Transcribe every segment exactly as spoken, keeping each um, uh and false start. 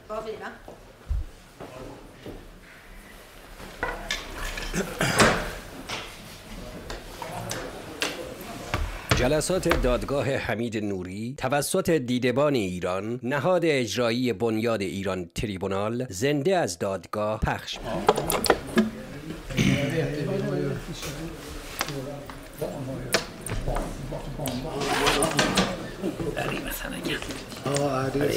Var vi, va? جلسات دادگاه حمید نوری توسط دیدبان ایران، نهاد اجرایی بنیاد ایران تریبونال، زنده از دادگاه پخش می‌شود. Ja, det är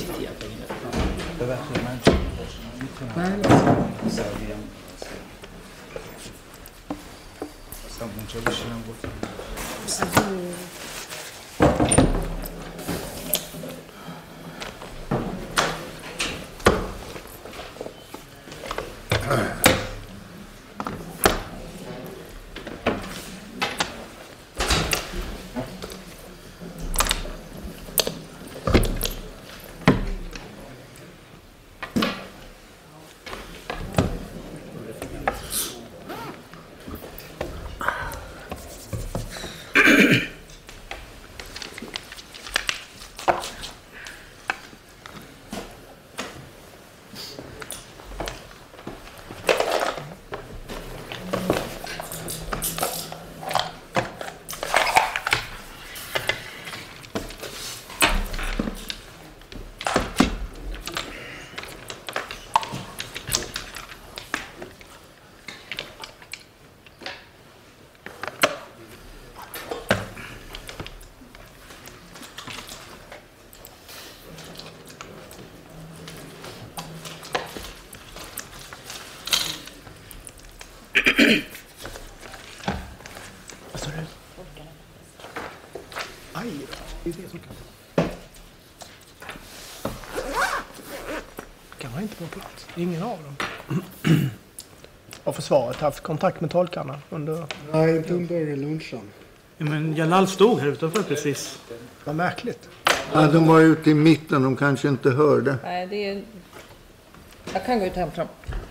Kan man inte på plats. Ingen av dem. Har försvaret haft kontakt med tolkarna under... Nej, inte under lunchen. Ja, men Jalal stod här utanför precis. Vad märkligt. Ja, de var ute i mitten, de kanske inte hörde. Nej, det är... Jag kan gå ut och hämta dem.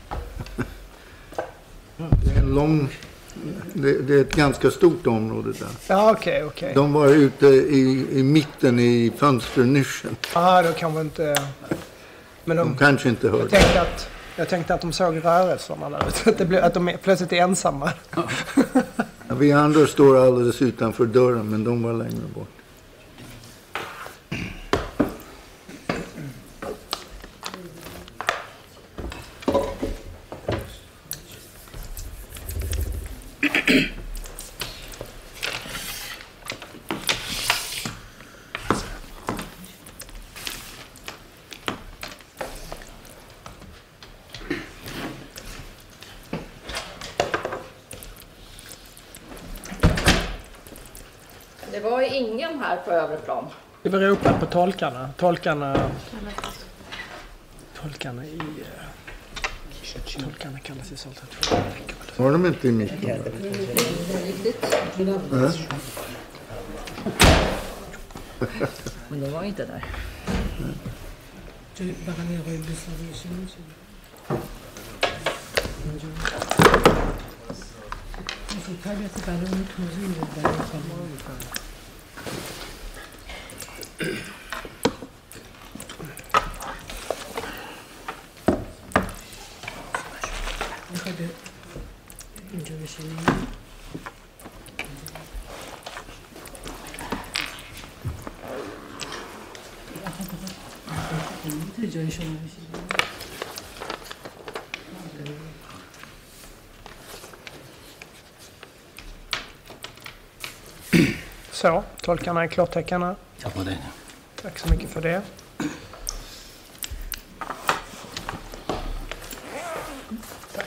Det är en lång... Det, det är ett ganska stort område där. Ja, okej, okay, okej. Okay. De var ute i, i mitten i fönsternischen. Ja, då kan vi inte... Men de, de kanske inte hörde. Jag tänkte att, jag tänkte att de såg rörelserna där. Att, det blev, att de plötsligt är ensamma. Ja. Ja, vi andra står alldeles utanför dörren, men de var längre bort. Det var ingen här på övre plan. Det var ropat på tolkarna. Tolkarna... Tolkarna i... Tolkarna kallas i Saltat. Var de inte i mitten? Det är riktigt. Ja. Men de var inte där. Så, tolkarna är klartäckarna. Tack för det. Tack så mycket för det. Tack.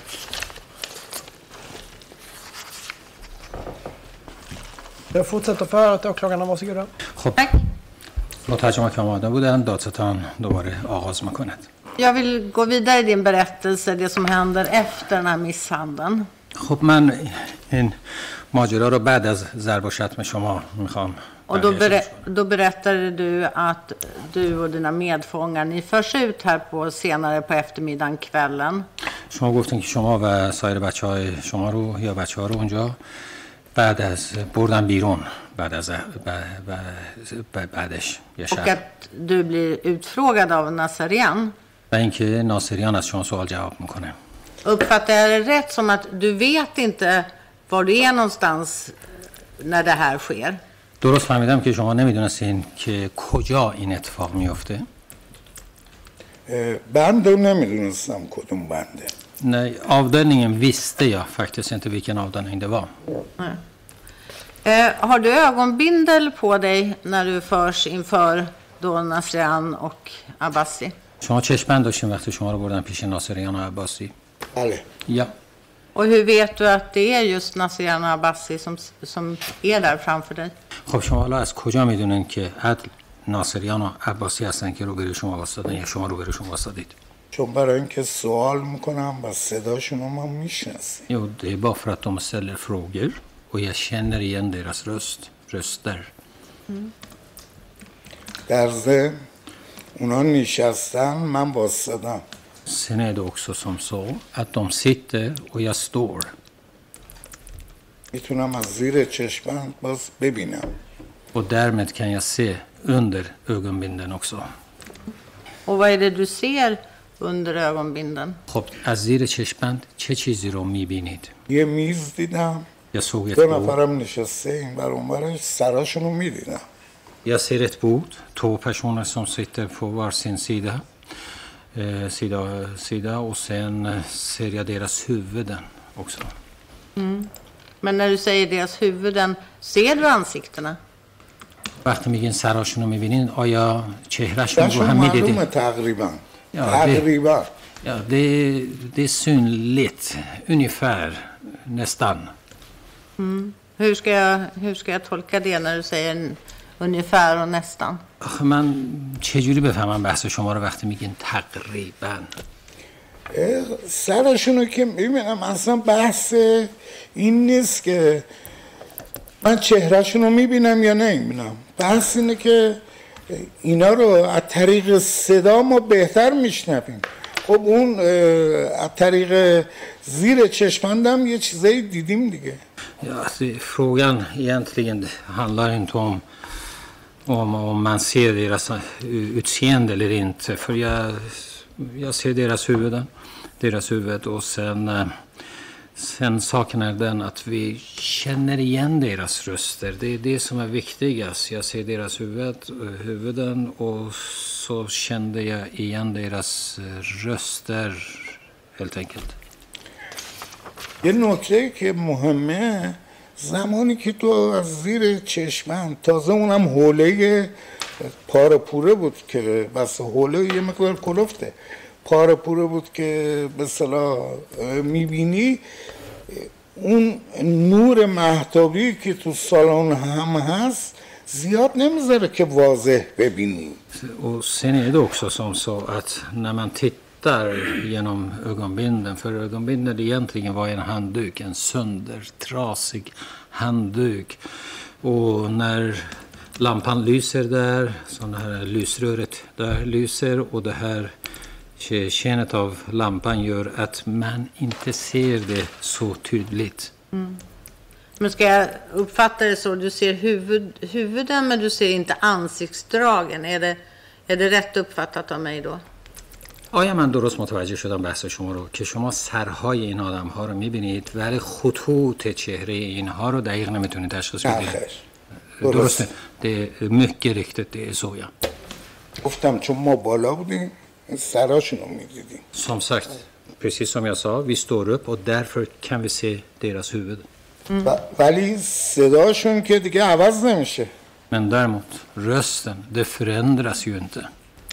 Jag fortsätter förhöret, åklagarna, varsågoda. Tack. مترجم که آماده بودن دادستان دوباره آغاز میکند. Jag vill gå vidare i din berättelse, det som händer efter den här misshandeln. خب من این ماجرا رو بعد از ضرب و شتم شما میخوام. Och då, ber, då berättade du att du och dina medfångar, ni förs ut här på senare på eftermiddagen, kvällen. شما گفتین که شما و سایر بچهای شما رو یا بچه‌ها رو اونجا بعد از بردن بیرون بعد از بعدش یا Och att du blir utfrågad av Nazarian. و اینکه ناصریان از شما سوال جواب میکنه. Uppfattar jag det rätt som att du vet inte var du är någonstans när det här sker? درست فهمیدم که شما نمیدونستین که کجا این اتفاق میفته؟ بند رو نمیدونستم کدوم بنده. Nej, avdelningen visste jag faktiskt inte vilken avdelning det var. Nej. Eh, har du ögonbindel på dig när du förs inför då Nasrian och Abbasi? شما چشم‌بند داشتین وقتی شما رو بردن پیش ناصریان و عباسی؟ بله. Ja. Och hur vet du att det är just Nasrian och Abbasi som, som är där framför dig? خب شما حالا از کجا میدونین که عدل ناصریان و عباسی هستن که روبروی شما واسطادن یا شما روبروی واسطادید؟ چون برای اینکه سوال میکنم و صداشون رو ما میشناسیم. Jo, det är bara för att de ställer frågor och jag känner igen deras röst, röster. در ضمن اونا نشستن من واسطادم. Sen är det också som så att de sitter och jag står. میتونم از زیر چشمم باز ببینم. Och därmed kan jag se under ögonbindeln också. Och vad är det du ser under ögonbindeln? خب از زیر چشمبند چه چیزی رو میبینید؟ یه میز دیدم. Jag såg ett دو bord. نفرم نشسته این بر اون برش سراشون رو میدیدم. Jag ser ett bord, två personer som sitter på var sin sida, eh, sida, sida och sen eh, ser jag deras huvuden också. Mm. Men när du säger deras huvuden, ser du ansiktena? وقتی میگین سراشون رو میبینین آیا چهرهشون رو داشون هم معلومه میدیدین؟ تقریبا. Ja, تقریبا. Ja, det, det är synligt, ungefär, nästan. Mm. Hur, ska jag, hur ska jag tolka det när du säger en, ungefär och nästan? آخه من چجوری بفهمم بحث شما رو وقتی میگین تقریبا؟ سرشون رو که میبینم اصلا بحث این نیست که من چهرهشون رو میبینم یا نمیبینم. بحث اینه که اینا رو از طریق صدا ما بهتر میشنویم. خب اون از طریق زیر چشمندم یه چیزایی دیدیم دیگه. Ja, alltså, frågan egentligen handlar inte om, om om man ser deras utseende eller inte. För jag, jag ser deras huvuden, deras huvud och sen, sen saken är den att vi känner igen deras röster. Det är det som är viktigast. Jag ser deras huvud, huvuden och så kände jag igen deras röster helt enkelt. یه نکته که مهمه زمانی که تو از زیر چشمم تازه اونم حوله پاره پوره بود که بس حوله یه مقدار کلفته پاره پوره بود که به اصطلاح میبینی اون نور مهتابی که تو سالن هم هست زیاد نمیذاره که واضح ببینی. Och sen är det också som så att när man tittar genom ögonbindeln, för ögonbindeln egentligen var en handduk, en söndertrasig handduk. Och när lampan lyser där, så det här lysröret där lyser och det här skenet av lampan gör att man inte ser det så tydligt. Mm. Men ska jag uppfatta det så, du ser huvud, huvuden men du ser inte ansiktsdragen. Är det, är det rätt uppfattat av mig då? آیا من درست متوجه شدم بحث شما رو که شما سرهای این آدم ها رو میبینید ولی خطوط چهره اینها رو دقیق نمیتونید تشخیص بدید؟ درسته. Det är mycket riktigt, det är så ja. گفتم چون ما بالا بودیم سراشون رو میدیدیم. Som sagt, precis som jag sa, vi står upp och därför kan vi se deras huvud. Mm. ولی صداشون که دیگه عوض نمیشه. Men däremot, rösten, det förändras ju inte.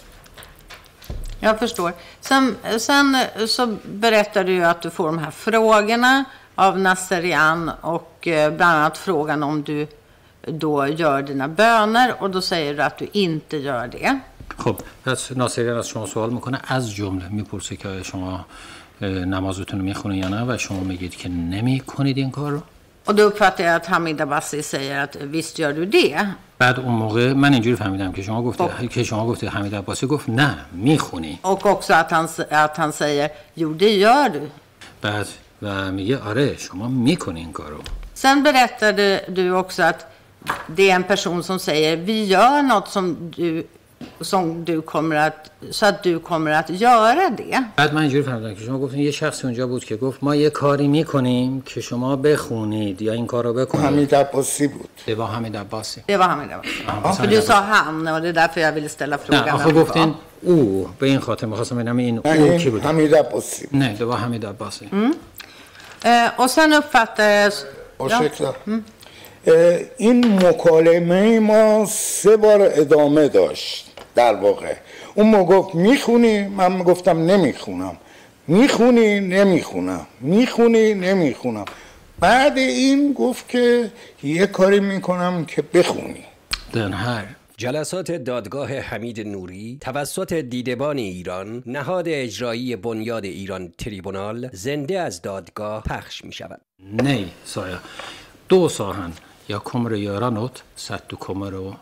Jag förstår. Sen, sen så berättar du ju att du får de här frågorna av Nasrian och eh, bland annat frågan om du då gör dina böner och då säger du att du inte gör det. خب پس ناصریان از شما سوال میکنه از جمله میپرسه که شما نمازتون رو میخونید یا نه و شما میگید که نمیکنید این کار رو. Och då uppfattar jag att Hamid Abbasi säger att visst gör du det. بعد اون موقع من اینجوری فهمیدم که شما گفته که شما گفته حمید عباسی گفت نه میخونی. Och också att han att han säger jo det gör du. بعد و میگه آره شما میکنی این کارو. Sen berättade du också att det är en person som säger vi gör något som du som du kommer att, så att du kommer att göra det. بعد من اینجوری فهمیدم که شما گفتین یه شخصی اونجا بود که گفت ما یه کاری میکنیم که شما بخونید یا این کارو بکنید. حمید عباسی بود. Det var Hamid Abbasi. Det var Hamid Abbasi. För du sa han och det är därför jag ville ställa frågan. نه آخه گفتین او به این خاطر می‌خواستم ببینم این او کی بود. حمید عباسی. نه det var Hamid Abbasi. Och sen uppfattades... Ja. این مکالمه ما سه بار ادامه داشت در واقع. اون ما گفت میخونی، من گفتم نمیخونم. میخونی نمیخونم. میخونی نمیخونم. بعد این گفت که یه کاری میکنم که بخونی. Den här جلسات دادگاه حمید نوری توسط دیدبان ایران، نهاد اجرایی بنیاد ایران تریبونال، زنده از دادگاه پخش می شود. Nej, sa jag. Då sa han, jag kommer att göra något så att du kommer att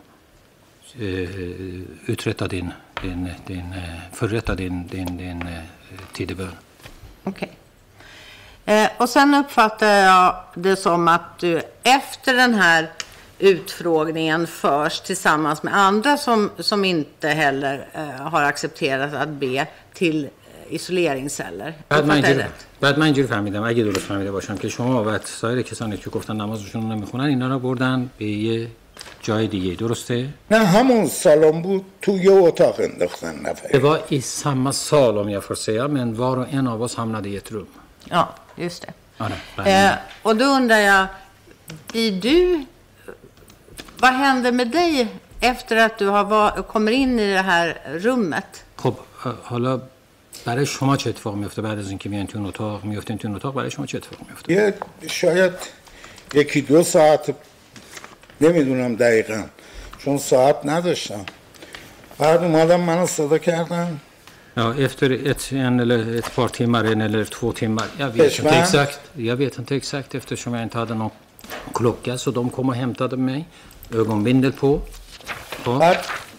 uh, uträtta din, din, din, uh, förrätta din, din, din uh, tidebön. Okej. Eh, och sen uppfattar jag det som att du efter den här utfrågningen förs tillsammans med andra som, som inte heller eh, har accepterat att be till isoleringsceller. بعد من اینجوری بعد من اینجوری فهمیدم اگه درست فهمیده باشم که شما و سایر کسانی که گفتن نمازشون رو نمیخونن اینا رو بردن به یه جای دیگه، درسته؟ نه همون سالن بود، تو یه اتاق انداختن نفر. Det var i samma sal om jag får säga, men var och en av oss hamnade i ett rum. Ja, just det. Ja, nej, eh, och då undrar jag, blir du... Vad händer med dig efter att du har var, kommer in i det här rummet? خب حالا برای شما چه اتفاق میفته بعد از اینکه میان تو اون اتاق میافتین تو اون اتاق برای شما چه اتفاق میفته؟ یه شاید یکی دو ساعت نمیدونم دقیقاً چون ساعت نداشتم. بعد اومدم منو صدا کردن. Ja, efter ett, en eller ett par timmar, en eller två timmar. Jag vet inte exakt. Jag vet inte exakt eftersom jag inte hade någon klocka så de kom och hämtade mig. ögonbindel på. بعد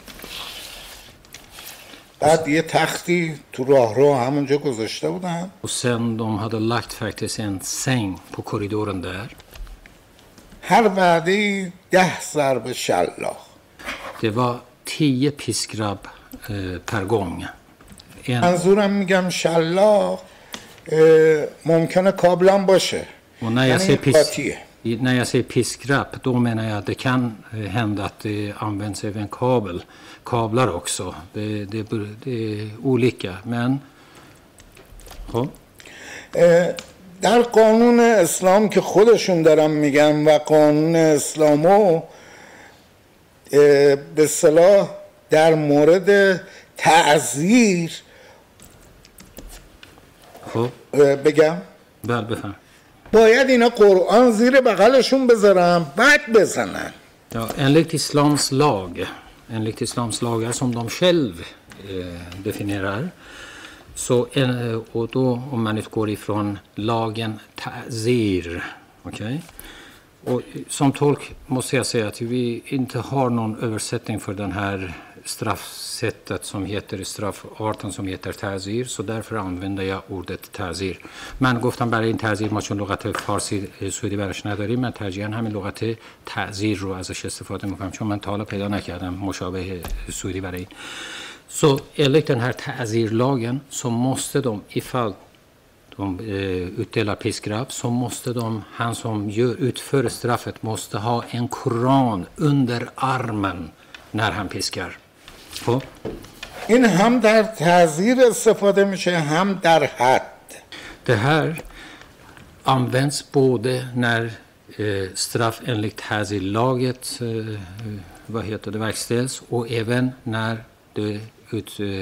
بعد یه تختی تو راهرو همونجا گذاشته بودن. Och sen de hade lagt faktiskt en säng på korridoren där. هر وعده ده ضرب شلاق. Det var tio piskrabb eh, per gång. En... منظورم میگم شلاق ممکنه کابلم باشه. Och när jag säger pisk... När jag säger piskrapp, då menar jag att det kan hända att det används även kabel, kablar också. Det, det, det är olika, men... Ja. در قانون اسلام که خودشون دارن میگن و قانون اسلامو به اصطلاح در مورد تعزیر بگم بله بفهم باید اینا قرآن زیر بغلشون بذارن بعد بزنن. Ja, enligt islams lag, enligt islams lagar som de själv eh, definierar, så en, och då om man utgår ifrån lagen ta'zir, okej? Okay? Och som tolk måste jag säga att vi inte har någon översättning för den här straffsättet som heter straffarten som heter ta'zir, så därför använder jag ordet ta'zir. من گفتم برای این تعزیر ما چون لغت فارسی سعودی براش نداریم، من ترجیحاً همین لغت تعزیر رو ازش استفاده میکنم چون من تا حالا پیدا نکردم مشابه سعودی برای این. Så enligt den här ta'zirlagen så måste de, ifall de eh, utdelar piskrapp, så måste de, han som gör, utför straffet måste ha en koran under armen när han piskar. خب این هم در تعزیر استفاده میشه هم در حد. Det här används både när eh, straff enligt ta'zirlaget eh, vad heter det verkställs och även när det ut eh,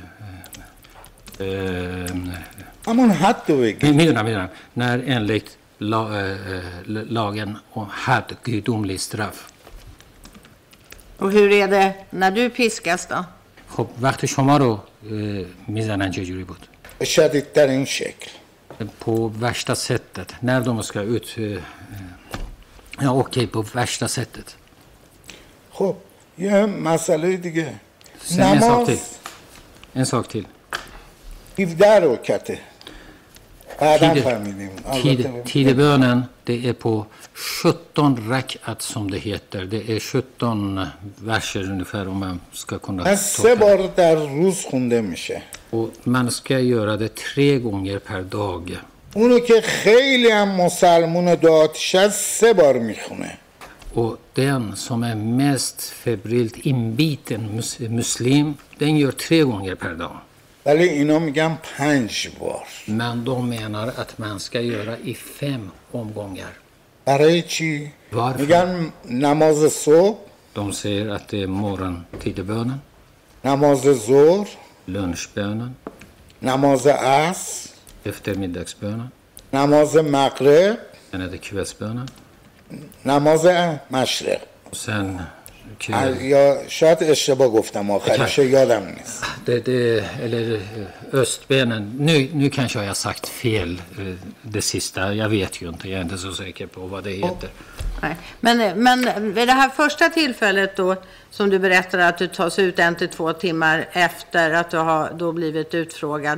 eh, همون حد رو بگی. میدونم میدونم när enligt la, eh, lagen om had gudomlig straff. Och hur är det när du piskas då? خب وقتی شما رو میزنن چه جوری بود؟ شدیدترین شکل. på värsta sättet när de ska ut ja okej på värsta sättet. خب یه مسئله دیگه. en sak till. En sak till. هفده رکعته. بعداً Tide- فهمیدیم. tid, البته tidebönen, det är på sjutton rakat som det heter. Det är sjutton verser ungefär om man ska kunna من سه tolka. بار در روز خونده میشه. Och man ska göra det tre gånger per dag. اونو که خیلی هم مسلمون دعاتش از سه بار میخونه. Och den som är mest febrilt inbiten mus- muslim, den gör tre gånger per dag. ولی اینا میگن پنج بار. Men de menar att man ska göra i fem omgångar. برای چی؟ Varför? میگن نماز صبح، De säger att det är morgontidebönen, نماز ظهر، lunchbönen, نماز عصر، eftermiddagsbönen, نماز مغرب، sen är det kvällsbönen. نماز مشرق. Och sen kväll, یا شاید اشتباه گفتم آخرش یادم نیست. det, det, eller eh, östbönen. Nu, nu kanske jag har sagt fel eh, det sista. Jag vet ju inte. Jag är inte så säker på vad det heter. Nej. Men, men vid det här första tillfället då, som du berättade att du tas ut en till två timmar efter att du har då blivit utfrågad.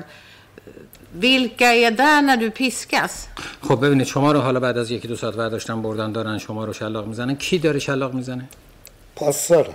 Vilka är där när du piskas? خب ببینید شما رو حالا بعد از یکی دو ساعت برداشتن بردن دارن شما رو شلاق میزنن. کی داره شلاق میزنه؟ پاسدار.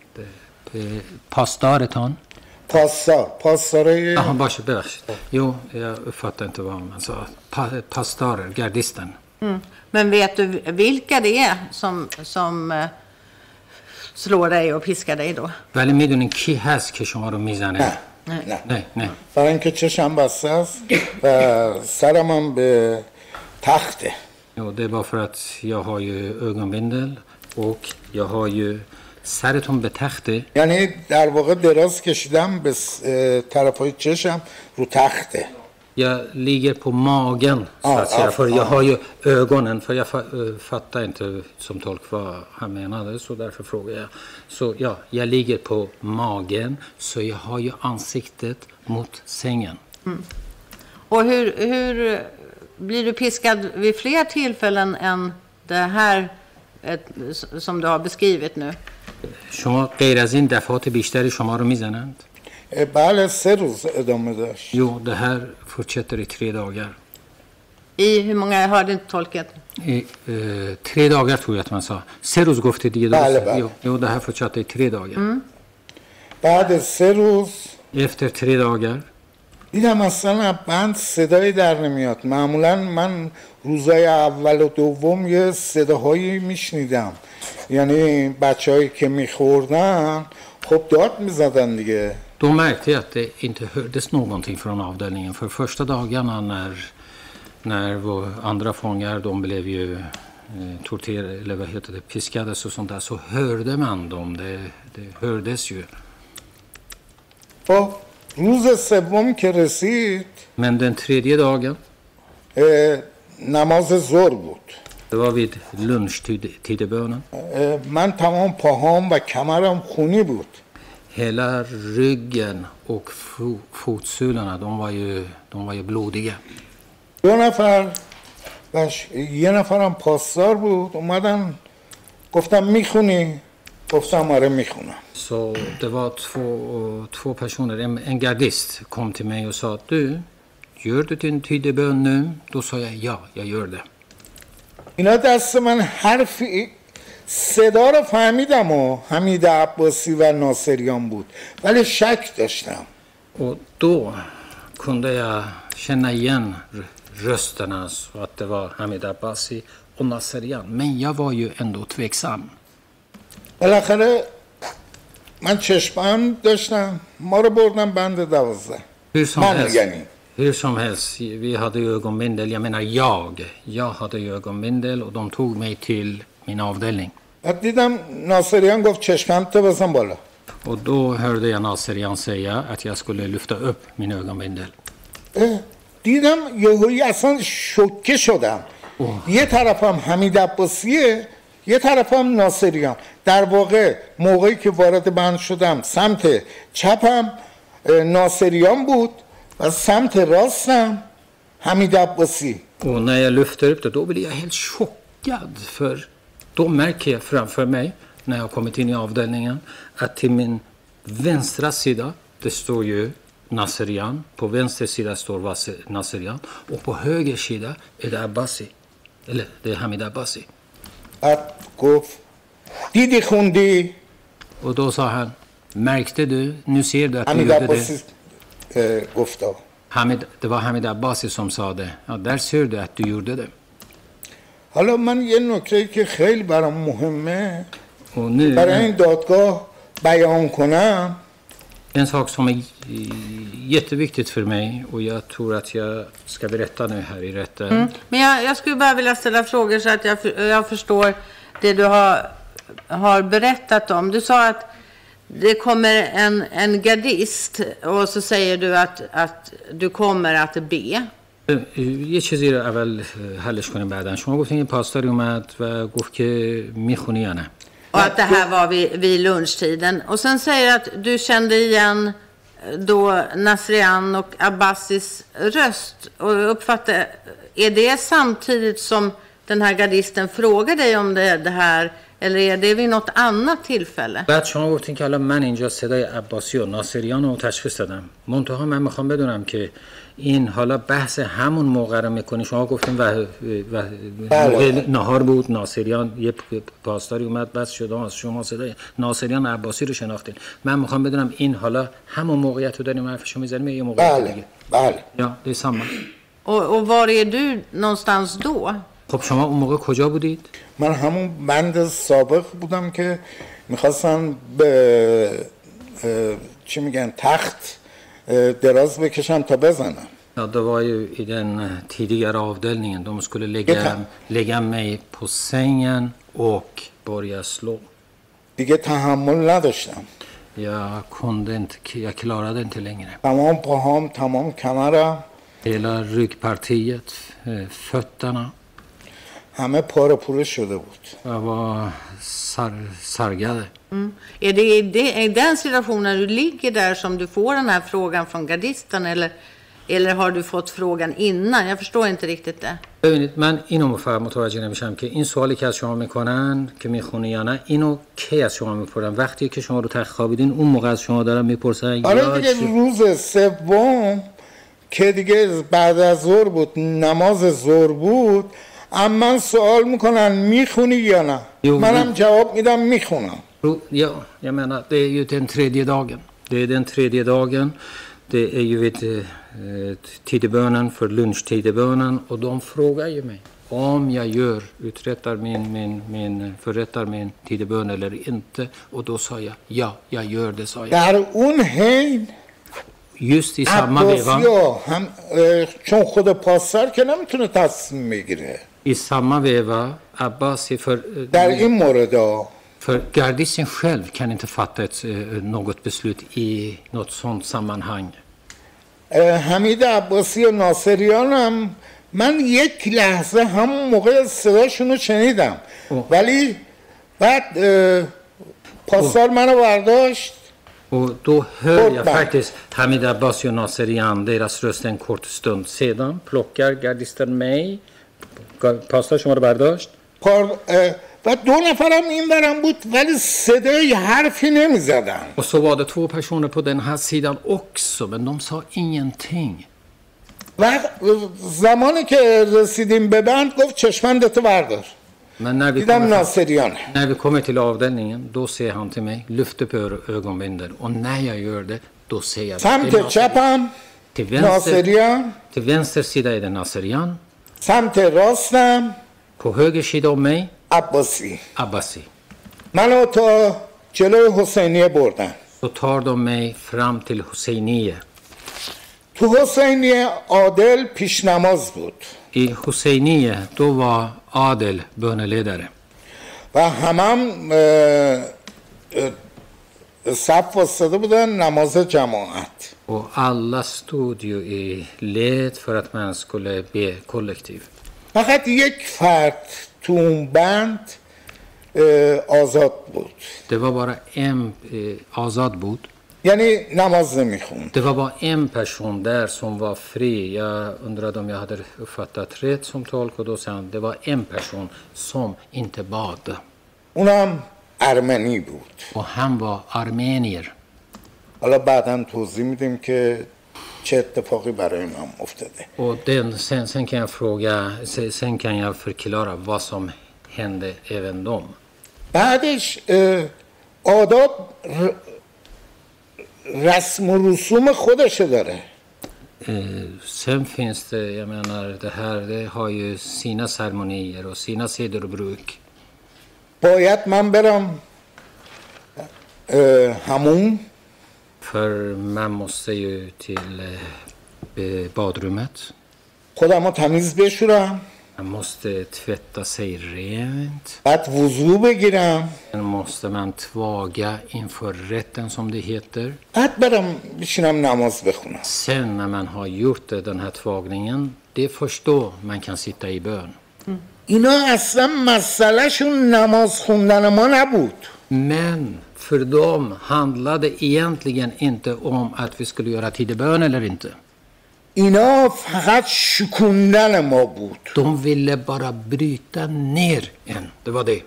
پاسدارتان؟ پاسدار. پاسداره. Jaha, باشه ببخشید. Jo, jag uppfattar inte vad man sa. Pa, pastorer, gardisten. Mm. Men vet du vilka det är som, som eh, slår dig och piskar dig då? ولی میدونین کی هست که شما رو میزنه؟ نه نه نه نه. برای اینکه چشم بسته است و سرم هم به تخته. Jo, det är bara för att jag har ju ögonbindel och jag har ju سرتون به تخته. یعنی در واقع دراز کشیدم به طرفای چشم رو تخته. Jag ligger på magen så Ah, att säga, ah, för jag ah. har ju ögonen, för jag fa- äh, fattar inte som tolk vad han menade, så därför frågar jag. Så ja, jag ligger på magen, så jag har ju ansiktet mot sängen. Mm. Och hur, hur blir du piskad vid fler tillfällen än det här ett, som du har beskrivit nu? شما غیر از این دفعات بیشتری شما رو میزنند؟ بله سه روز ادامه داشت. Jo, det här fortsätter i tre dagar. I hur många, jag hörde inte tolket. I eh, tre dagar tror jag att man sa. سه روز گفته دیگه بله درسته؟ بله. Jo, jo, det här fortsatte i tre dagar. Mm. بعد سه روز Efter tre dagar دیدم اصلا بند صدایی در نمیاد. معمولا من روزای اول و دوم یه صداهایی میشنیدم، یعنی بچه‌هایی که میخوردن خب داد میزدن دیگه. Då märkte jag att det inte hördes någonting från avdelningen. För första dagarna när, när vår andra fångar, de blev ju eh, torterade, eller vad heter det, piskades och sånt där, så hörde man dem. Det, det hördes ju. خب روز سوم که رسید Men den tredje dagen, اه، نماز ظهر بود. det var vid lunchtidebönen. اه، من تمام پاهام و کمرم خونی بود. Hela ryggen och fo, fotsulorna, de var ju, de var ju blodiga. دو نفر و ش- یه نفرم پاسدار بود اومدن گفتم میخونی؟ گفتم آره میخونم. Så det var två, två personer, en, en gardist kom till mig och sa att du, gör du din tidebön nu? Då sa jag ja, jag gör det. اینا دست من حرفی صدا رو فهمیدم و حمید عباسی و ناصریان بود ولی شک داشتم. Och då kunde jag känna igen r- rösterna så att det var Hamid Abbasi och Nasserian. Men jag var ju ändå tveksam. بالاخره من چشمم داشتم ما رو بردم بند دوازده. Hur som من helst, یعنی hur som helst, vi hade ju ögonbindel, jag menar jag. Jag hade ju ögonbindel och de tog mig till min avdelning. بعد دیدم ناصریان گفت چشمم تو بزن بالا. Och då hörde jag Nasserian säga att jag skulle lyfta upp min ögonbindel. اه، دیدم یهویی اصلا شوکه شدم. یه طرفم حمید عباسیه یه طرفم ناصریان. در واقع موقعی که وارد بند شدم سمت چپم اه، ناصریان بود و سمت راستم حمید عباسی. Och när jag lyfter upp det, då blir jag helt chockad. För då märker jag framför mig, när jag kommit in i avdelningen, att till min vänstra sida, det står ju Naserian. På vänster sida står Naserian. Och på höger sida är det Abbasi. Eller det är Hamid Abbasi. بعد گفت دیدی خوندی؟ Och då sa han, märkte du, nu ser du att du حمید gjorde عباسی det. اه، گفتا Hamid, det var Hamid Abbasi som sa det. Ja, där ser du att du gjorde det. حالا من یه نکته که خیلی برام مهمه Och nu, برای این دادگاه بیان کنم en sak som är jätteviktigt för mig och jag tror att jag ska berätta nu här i rätten. Mm. Men jag, jag skulle bara vilja ställa frågor så att jag, jag förstår det du har, har berättat om. Du sa att det kommer en, en gardist och så säger du att, att du kommer att be. یه چیزی رو اول حلش کنیم بعدن. شما گفتین یه پاسداری اومد و گفت که میخونی یا نه. Och att det här var vid, vid lunchtiden. Och sen säger att du kände igen då Nasrian och Abbasis röst. Och uppfattar, är det samtidigt som den här gardisten frågar dig om det, det här? Eller är det vid något annat tillfälle? بعد شما گفتین که الان من اینجا صدای عباسی و ناصریان رو تشخیص دادم. منتها من میخوام بدونم که این حالا بحث همون موقع رو میکنی. شما گفتین و, و موقع نهار بود ناصریان یه پاسداری اومد بس شده شما صدای ناصریان و عباسی رو شناختین. من میخوام بدونم این حالا همون موقعیت رو داریم حرفشو میزنیم یه موقعیت دیگه. بله یا det är samma. Och, och var är du någonstans då? خب شما اون موقع کجا بودید؟ من همون بند سابق بودم که میخواستن به چی میگن تخت دراز بکشم تا بزنم. Ja, det var ju i den tidigare avdelningen. De skulle lägga, lägga mig på sängen och börja slå. دیگه تحمل نداشتم. Jag kunde inte, jag klarade inte längre. تمام پاهام، تمام کمرم، Hela ryggpartiet, fötterna. همه پاره پوره شده بود. Jag var sar, sargade. Mm. Är det i det, i den situationen du ligger där som du får den här frågan från gardisten eller, eller har du fått frågan innan? Jag förstår inte riktigt det. ببینید من اینو فقط متوجه نمیشم که این سوالی که از شما میکنن که میخونی یا نه اینو کی از شما میپرسن؟ وقتی که شما رو تخت خوابیدین اون موقع از شما دارن میپرسن؟ آره دیگه روز سوم که دیگه بعد از ظهر بود نماز ظهر بود اما سوال میکنن میخونی یا نه؟ منم جواب میدم میخونم. Ja, jag menar det är ju den tredje dagen. Det är den tredje dagen. Det är ju vid eh, tidebönen för lunchtidebönen och de frågar ju mig om jag gör uträttar min min min förrättar min tidebön eller inte och då sa jag ja, jag gör det sa jag. در اون حین just i samma veva هم چون خود پاسدار که نمیتونه تصمیم بگیره. I samma veva Abbasi för در این مورد för gardisten själv kan inte fatta ett, något beslut i något sånt sammanhang. حمید عباسی و ناصریان هم من یک لحظه همون موقع صداشون رو شنیدم ولی بعد پاسدار منو برداشت. Och då hör jag faktiskt Hamid Abbasi och Naserian deras röst en kort stund sedan plockar gardisten mig. پاسدار شما رو برداشت و دو نفرم این برم بود ولی صدای حرفی نمی زدن. Och så var det två personer på den här sidan också men de sa ingenting. و زمانی که رسیدیم به بند گفت چشمندتو بردار. Men när vi, دیدم ناصریان. när vi kommer till avdelningen då säger han till mig lyft upp ögonbindeln och när jag gör det då säger jag سمت چپم till vänster, ناصریان till vänster sida är det Naserian. سمت راستم på höger sida om mig عباسی. Abbasi. منو تا جلوی حسینیه بردن. Så tar de mig fram till Husseiniye. تو حسینیه عادل پیش نماز بود. I Husseiniye då var Adel böneledare. و همم صف واسطه بودن نماز جماعت. Och alla stod ju i led för att man skulle be kollektiv. فقط یک فرد تو اون بند آزاد بود. Det var bara en eh, Azad بود. یعنی نماز نمیخوند. Det var bara en person där som var fri. Jag undrade om jag hade uppfattat rätt som tolk och då sa han det var en person som inte bad. اونم ارمنی بود. Och han var armenier. حالا بعداً توضیح میدیم که چه اتفاقی برای من افتاده. Och den, sen, sen kan jag fråga, sen, sen kan jag förklara vad som hände även dem. بعدش اه، آداب ر- رسم و رسوم خودشو داره. Eh, sen finns det, jag menar, det här det har ju sina ceremonier och sina seder och bruk. باید من برم اه، همون För man måste ju till eh, badrummet. خودم رو تمیز بشورم، Man måste tvätta sig rent. بعد وضو بگیرم، Sen måste man tvaga inför rätten som det heter. بعد برم بشینم نماز بخونم. Sen när man har gjort den här tvagningen, det är först då man kan sitta i bön. اینا اصلا مسئلهشون نماز خوندن ما نبود. Men för dem handlade egentligen inte om att vi skulle göra tidig-bön eller inte. اینا فقط شکوندن ما بود. De ville bara bryta ner en. Det var det.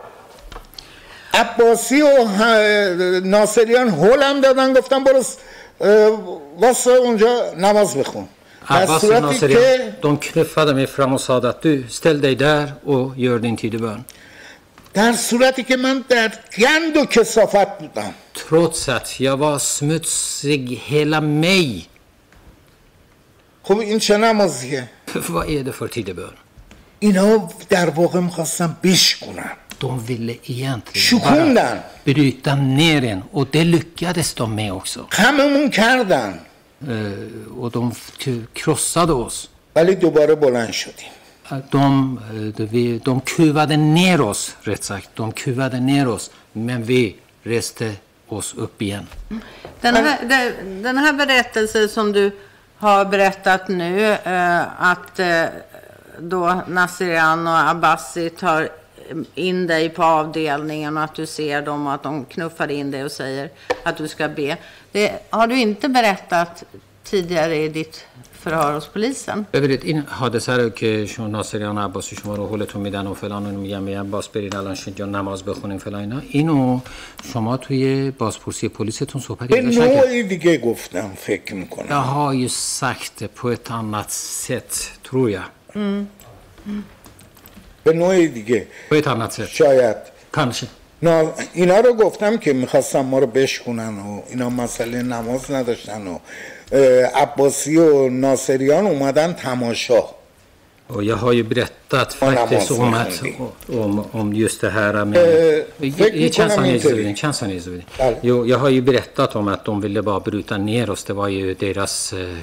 عباسی و ه- ناصریان هولم دادن، گفتن برو س- اه، واسه اونجا نماز بخون. در Abbas och صورتی Naserian, که de knuffade mig fram och sa att du, ställ dig där och gör din tidig-bön. در صورتی که من در گند و کثافت بودم. Trots att jag var smutsig hela mig. خب این چه نمازیه؟ Vad är det för tidig-bön? اینا در واقع میخواستن بشکونن، De ville egentligen bara شکوندن، bryta ner en. Och det lyckades de med också. خممون کردن، Eh, och de k- krossade oss. ولی دوباره بلند شدیم. De, eh, de, vi- de kuvade ner oss, rätt sagt. De kuvade ner oss, men vi reste oss upp igen. Den här, den- den här berättelsen som du har berättat nu, eh, att eh, då Naserian och Abbasi tar in dig på avdelningen och att du ser dem och att de knuffar in dig och säger att du ska be. Det har du inte berättat tidigare i ditt förhör hos polisen. ببینید این حادثه رو که شما ناصریان و عباسی شما رو هولتون میدن و فلان و میگن میگن باز برید الان اینجا نماز بخونین فلان اینا، اینو شما توی بازپرسی پلیستون صحبتی به ازش نکردید. نوعی دیگه گفتم فکر Jag میکنم. har ju sagt det på ett annat sätt, tror jag. به نوعی دیگه På ett annat sätt. شاید Kanske. نا... اینا رو گفتم که میخواستم ما رو بشکونن و اینا مسئله نماز نداشتن و اه، عباسی و ناصریان اومدن تماشا. Och jag har ju berättat faktiskt namaz om, att, mekhondی. om, om just det här med... Eh, I- فکر i میکنم Chansan اینطوری. Izudin, Chansan Izudin. بله. Jo, jag har ju berättat om att de ville bara bryta ner oss. Det var ju deras eh,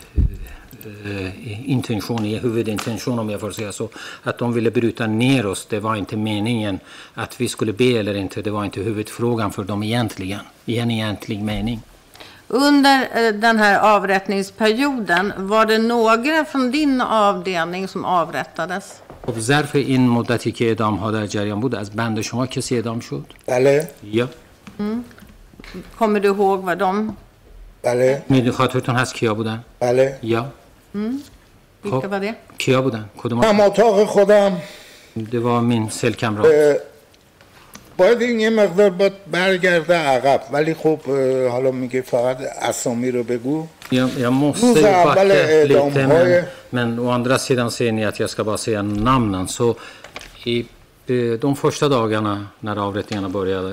eh, intention, huvudintention om jag får säga så. Att de ville bryta ner oss, det var inte meningen. Att vi skulle be eller inte, det var inte huvudfrågan för dem egentligen. I en egentlig mening. Under eh, den här avrättningsperioden, var det några från din avdelning som avrättades? خب ظرف این مدتی که اعدام ها در جریان بود از بند شما کسی اعدام شد؟ بله یا Kommer du ihåg vad de, بله میدونی خاطرتون هست کیا بودن؟ بله یا vilka var det? کیا بودن؟ کدوم؟ هم اتاق خودم. Det var min cellkamrat. اه، باید این یه مقدار باید برگرده عقب، ولی خب اه، حالا میگه فقط اسامی رو بگو. Jag, jag måste Rosa, backa Balle, lite, de har ju- men, men å andra sidan ser ni att jag ska bara säga namnen. Så i eh, de första dagarna när avrättningarna började,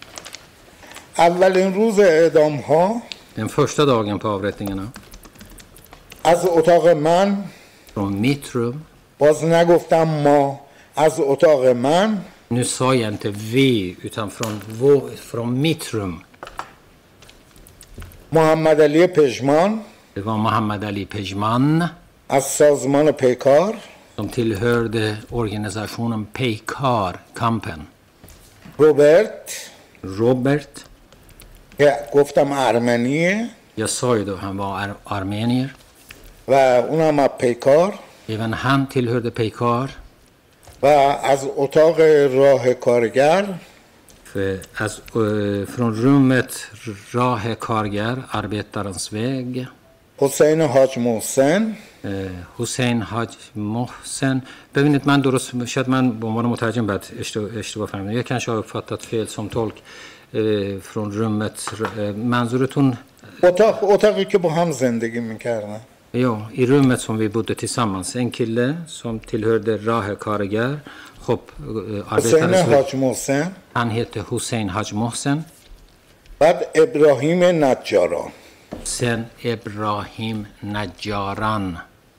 اولین روز اعدام ها den första dagen på avrättningarna, از اتاق من، från mitt rum, باز نگفتم ما، از اتاق من nu sa jag inte vi, utan från, vår, från mitt rum, محمد علی پژمان det var Mohammad Ali Pejman از سازمان پیکار، som tillhörde organisationen Peikar, kampen. روبرت Robert, که گفتم ارمنیه jag sa ju då han var ar- armenier. و اونم از پیکار، Även han tillhörde Peikar. و از اتاق راه کارگر För, alltså, eh, från rummet Rahe Kargar, arbetarens väg, حسین حاج محسن eh, Hussein Haj Mohsen. ببینید من درست شاید من به عنوان مترجم بعد اشتباه, اشتباه فهمیدم. Jag kanske har uppfattat fel som tolk eh, från rummet. Eh, منظورتون اتاق اتاقی که با هم زندگی میکردن. Ja, i rummet som vi bodde tillsammans. En kille som tillhörde Rahe Karigar. خب حسین حاج محسن. Han heter Hussein Haj Mohsen. بعد ابراهیم نجاران. Sen Ibrahim Najaran.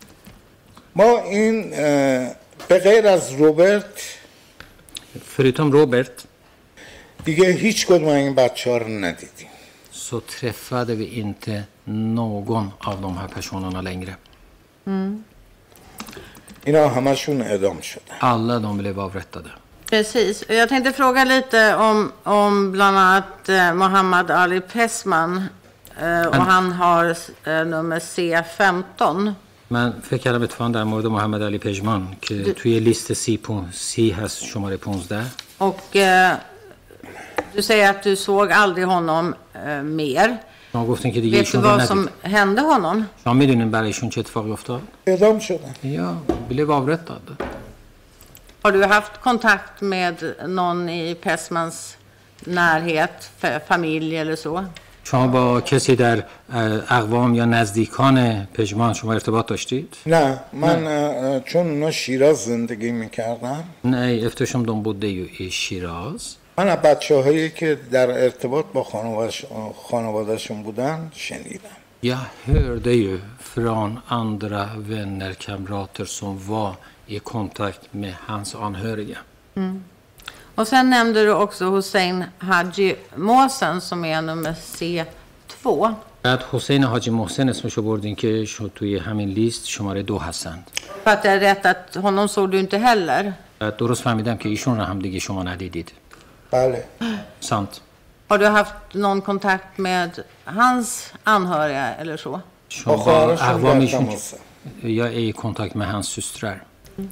ما این به غیر از روبرت Förutom Robert دیگه هیچ کدوم این بچه ها رو ندیدیم. så träffade vi inte någon av de här personerna längre. Mm. اینا همشون اعدام شدن. Alla de blev avrättade. Precis. Jag tänkte fråga lite om, om bland annat eh, Mohammad Ali Pesman. Eh, och han har eh, nummer C femton. من فکر کردم اتفاقا در مورد محمد علی پژمان که توی لیست سی, پون... سی هست شماره پانزده. Och eh, du säger att du såg aldrig honom eh, mer. شما گفتین که دیگه Vet du ایشون رو vad som ندید. hände honom? شما میدونین برای ایشون چه اتفاقی افتاد؟ اعدام شدن. Ja, blev avrättad. Har du haft kontakt med någon i Pesmans närhet, f- familj eller så? شما با کسی در اقوام یا نزدیکان پژمان شما ارتباط داشتید؟ نه من چون اونا شیراز زندگی میکردم. Nej, eftersom de bodde ju i Shiraz. من از بچه هایی که در ارتباط با خانوادهشون بودن شنیدم. Jag hörde ju från andra vänner, kamrater som var i kontakt med hans anhöriga. Mm. Och sen nämnde du också Hussein Haji Mohsen som är nummer C två. بعد حسین حاجی محسن اسمشو بردین که شو توی همین لیست شماره دو هستند. För att det är rätt att honom såg du inte heller. بعد درست فهمیدم که ایشون رو هم دیگه شما ندیدید. بله. Sant. Har du haft någon kontakt med hans anhöriga eller så? شما با اقوامیشون یا i kontakt med hans systrar.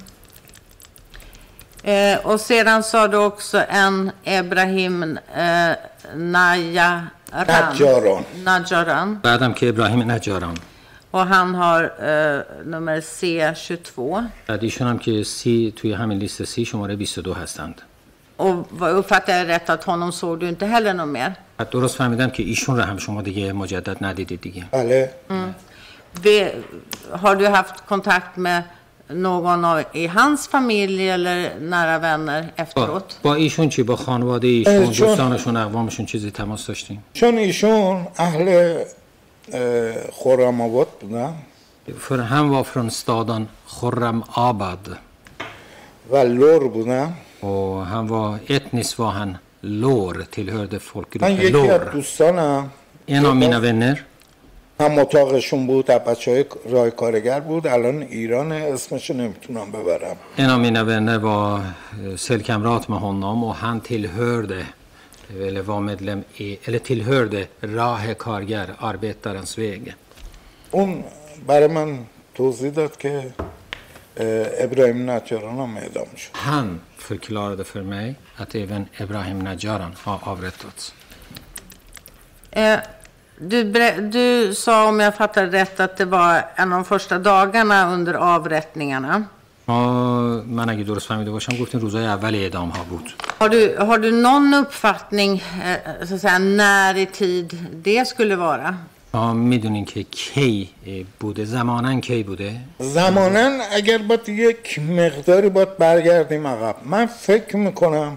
Eh, och sedan sa du också en Ibrahim eh, Najaran. Najaran. Najaran. بعدم که ابراهیم نجاران. Och han har eh, nummer C tjugotvå. بعد ایشون هم که سی توی همین لیست سی شماره بیست و دو هستند. Och vad uppfattar jag rätt att honom såg du inte heller någon mer? بعد درست فهمیدم که ایشون رو هم شما دیگه مجدد ندیدید دیگه. بله. Mm. Vi, har du haft kontakt med någon av, i hans familj eller nära vänner efteråt? با ایشون چی؟ با خانواده ایشون، دوستانشون، اقوامشون چیزی تماس داشتین؟ چون ایشون اهل خرم آباد بودن. För han var från staden Khurram Abad. و لور بودن. Och han var etniskt var han lår, tillhörde من folkgruppen یکی از lår. دوستانم En av mina vänner, هم اتاقشون بود، بچه های راه کارگر بود، الان ایران، اسمشو نمیتونم ببرم. en av mina vänner var eh, cellkamrat med honom och han tillhörde eller var medlem i eller tillhörde Rahe Kargar, arbetarens väg. اون برای من توضیح داد که ابراهیم نجاران هم اعدام شد. Han förklarade för mig att även Ibrahim Najaran har avrättats. Eh, du, du sa, om jag fattar rätt, att det var en av de första dagarna under avrättningarna. من اگه درست فهمیده باشم گفتین روزای اول اعدام ها بود. Har du, har du någon uppfattning eh, så att säga, när i tid det skulle vara? ما میدونین که کی بوده، زمانن کی بوده؟ زمانن اگر باید یک مقداری باید برگردیم عقب. من فکر میکنم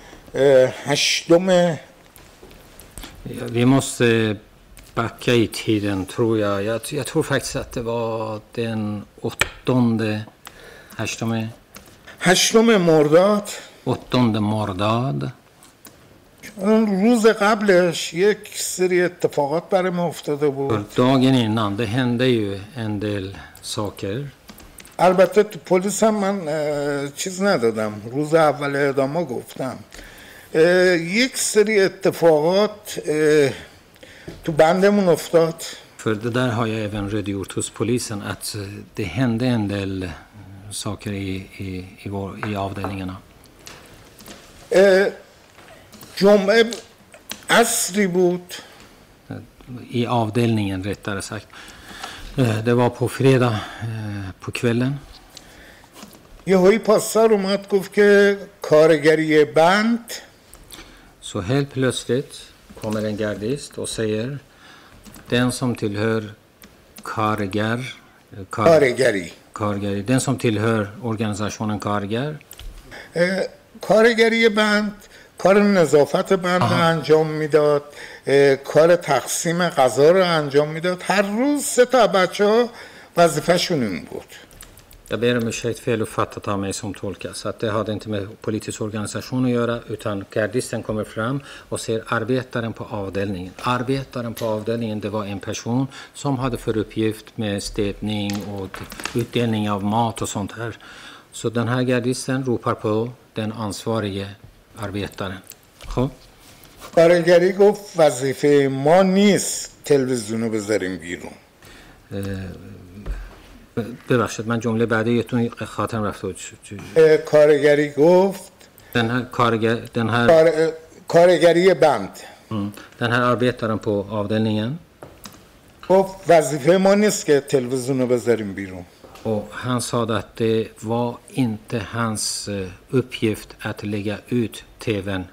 هشتم Vi måste backa i tiden tror jag. jag. Jag tror faktiskt att det var den åttonde هشتم هشتم مرداد åttonde mordad. روز قبلش یک سری اتفاقات برای ما افتاده بود. Dagen innan det hände ju en del saker. البته تو پلیس هم من چیز ندادم، روز اول اعدام گفتم. یک سری اتفاقات تو بندمون افتاد. För det där har jag även redogjort hos polisen att det hände en del saker i, i, i, vår, i avdelningarna. جمعه عصری بود. I avdelningen rättare sagt. Det var på fredag på kvällen. یه هایی پاسدار اومد گفت که کارگری بند. Så helt plötsligt kommer en gardist och säger Den som tillhör Karger, kar, کارگری Kargeri, den som tillhör organisationen Karger. اه، کارگری بند کار نظافت بند رو انجام میداد، اه، کار تقسیم غذا رو انجام میداد. هر روز سه تا بچه ها وظیفه‌شون این بود. Jag ber om ursäkt fel uppfattat av mig som tolkas. Att det hade inte med politisk organisation att göra, utan gardisten kommer fram och ser arbetaren på avdelningen. Arbetaren på avdelningen, det var en person som hade för uppgift med städning och utdelning av mat och sånt här. Så den här gardisten ropar på den ansvarige arbetaren. خب کارگری گفت وظیفه ما نیست تلویزیون رو بذاریم بیرون. ببخشید من جمله بعدیتون خاطرم رفته بود. اه، کارگری گفت Den här karger, den här کار... اه، کارگری بند mm, den här arbetaren på avdelningen. گفت وظیفه ما نیست که تلویزیون رو بذاریم بیرون. Och han sa att det var inte hans eh, uppgift att lägga ut tvn.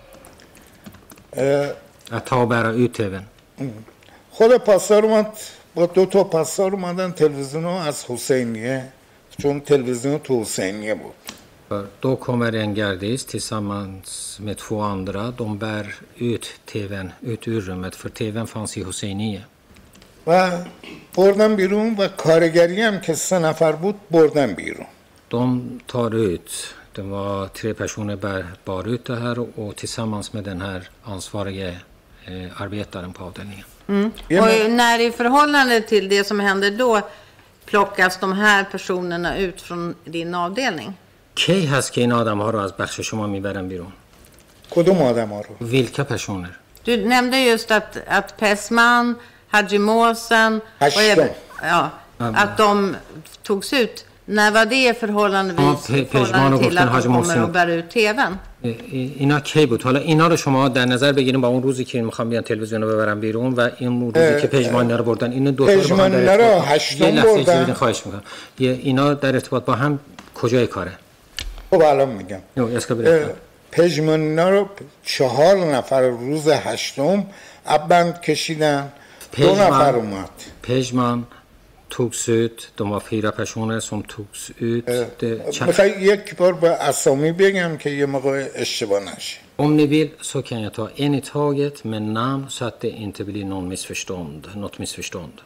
اه، Att ta och bära ut tvn. خود پاسدار اومد با دو تا پاسدار اومدن تلویزیون رو از حسینیه، چون تلویزیون تو حسینیه بود. För då kommer en gardist tillsammans med två andra. De bär ut tvn ut ur rummet, för tvn fanns i Hoseinie. و بردن بیرون و کارگری هم که سه نفر بود بردن بیرون. De tar ut, det var tre personer bär, bar ut det här och tillsammans med den här ansvariga eh, arbetaren på avdelningen. Mm. Och när i förhållande till det som händer då plockas de här personerna ut från din avdelning? کی هست که این آدم ها رو از بخش شما میبرن بیرون؟ کدوم آدم ها رو؟ Vilka personer? Du nämnde just att, att Pessman, Haji Måsen och även, ja, att de togs ut. När var det förhållandevis Ja, Pe- förhållande till Pejman och att de Haji kommer Mohsen. och bär ut tvn? اینا کی بود؟ حالا اینا رو شما در نظر بگیریم با اون روزی که میخوام بیان تلویزیون رو ببرن بیرون و این روزی که پژمان رو بردن. این دو تا رو با هم در ارتباط هشتم یه لحظه بردن. اجازه بدین خواهش میکنم. اینا در ارتباط با هم کجای کاره؟ خب الان میگم. Jo, jag ska berätta. پژمانینا رو چهار نفر روز هشتم بند کشیدن. دو نفر اومد. پژمان togs ut. De var fyra personer som togs ut. Det, میخوای یک بار به اسامی بگم که یه موقع اشتباه نشه. om ni vill så kan jag ta en i taget med namn så att det inte blir någon missförstånd, något missförstånd.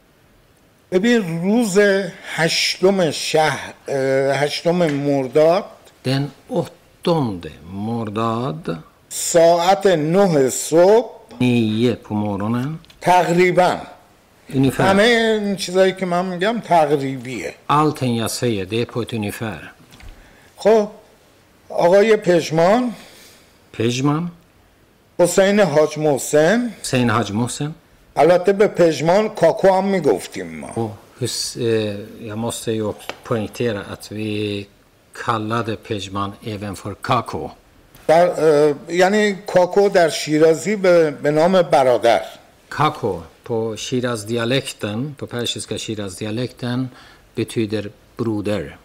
ببین روز هشتم شهر هشتم مرداد Den åttonde mordad, ساعت نه صبح nio på morgonen, تقریبا ungefär. همه این چیزایی که من میگم تقریبیه. Allting jag säger, det är på ett ungefär. خب آقای پژمان، Pejman, حسین حاج محسن، Hussein Haji Mohsen. البته به پژمان کاکو هم میگفتیم ما. Och hus, eh, jag måste ju också poängtera att vi kallade Pejman även för Kako. در اه، یعنی کاکو در شیرازی به, به نام برادر. Kako på Shiraz-dialekten, på persiska Shiraz-dialekten betyder broder.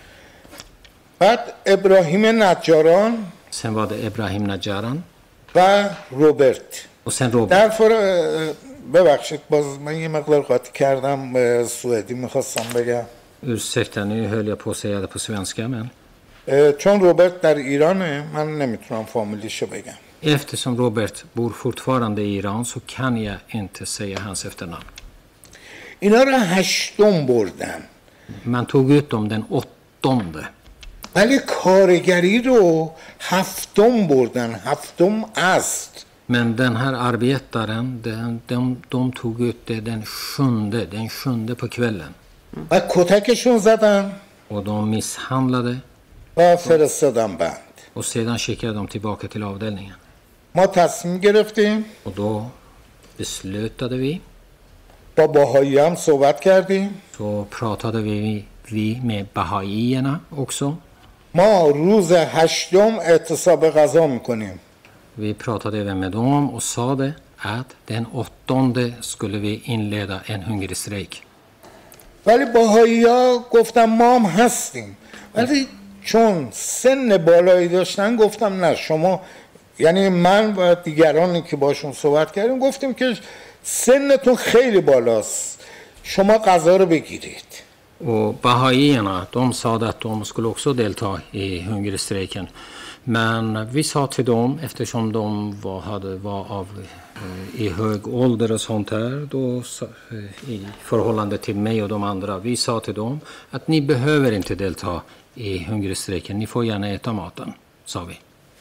بعد ابراهیم نجاران Sen var det Ebrahim Najaran و روبرت. och sen Robert. در فر... ببخشید باز من یه مقدار قاطی کردم، اه، سوئدی میخواستم بگم. Ursäkta, nu höll jag på att säga det på svenska, men اه، چون روبرت در ایرانه من نمیتونم فامیلیشو بگم. eftersom Robert bor fortfarande i Iran så kan jag inte säga hans efternamn. اینا رو هشتم بردن. Man tog ut dem den åttonde. ولی کارگری رو هفتم بردن. هفتم است. Men den här arbetaren, den, de, de tog ut det den sjunde, den sjunde på kvällen. و کتکشون زدن Och de misshandlade و فرستادن بند. och sedan skickade de tillbaka till avdelningen. ما تصمیم گرفتیم Och då beslutade vi, با باهایی هم صحبت کردیم. så pratade vi, vi med bahaierna också. ما روز هشتم اعتصاب غذا میکنیم. Vi pratade även med dem och sa det att den åttonde skulle vi inleda en hungerstrejk. ولی باهایی ها گفتم ما هم هستیم، ولی چون سن بالایی داشتن گفتم نه شما، یعنی من و دیگرانی که باشون صحبت کردیم گفتیم که سنتون خیلی بالاست شما غذا رو بگیرید. Och bahaierna, de sa att de skulle också delta i hungerstrejken. Men vi sa till dem, eftersom de var, hade, var av, i hög ålder och sånt här, då, i förhållande till mig och de andra, vi sa till dem att ni behöver inte delta i hungerstrejken, ni får gärna äta maten, sa vi.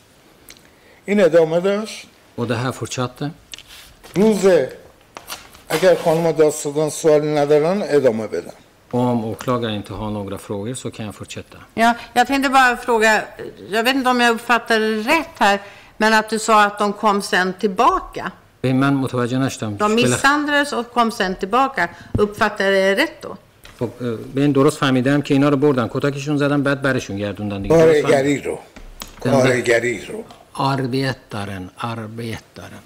این ادامه داشت. Och det här fortsatte. روزه اگر خانم دادستان سوالی ندارن ادامه بدم. Om åklagaren inte har några frågor så kan jag fortsätta. Ja, jag tänkte bara fråga, jag vet inte om jag uppfattade rätt här, men att du sa att de kom sen tillbaka. من متوجه نشدم. De misshandlades och kom sen tillbaka. Uppfattade jag rätt då? خب به این درست فهمیدم که اینا رو بردن کتکشون زدن بعد برشون گردوندن دیگه. کارگری رو کارگری رو arbetaren arbetaren.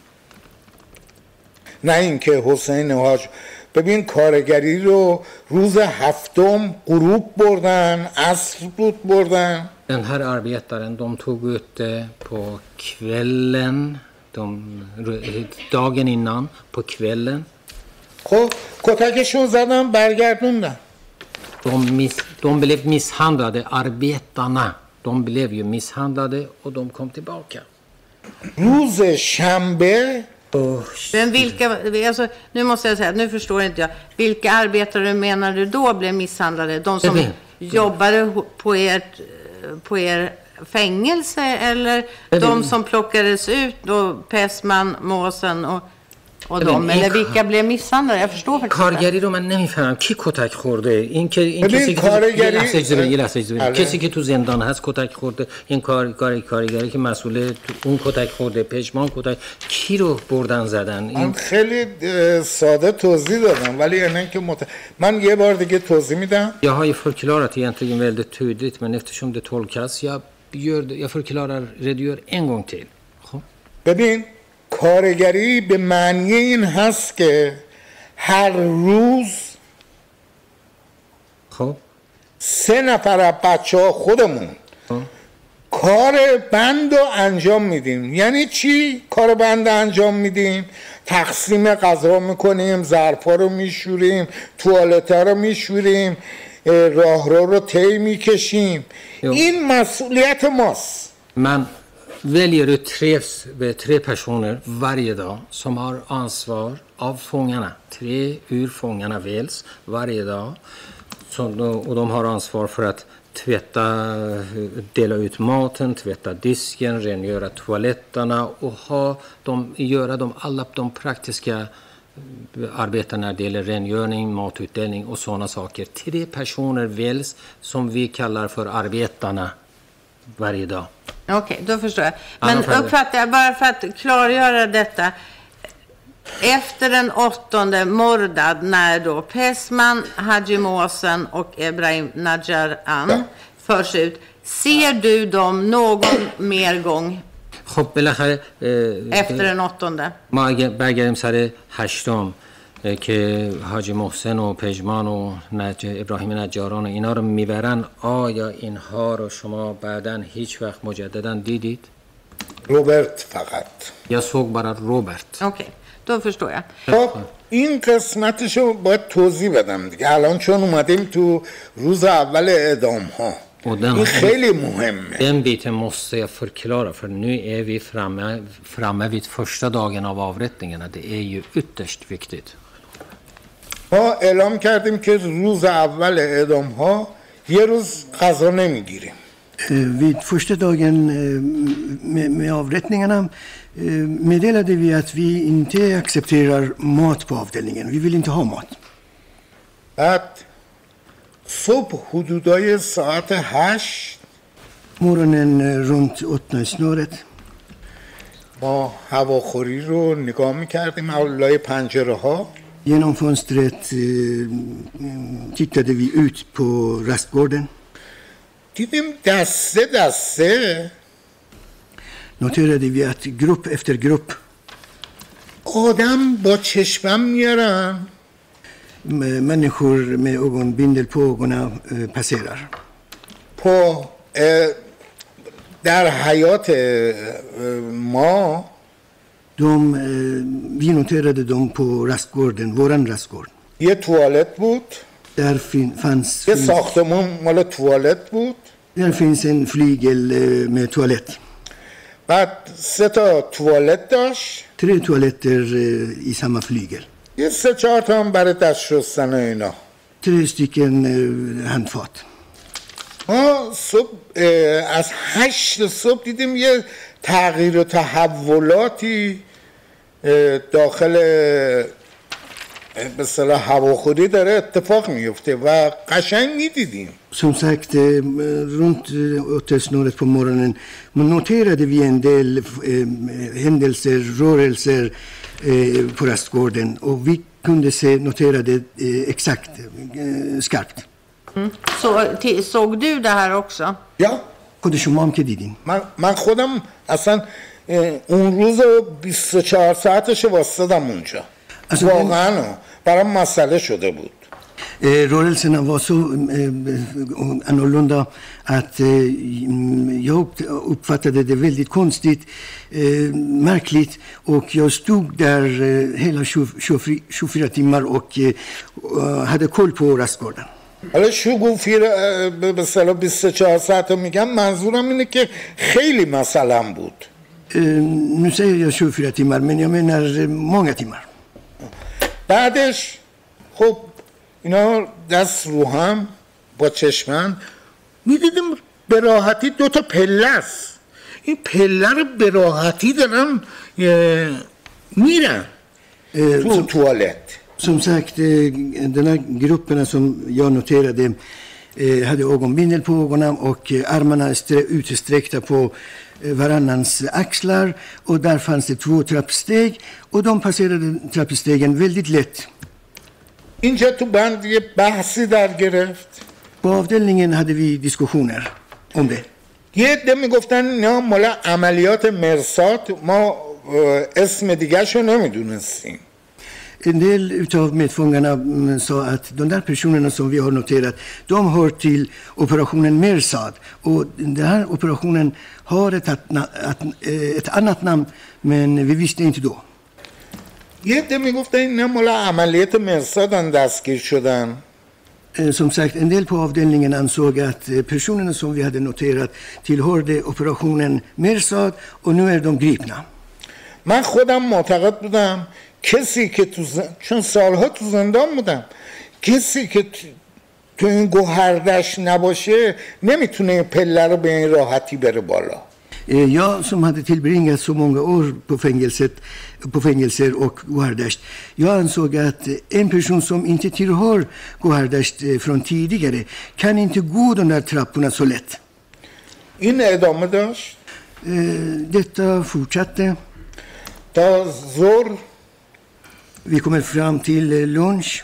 نه اینکه حسین حاج ببین کارگری رو روز هفتم غروب بردن عصر بود بردن. Den här arbetaren de tog ut det på kvällen de, dagen innan på kvällen. خب کتکشون زدن برگردوندن. De, miss, de blev misshandlade, arbetarna. De blev ju misshandlade och de kom tillbaka. روز شنبه Men vilka, alltså, nu måste jag säga, nu förstår inte jag. Vilka arbetare menar du då blev misshandlade? De som Bebin. jobbade på ert, på er fängelse eller Bebin. de som plockades ut då, Pessman, Måsen och, och Bebin, de? Eller vilka blev misshandlade? Jag förstår faktiskt inte. کارگری رو من نمیفهمم کی کتک خورده این که این ببین، کسی که کارگری- یه لحظه اجازه بده، یه لحظه اجازه بده. بله. کسی که تو زندان هست کتک خورده این کار کار کارگری که مسئول تو- اون کتک خورده پشمان کتک کی رو بردن زدن من این خیلی اه، ساده توضیح دادم ولی اینه که مت... من یه بار دیگه توضیح میدم. Jag har ju förklarat egentligen väldigt tydligt men eftersom det tolkas jag gör det, jag förklarar redogör en gång till. خب ببین کارگری به معنی این هست که هر روز خب سه نفر از بچه ها خودمون خب. کار بند رو انجام میدیم. یعنی چی کار بند انجام میدیم؟ تقسیم غذا میکنیم، ظرفا رو میشوریم، توالتا رو میشوریم، راهرو رو طی میکشیم. Jo. این مسئولیت ماست. Man väljer ut tre, tre personer varje dag som har ansvar av fångarna. Tre ur fångarna väljs varje dag. Så, och de har ansvar för att tvätta, dela ut maten, tvätta disken, rengöra toaletterna och ha de, göra de, alla de praktiska arbeten när det gäller rengöring, matutdelning och sådana saker. Tre personer väljs som vi kallar för arbetarna varje dag. Okej, då förstår jag. Ja, Men då får jag det. uppfattar jag, bara för att klargöra detta. Efter den åttonde Mordad, när då Pessman, Haji Måsen och Ebrahim Najaran förs ut, ser du dem någon mer gång خب بالاخره efter den åttonde? ما اگه برگردیم سر هشتم اه، که حاجی محسن و پژمان و نج... ابراهیم نجاران و اینا رو میبرن آیا اینها رو شما بعداً هیچ وقت مجددا دیدید؟ روبرت فقط. یا såg bara Robert. Okej, då förstår jag. خب این قسمتشو باید توضیح بدم دیگه الان چون اومدیم تو روز اول اعدام ها. Och den, این خیلی مهمه. den biten måste jag förklara för nu är vi framme, framme vid första dagen av avrättningarna. Det är ju ytterst viktigt. ما اعلام کردیم که روز اول اعدام ها یه روز غذا نمیگیریم. Vid första dagen med, med avrättningarna meddelade vi att vi inte accepterar mat på avdelningen. Vi vill inte ha mat. بعد صبح حدودای ساعت هشت Morgonen runt åtta snåret ما هواخوری رو نگاه میکردیم لای پنجره ها. genom fönstret eh, tittade vi ut på rastgården. دیدیم دسته دسته Noterade vi att grupp efter grupp آدم با چشمم میارن med människor med ögonbindel på ögonen eh, passerar. på اه، در حیات اه، ما De, eh, vi noterade dem på rastgården, våran rastgård. یه توالت بود. Där fin, fanns, یه finns, ساختمون مال توالت بود. där finns en flygel eh, med toalett. بعد سه تا توالت داشت. Tre toaletter eh, i samma flygel. یه سه چهار تا هم برای دست شستن و اینا. Tre stycken eh, handfat. ما صبح از هشت صبح دیدیم یه تغییر و تحولاتی داخل به اصطلاح هواخوری داره اتفاق میفته و قشنگ میدیدیم. Som sagt, eh, runt åttasnåret på morgonen man noterade vi en del eh, händelser, rörelser eh, på rastgården och vi kunde se, notera det eh, exakt, eh, skarpt. Mm. Så, t- såg du det här också? Ja. خود شما هم که دیدین. من, من خودم اصلا اون روز بیست و چهار ساعتش واسدم اونجا. واقعا برام مسئله شده بود. Eh, rörelserna var så eh, annorlunda att eh, jag uppfattade det väldigt konstigt, eh, märkligt och jag stod där eh, hela tjugofyra timmar och eh, hade koll på rastgården. حالا شگوفی به اصطلاح بیست و چهار ساعت میگم منظورم اینه که خیلی مثلا بود. Eh, nu säger jag tjugofyra timmar men jag menar eh, många timmar. بعدش خب اینا دست رو هم با چشمن میدیدیم به راحتی دو تا پله است. این پله رو به راحتی دارن میرن تو توالت. Som sagt, den här grupperna som jag noterade hade ögonbindel på ögonen och armarna utsträckta på varannans axlar och där fanns det två trappsteg och de passerade trappstegen väldigt lätt. اینجا تو بند یه بحثی در گرفت. På avdelningen hade vi diskussioner om det. یه عده میگفتن نه مال عملیات مرصاد ما اسم دیگه شو نمیدونستیم. En del utav medfångarna sa att de där personerna som vi har noterat, de hör till operationen Mersad. Och den här operationen har ett, ett annat namn, men vi visste inte då. یه عده میگفتن اینا مال عملیات مرصادن دستگیر شدن. Som sagt, en del på avdelningen ansåg att personerna som vi hade noterat tillhörde operationen Mersad och nu är de gripna. من خودم معتقد بودم کسی که تو زن... چون سالها تو زندان بودم کسی که تو این گوهردش نباشه نمیتونه پله رو به این راحتی بره بالا. Jag som hade tillbringat så många år på fängelset, på fängelser och Gohardasht, jag ansåg att en person som inte tillhör Gohardasht från tidigare kan inte gå de där trapporna så lätt. این ادامه داشت. Detta fortsatte. تا ظهر Vi kommer fram till lunch.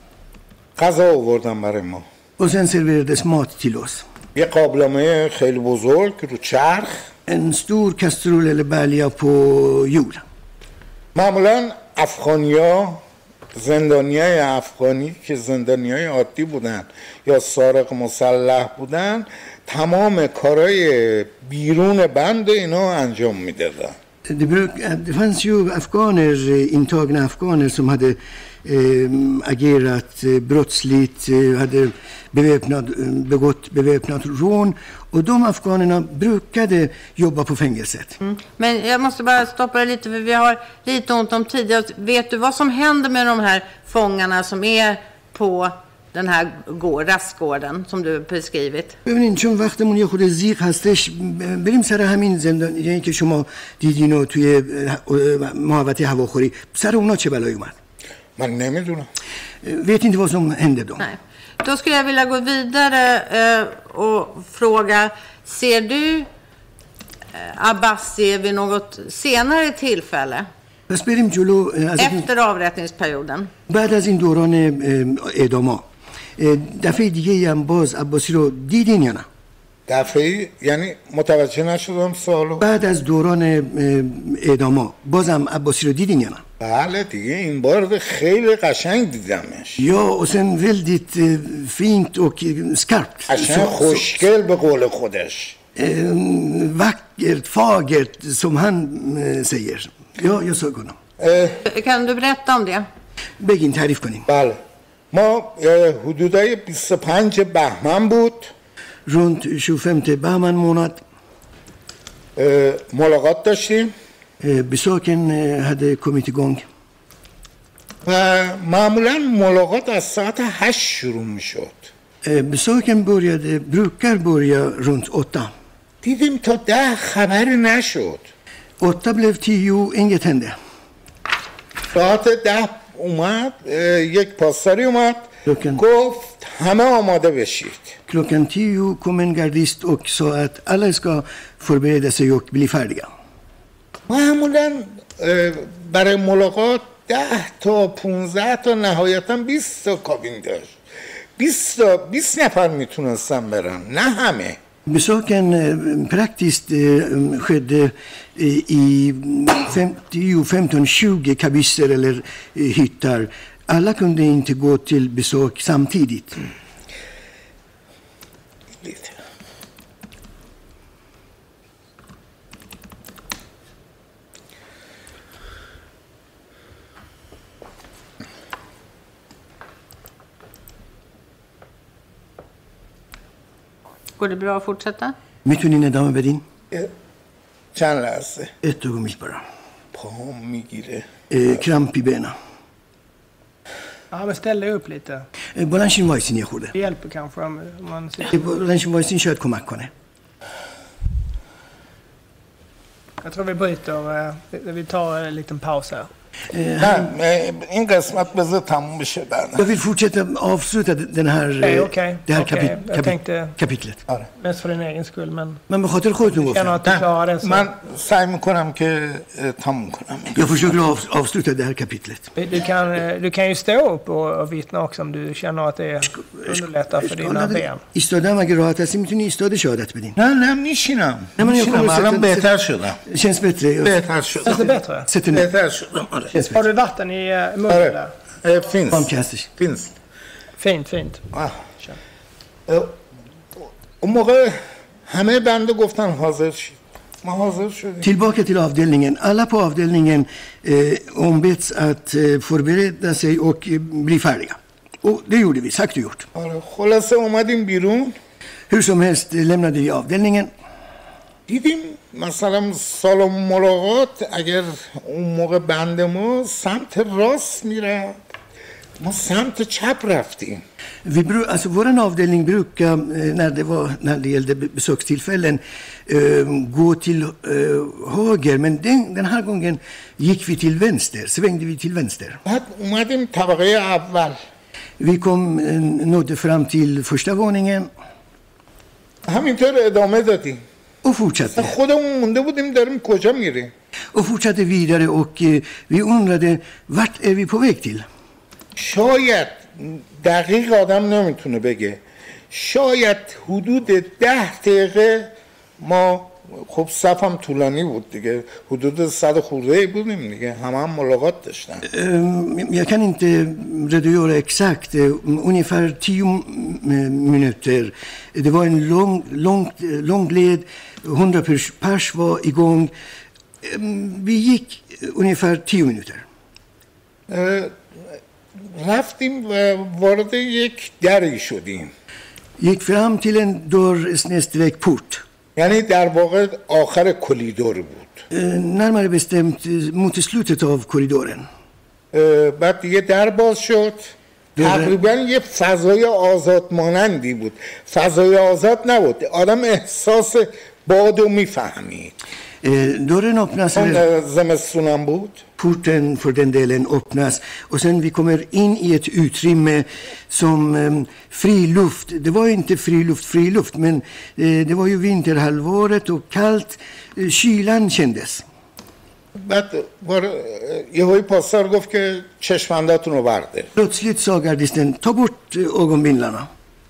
غذا آوردن برای ما. Och sen serverades mat till oss. یه قابلمه خیلی بزرگ رو چرخ. En stor kastrull eller balja på hjul. معمولا افغانیا زندانیای افغانی که زندانیای عادی بودن یا سارق مسلح بودن تمام کارهای بیرون بند اینا انجام میدادن. Det, bruk, det fanns ju afghaner, intagna afghaner som hade eh, agerat eh, brottsligt, eh, hade beväpnad, begått beväpnat rån och de afghanerna brukade jobba på fängelset. Mm. Men jag måste bara stoppa det lite för vi har lite ont om tid. Vet du vad som händer med de här fångarna som är på den här rastgården som du beskrivit? ببینید چون وقتمون یه خود زیغ هستش بریم سر همین زندانی که شما دیدین و توی محوطه هواخوری سر اونا چه بلایی اومد؟ من نمیدونم. vet inte vad som hände då. Nej. Då skulle jag vilja gå vidare eh, och fråga, ser du eh, Abbasi vid något senare tillfälle? پس بریم جلو. Efter avrättningsperioden. بعد از این دوران اعداما دفعه دیگه هم باز عباسی رو دیدین یا نه؟ دفعه یعنی متوجه نشدم سوالو. بعد از دوران اعداما بازم عباسی رو دیدین یا نه؟ بله دیگه این بار خیلی قشنگ دیدمش. یا och sen väldigt fint och skarpt. قشنگ خوشگل به قول خودش. Vackert, fagert som han säger. Ja, jag såg honom. اه، Kan du berätta om det? بگین تعریف کنیم. بله ما اه، حدودای بیست و پنج بهمن بود Runt tjugofemte بهمن månad اه، ملاقات داشتیم eh, besöken eh, hade kommit igång. و معمولا ملاقات از ساعت هشت شروع می شد. Eh, besöken började, brukar börja runt åtta. دیدیم تا ده خبری نشد. Åtta blev tio, inget hände. ساعت ده اومد اه، یک پاسداری اومد Klockan, گفت همه آماده بشید. klockan tio kom en gardist och sa att alla ska förbereda sig och bli färdiga. معمولا اه، برای ملاقات ده تا پونزده تا نهایتا بیست تا کابین داشت. بیست تا بیست نفر میتونستن برن نه همه. Besöken eh, praktiskt eh, skedde eh, i femtio, femton, tjugo kabisser eller eh, hyttar. Alla kunde inte gå till besök samtidigt. lite. Går det bra att fortsätta? میتونین ادامه بدین؟ اه، چند لحظه Ett ögonblick bara. پاهم میگیره. Eh, kramp i benen. Ja, men ställ dig upp lite. Eh, بلنشین وایسین یه خورده. Det hjälper kanske om om man sitter. Eh, بلنشین وایسین شاید کمک کنه. Jag tror vi bryter. eh, Vi vi tar en liten paus här. نه اه، این قسمت بذار تموم بشه بعد. Jag vill fortsätta avsluta den här, Okej, eh, okej. det här Okej, kapi- jag kapi- tänkte- kapitlet. Mest för din egen skull, men Men به خاطر خودتون känner گفتم. att du klarar det så. من سعی میکنم که اه، تموم کنم. Jag försöker av, avsluta det här kapitlet. Du kan, eh, du kan ju stå upp och, och vittna också om du känner att det underlättar för dina ben. ایستادم اگه راحت هستی میتونی ایستاده شهادت بدین. نه نه میشینم. نه، من میشینم یه الان خورده بهتر شدم. Känns bättre. بهتر Känns det شدم. bättre? Sätt dig ner. بهتر شدم. آره. Känns Har bättre. du vatten i eh, munnen آره. där? اه، فینس. Varmt هستش. فینس. Fint, fint. آه. اه، اون موقع همه بنده گفتن حاضر شید. ما حاضر شدیم. Tillbaka till avdelningen. Alla på avdelningen eh, ombeds att eh, förbereda sig och eh, bli färdiga. Och det gjorde vi, sagt och gjort. آره. خلاصه اومدیم بیرون Hur som helst eh, lämnade vi avdelningen. دیدیم مثلا سالن ملاقات اگر اون موقع بند ما سمت راست میره ما سمت چپ رفتیم. Vi, bru- alltså, vår avdelning brukar, eh, när det, var, när det gällde be- besökstillfällen, eh, gå till eh, höger. Men den, den här gången gick vi till vänster, svängde vi till vänster. بعد اومدیم طبقه اول. Vi kom, eh, nådde fram till första våningen همینطور ادامه دادیم. och fortsatte. خودمون مونده بودیم داریم کجا میریم. Och fortsatte vidare och eh, vi undrade, vart är vi på väg till? شاید دقیق آدم نمیتونه بگه شاید حدود ده دقیقه ما خب صفم طولانی بود دیگه حدود صد خورده بودیم دیگه همه هم ملاقات داشتن. Eh, Jag kan inte redogöra exakt, eh, ungefär tio m- minuter. Det var en lång, lång, lång led, hundra pers, pers var igång. Eh, Vi gick ungefär tio minuter. اه، رفتیم و وارد یک دری شدیم. Gick fram till en dörr snedstreck port. یعنی در واقع آخر کلیدور بود. Eh, Närmare bestämt eh, mot slutet av korridoren. اه، بعد دیگه در باز شد. تقریبا یه فضای آزاد مانندی بود. فضای آزاد نبود. آدم احساس بادو میفهمید. Eh, Dörren öppnas, eller اون زمستونم بود. porten för den delen öppnas. Och sen vi kommer in i ett utrymme som eh, fri luft. Det var inte fri luft, fri luft, men eh, det var ju vinterhalvåret och kallt. Eh, kylan kändes. بعد وار... یهوی پاسدار گفت که چشمنداتون رو برده. Plötsligt sa gardisten, ta bort eh, ögonbindlarna.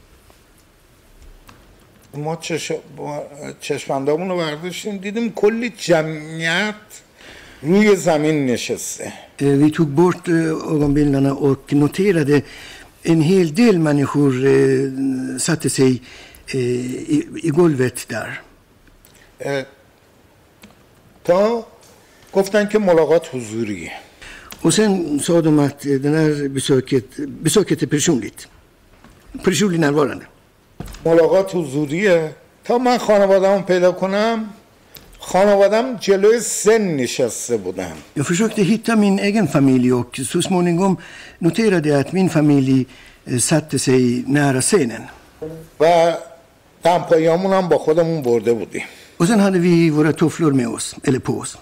ما چش... ما چشمندامون رو برداشتیم دیدیم کلی جمعیت روی زمین نشسته. Eh, Vi tog bort eh, ögonbindlarna och noterade en hel del människor eh, satte sig eh, i, i golvet där. اه، تا گفتن که ملاقات حضوریه. Och sen sa de att den här besöket, besöket är personligt. Personligt närvarande. ملاقات حضوریه. تا من خانواده‌ام پیدا کنم خانواده‌ام جلوی سن نشسته بودن. Jag försökte hitta min egen familj och så småningom noterade jag att min familj satte sig nära scenen. و دمپاییامون هم با خودمون برده بودیم. Och sen hade vi våra tofflor med oss, eller på oss.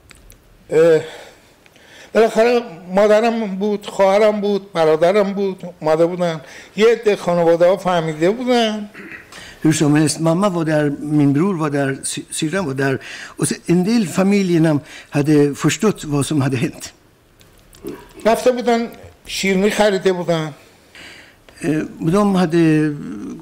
بالاخره مادرم بود، خواهرم بود، برادرم بود، اومده بودن. یه عده خانواده ها فهمیده بودن. Hur som helst, mamma var där, min bror var där, syrran var där. Och en del familjerna hade förstått vad som hade hänt. رفته بودن شیرینی خریده بودن. De hade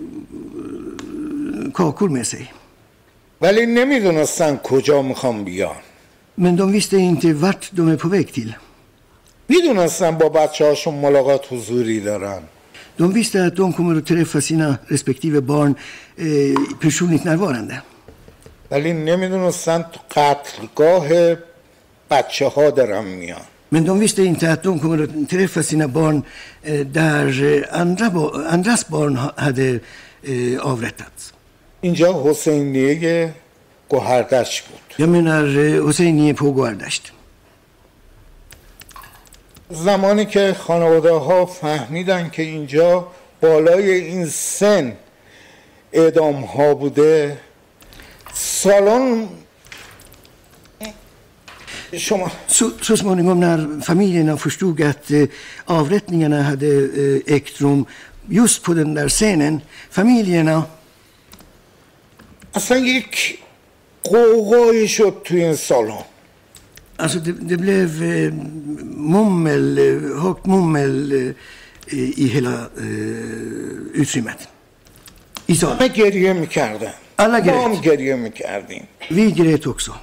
kakor med sig. ولی نمیدونستن کجا میخوام بیان. Men de visste inte vart de är på väg till. میدونستن با بچه هاشون ملاقات حضوری دارن. De visste att de kommer att träffa sina respektive barn eh, personligt närvarande. ولی نمیدونستن تو قتلگاه بچه ها دارن میان. Men de visste inte att de kommer att träffa sina barn eh, där andra, andras barn hade eh, avrättats. اینجا حسینیه گوهردشت بود. Jag menar Hosseiniye på Gohardasht. زمانی که خانواده ها فهمیدن که اینجا بالای این سن اعدام ها بوده سالن شما Så, så småningom när familjerna förstod att eh, avrättningarna hade eh, ägt rum just på den där scenen, familjerna اصلا یک قوقایی شد توی این سالن. Alltså det, det blev eh, mummel, eh, högt mummel eh, i hela eh, utrymmet. I salen. همه گریه میکردن. Alla ما هم grät. گریه میکردیم. Vi grät också.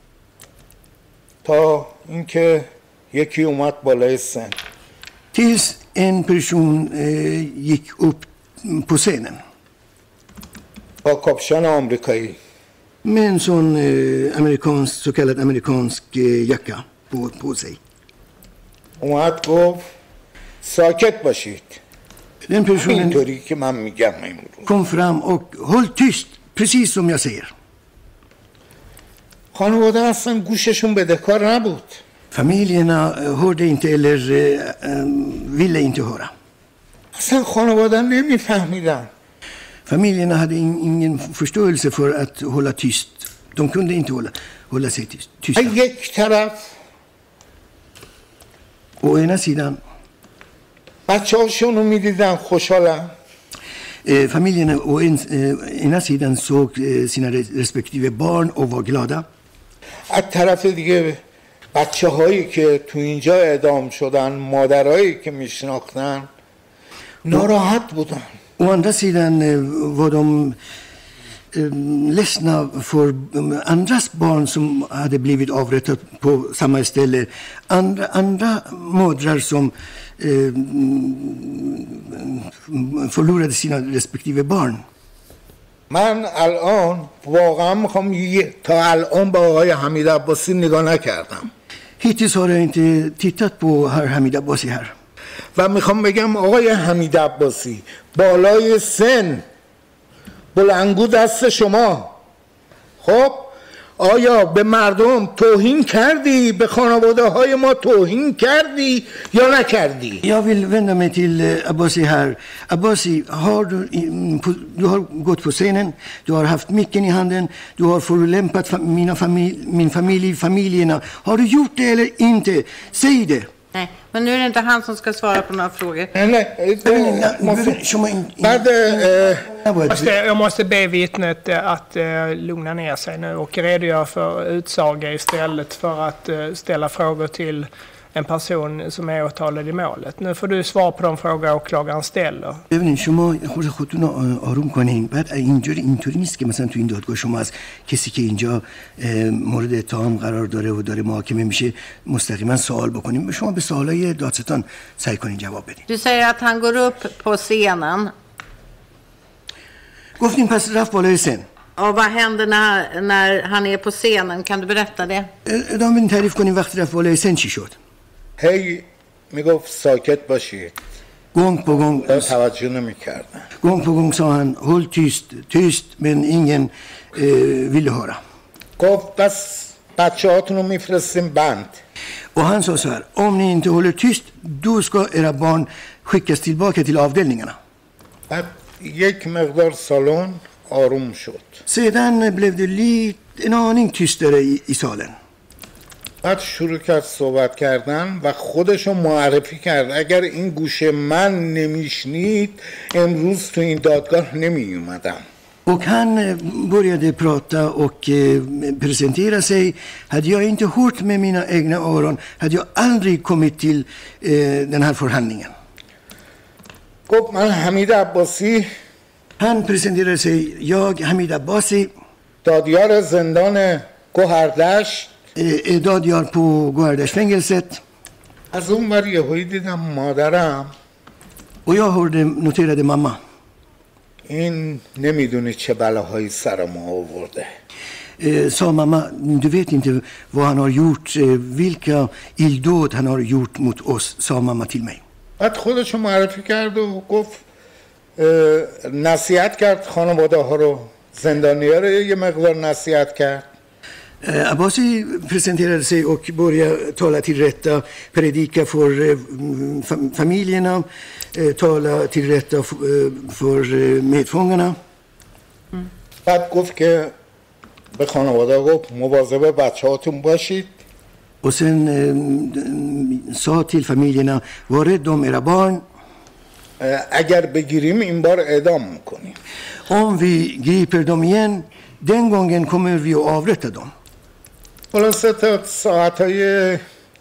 تا اینکه یکی اومد بالای سن. Tills en person eh, gick upp på scenen. با کاپشن آمریکایی. Med en sån eh, amerikansk, så kallad amerikansk eh, jacka på, på sig. اومد گفت ساکت باشید. Den personen اینطوری که من میگم امروز. kom fram och håll tyst, precis som jag säger. خانواده اصلا گوششون بدهکار نبود. Familjerna eh, hörde inte eller eh, eh, ville inte höra. اصلا خانواده نمیفهمیدن. Familjerna hade in, ingen förståelse för att hålla tyst. De kunde inte hålla, hålla sig tyst, tysta. یک طرف Å ena sidan, بچه هاشون رو میدیدن خوشحالن. eh, familjerna å en, eh, ena sidan såg eh, sina respektive barn och var glada. از طرف دیگه بچه هایی که تو اینجا اعدام شدن مادرهایی که میشناختن ناراحت بودن. Å andra sidan eh, var de eh, ledsna för eh, andras barn som hade blivit avrättat på samma ställe. Andra, andra mödrar som eh, förlorade sina respektive barn. من الان واقعا میخوام یه- تا الان با آقای حمید عباسی نگاه نکردم Hittills har jag inte tittat på herr Hamid Abbasi här. و میخوام بگم آقای حمید عباسی بالای سن بلندگو دست شما خب آیا به مردم توهین کردی به خانواده های ما توهین کردی یا نکردی؟ Jag vill vända mig till eh, Abbasi här. Abbasi, har du, i- på, du har gått på scenen, du har haft micken i handen, du har förolämpat fa- mina familj, min familj, familjerna. Har du gjort det eller inte? Säg det. Nej, men nu är det inte han som ska svara på några frågor. نه نه نه، måste- شما این- این- بعد اه، نباید- Måste, jag måste be vittnet eh, att eh, lugna ner sig nu och redogöra för utsaga istället för att eh, ställa frågor till en person som är åtalad i målet. Nu får du svar på de frågor åklagaren ställer. ببینید شما خود خودتون رو آروم کنین. بعد اینجوری اینطوری نیست که مثلا تو این دادگاه شما از کسی که اینجا اه، مورد اتهام قرار داره و داره محاکمه میشه مستقیما سوال بکنیم. شما به سوالای دادستان سعی کنین جواب بدین. Du säger att han går upp på scenen. گفتیم پس رفت بالای سن. Och vad händer när, när han är på scenen? Kan du berätta det? ادامه بدین تعریف کنیم وقتی رفت بالای سن چی شد. هی میگفت ساکت باشید. Gång på gång, توجه نمی‌کردن. gång på gång sa han håll tyst, tyst, men ingen eh, ville höra. گفت بس بچه‌هاتون رو میفرستیم بند. Och han sa så här, om ni inte håller tyst, då ska era barn skickas tillbaka till avdelningarna. بعد یک مقدار سالن آروم شد. Sedan blev det lite, en aning tystare i, i salen. بعد شروع کرد صحبت کردن و خودشو معرفی کرد. اگر این گوشه من نمیشنید امروز تو این دادگاه نمی اومدم. Och han började prata och eh, presentera sig. Hade jag inte hört med mina egna öron hade jag aldrig kommit till eh, den här förhandlingen. گفت من حمید عباسی. Han presenterade sig, jag Hamid Abbasi. دادیار زندان گوهردشت. Eh, دادیار på Gohardashfängelset. از اون ور یهویی دیدم مادرم. Och jag hörde, noterade mamma. این نمیدونی چه بلاهایی سر ما آورده. Eh, sa mamma, du vet inte vad han har gjort, eh, vilka illdåd han har gjort mot oss, sa mamma till mig. بعد خودشو معرفی کرد و گفت نصیحت کرد خانواده ها رو، زندانی‌ها رو یه مقدار نصیحت کرد. Eh, Abbasi presenterade sig och började tala till rätta, predika för eh, fam- familjerna, eh, tala till rätta f- eh, för eh, medfångarna. Mm. بعد گفت که به خانواده گفت مواظب بچه‌هاتون باشید. Och sen eh, sa till familjerna, var rädd om era barn. اگر بگیریم این بار اعدام میکنیم. Om vi griper dem igen, den gången kommer vi att avrätta dem. خلاصه تا ساعتهای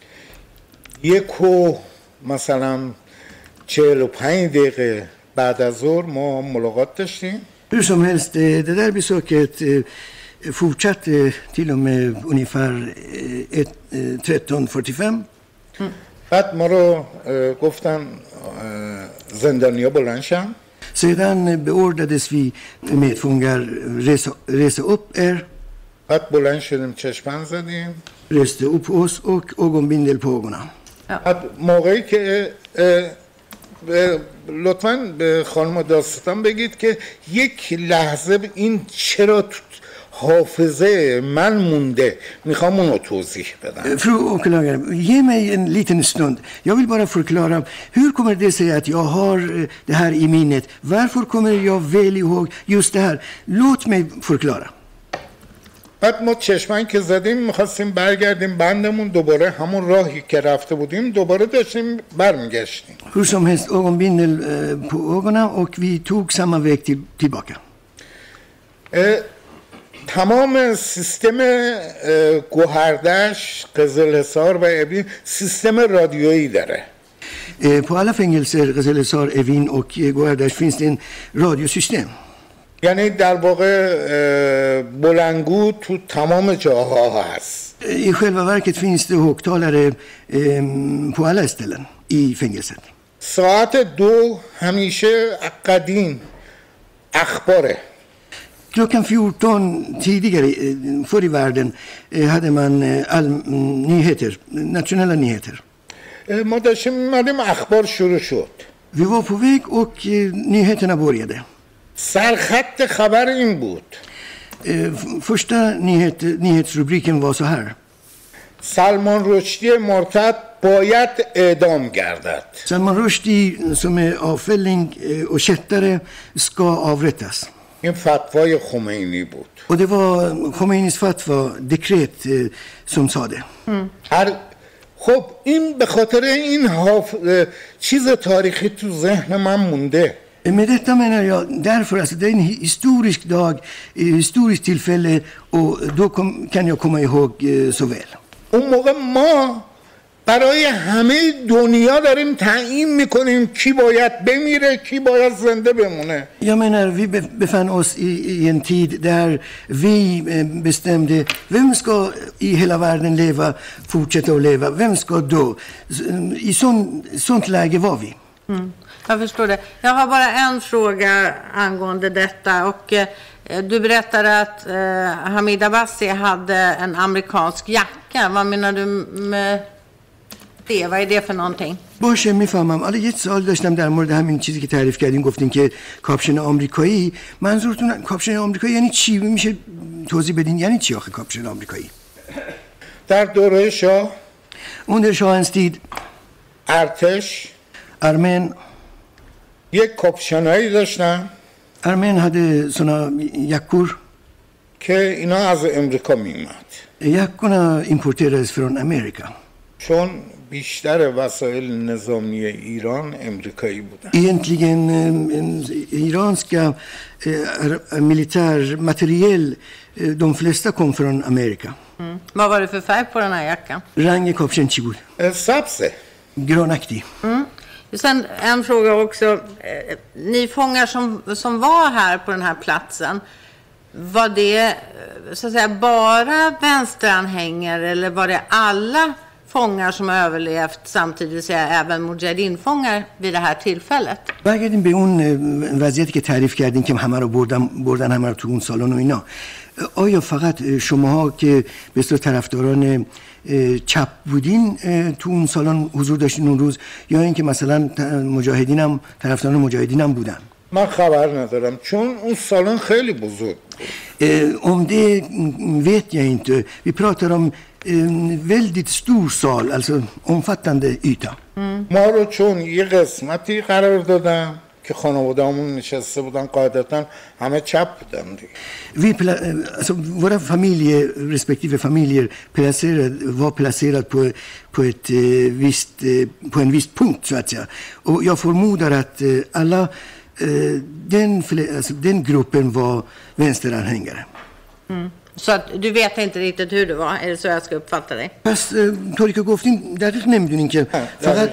یک و مثلا چهل و پنج دقیقه بعد از ظهر ما ملاقات داشتیم. Hur som helst, eh, det där besöket eh, fortsatte till och med ungefär eh, ett, eh, tretton fyrtiofem. بعد ما رو اه، گفتن اه، زندانیا بلند شن. Sedan beordrades vi medfångar resa, resa upp er, بعد بلند شدیم چشمند زدیم. reste upp oss och ögonbindel på ögonen. بعد موقعی که اه، اه، لطفاً به خانم داستان بگید که یک لحظه این چرا تو حافظه من مونده، میخوام اونو توضیح بدم. Fru åklagare, ge mig en liten stund. Jag vill bara förklara, hur kommer det sig att jag har eh, det här i minnet? Varför kommer jag väl ihåg just det här? Låt mig förklara. بعد ما چشمن که زدیم میخواستیم برگردیم بندمون، دوباره همون راهی که رفته بودیم دوباره داشتیم برمیگشتیم. Hur som helst, ögonbindel eh, på ögonen och vi tog samma väg till, tillbaka. اه، تمام سیستم اه، گوهردش، قزلحصار و ابین سیستم رادیویی داره. Eh, på alla fängelser, Qazalesar, Evin och eh, Gohardash finns det en radiosystem. یعنی در واقع اه، بلندگو تو تمام جاها هست. Eh, I själva verket finns det högtalare eh, på alla ställen i fängelset. ساعت دو همیشه قدیم اخباره. Klockan fjorton tidigare, eh, förr i världen, eh, hade man eh, all, mm, nyheter, nationella nyheter. اه، ما داشتیم میمدیم اخبار شروع شد. Vi var på väg och eh, nyheterna började. سرخط خبر این بود: Eh, f- första nyhet, nyhetsrubriken var så här. سلمان رشدی مرتد باید اعدام گردد. Salman Rushdie som är avfälling eh, och kättare ska avrättas. این فتوای خمینی بود. Och det var Khomeinis fatwa, dekret, eh, som sa det. هر خب این به خاطر این حاف... اه، چیز تاریخی تو ذهن من مونده. Med detta menar jag därför att det är en historisk dag, ett historiskt tillfälle och då kom, kan jag komma ihåg eh, så väl. اون موقع ما برای همه دنیا داریم تعیین میکنیم کی باید بمیره کی باید زنده بمونه. Jag menar, vi be- befann oss i, i en tid där vi eh, bestämde vem ska i hela världen leva, fortsätta att leva, vem ska dö. S- I sån, sånt läge var vi. Mm. Jag förstår det. Jag har bara en fråga angående detta. Och, eh, du berättade att eh, Hamid Abbasi hade en amerikansk jacka. Vad menar du med det? Vad är det för någonting? باشه میفهمم. حالا یه سوال داشتم در مورد همین چیزی که تعریف کردین، گفتین که کاپشن آمریکایی. منظورتون کاپشن آمریکایی یعنی چی؟ میشه توضیح بدین یعنی چی آخه کاپشن آمریکایی؟ در دوره شاه Under shahens tid ارتش armén یک کاپشنایی داشتن armén hade såna jackor. که اینا از امریکا میومد. Jackorna importerades från Amerika. چون بیشتر وسایل نظامی ایران امریکایی بودن. Egentligen eh, iranska eh, militärmateriel, eh, de flesta kom från Amerika. Mm. Vad var det för färg på den här jackan? Rang kapshen chi bud? سبزه. Grönaktig. Mm. Sen en fråga också. Eh, ni fångar som, som var här på den här platsen, var det så att säga bara vänsteranhängare eller var det alla fångar som har överlevt samtidigt, så även mujahedin-fångar vid det här tillfället? برگردیم به اون وضعیتی که تعریف کردین که همه رو بردن بردن همه رو تو اون سالن و اینا. آیا فقط شماها که به اصطلاح طرفداران چپ بودین تو اون سالن حضور داشتین اون روز، یا اینکه مثلا مجاهدین هم طرفداران مجاهدین هم بودن؟ من خبر ندارم چون اون سالن خیلی بزرگ بود. Om det vet jag inte. Vi pratar om en väldigt stor sal, alltså omfattande yta. ما رو چون یه قسمتی قرار دادن که خانواده‌مون نشسته بودن، قاعدتاً همه چپ بودن دیگه. Vi, alltså, våra familjer, respektive familjer placerade, var placerade på, på, ett, visst, på en viss punkt så att säga. Och jag förmodar att alla den, alltså, den gruppen var vänsteranhängare. Mm. Så att du vet inte riktigt hur det var, är det så jag ska uppfatta dig? پس طوری که گفتین دقیق نمیدونین که فقط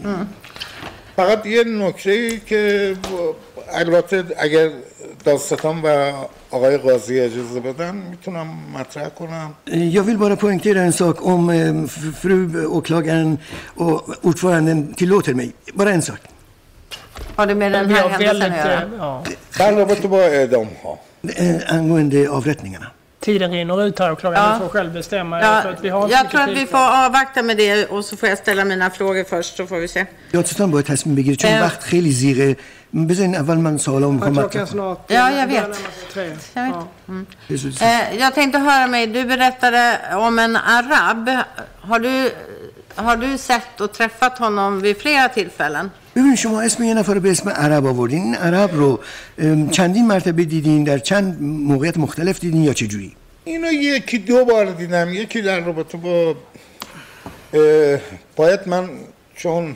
فقط یه نکته که البته اگر داستان و آقای قاضی اجازه بدن میتونم مطرح کنم. Jag vill bara poängtera en sak om fru åklagaren och ordföranden tillåter mig. Bara en sak. Har det med den här händelsen att göra? در رابطه با اعدام ها. Angående avrättningarna. Tiden rinner ut här och klockan Ja. får själv bestämma. Ja, för att vi har jag tror att vi får avvakta med det och så får jag ställa mina frågor först så får vi se. یادتون باید تصمیم بگیرید چون وقت خیلی زیغه. بذارین اول من سوالامو میخوام مطرح کنم. Ja, jag vet. Jag vet. Mm. Eh, jag tänkte höra mig, du berättade om en arab. Har du, har du sett och träffat honom vid flera tillfällen? ببین شما اسم یه نفر به اسم عرب آوردین. این عرب رو چندین مرتبه دیدین، در چند موقعیت مختلف دیدین یا چه جوری؟ اینو یکی دو بار دیدم. یکی در رابطه با باید من چون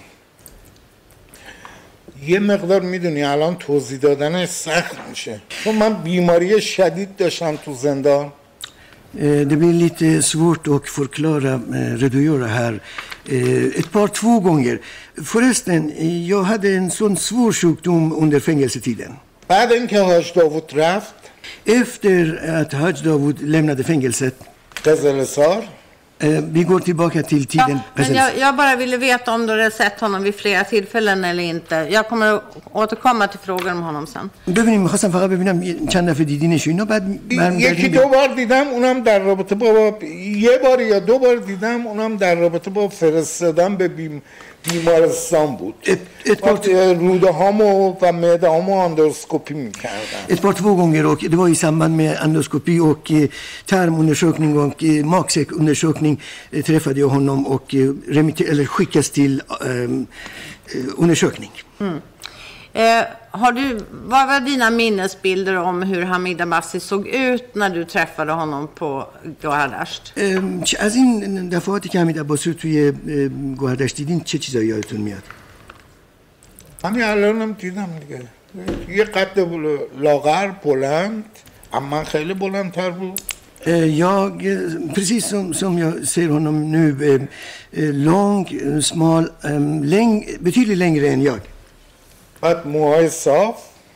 یه مقدار میدونی الان توضیح دادنش سخت میشه چون من بیماری شدید داشتم تو زندان. Det blir lite svårt att förklara, redogöra här. Ett par, två gånger. Förresten, jag hade en sån svår sjukdom under fängelsetiden. بعد اینکه حاج داوود رفت Efter att Haj Davud lämnade fängelset. قزلسار. Vi går tillbaka till tiden. Ja, men jag, jag bara ville veta om du hade sett honom vid flera tillfällen eller inte. Jag kommer att återkomma till frågor om honom sen. ببینیم می‌خواستم فقط ببینم چند دفعه دیدینش اینا بعد یکی دو بار دیدم اونم در رابطه با یه بار یا دو بار دیدم اونم در رابطه با فرستادن به بیم بیمارستان بود. وقتی روده هامو و معده هامو اندوسکوپی میکردن. Ett par två gånger och det var i samband med endoskopi och tarmundersökning och magsäckundersökning träffade jag honom och remitter, eller skickas till um, undersökning. Mm. Eh, har du, vad var dina minnesbilder om hur Hamid Abbasi såg ut när du träffade honom på Gohardasht? از این دفعاتی که حمید عباسی رو توی گوهردشت دیدین چه چیزایی یادتون میاد؟ همین الانم دیدم دیگه. یه قد لاغر بلند، اما خیلی بلندتر بود. Jag, precis som, som jag ser honom nu, lång, smal, läng, betydligt längre än jag. بعد موهای صاف.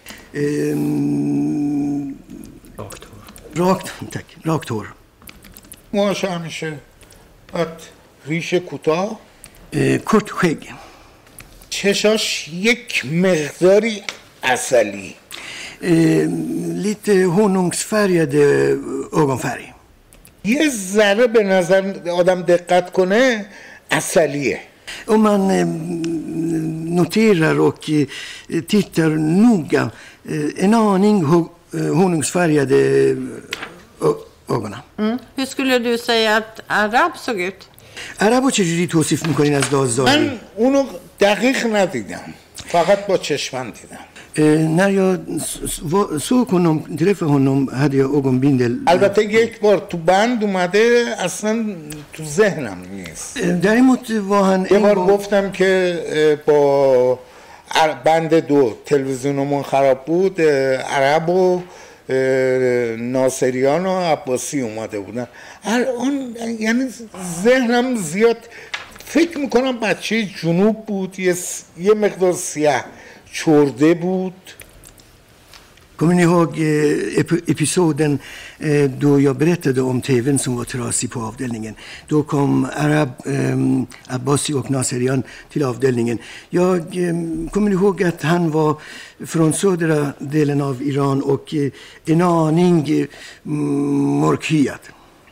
Rakt hår. Rakt, tack. Rakt hår. موهاش همیشه. بعد ریش کوتاه. Kort skägg. چشاش یک مقداری عسلی. eh, lite honungsfärgade ögonfärg. یه ذره به نظر آدم دقت کنه عسلیه. Om man eh, noterar och eh, tittar noga, eh, en aning ho- eh, honungsfärgade ö- ögonen. Mm. Hur skulle du säga att arab såg ut? عربو چجوری توصیف میکنین از لحاظ ظاهری؟ من اونو دقیق ندیدم، فقط با چشمم دیدم. Eh, när jag s- s- var- såg honom, träffade honom, hade jag ögonbindel. البته یک بار تو بند اومده اصلا تو ذهنم نیست. Eh, Däremot var han یه en بار gång, گفتم که اه، با ار- بند دو تلویزیونمون خراب بود، اه، عرب و اه، ناصریان و عباسی اومده بودن. الان یعنی ذهنم زیاد فکر میکنم بچه جنوب بود، یه, س- یه مقدار سیاه چرده بود. kommer ni ihåg eh, ep- episoden eh, då jag berättade om tvn som var trasig på avdelningen? Då kom Arab, eh, Abbasi och Naserian till avdelningen. Jag eh, kommer ihåg att han var från södra delen av Iran och eh, en aning eh, mörkhyad.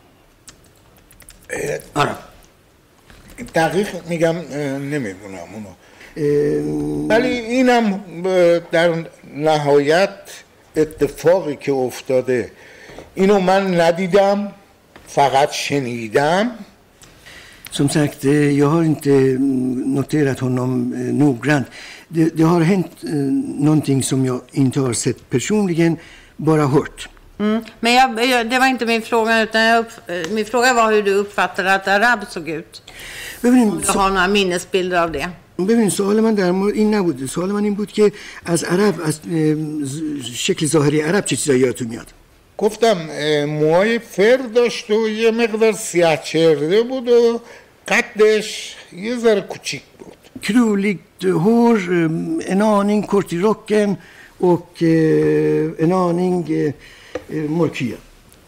Arab. دقیق میگم اه، نمیدونم اونو، Eh, ولی اینم اه، در نهایت اتفاقی که افتاده اینو من ندیدم، فقط شنیدم. Som sagt, eh, jag har inte mm, noterat honom eh, noggrant. Det, det har hänt eh, någonting som jag inte har sett personligen, bara hört. Mm. Men jag, jag, det var inte min fråga, utan jag upp, eh, min fråga var hur du uppfattade att arab såg ut. ببینیم Jag har några minnesbilder av det. ببینیم سوال من در مورد این نبود. سوال من این بود که از عرب، از اه، ز- شکل ظاهری عرب چه چیزایی یادتون میاد؟ گفتم اه، موهای فر داشت و یه مقدار سیاه چرده بود و قدش یه ذره کوچیک بود. Krulligt hår, eh, en aning kort i rocken och eh, en aning eh, eh, mörkhyad.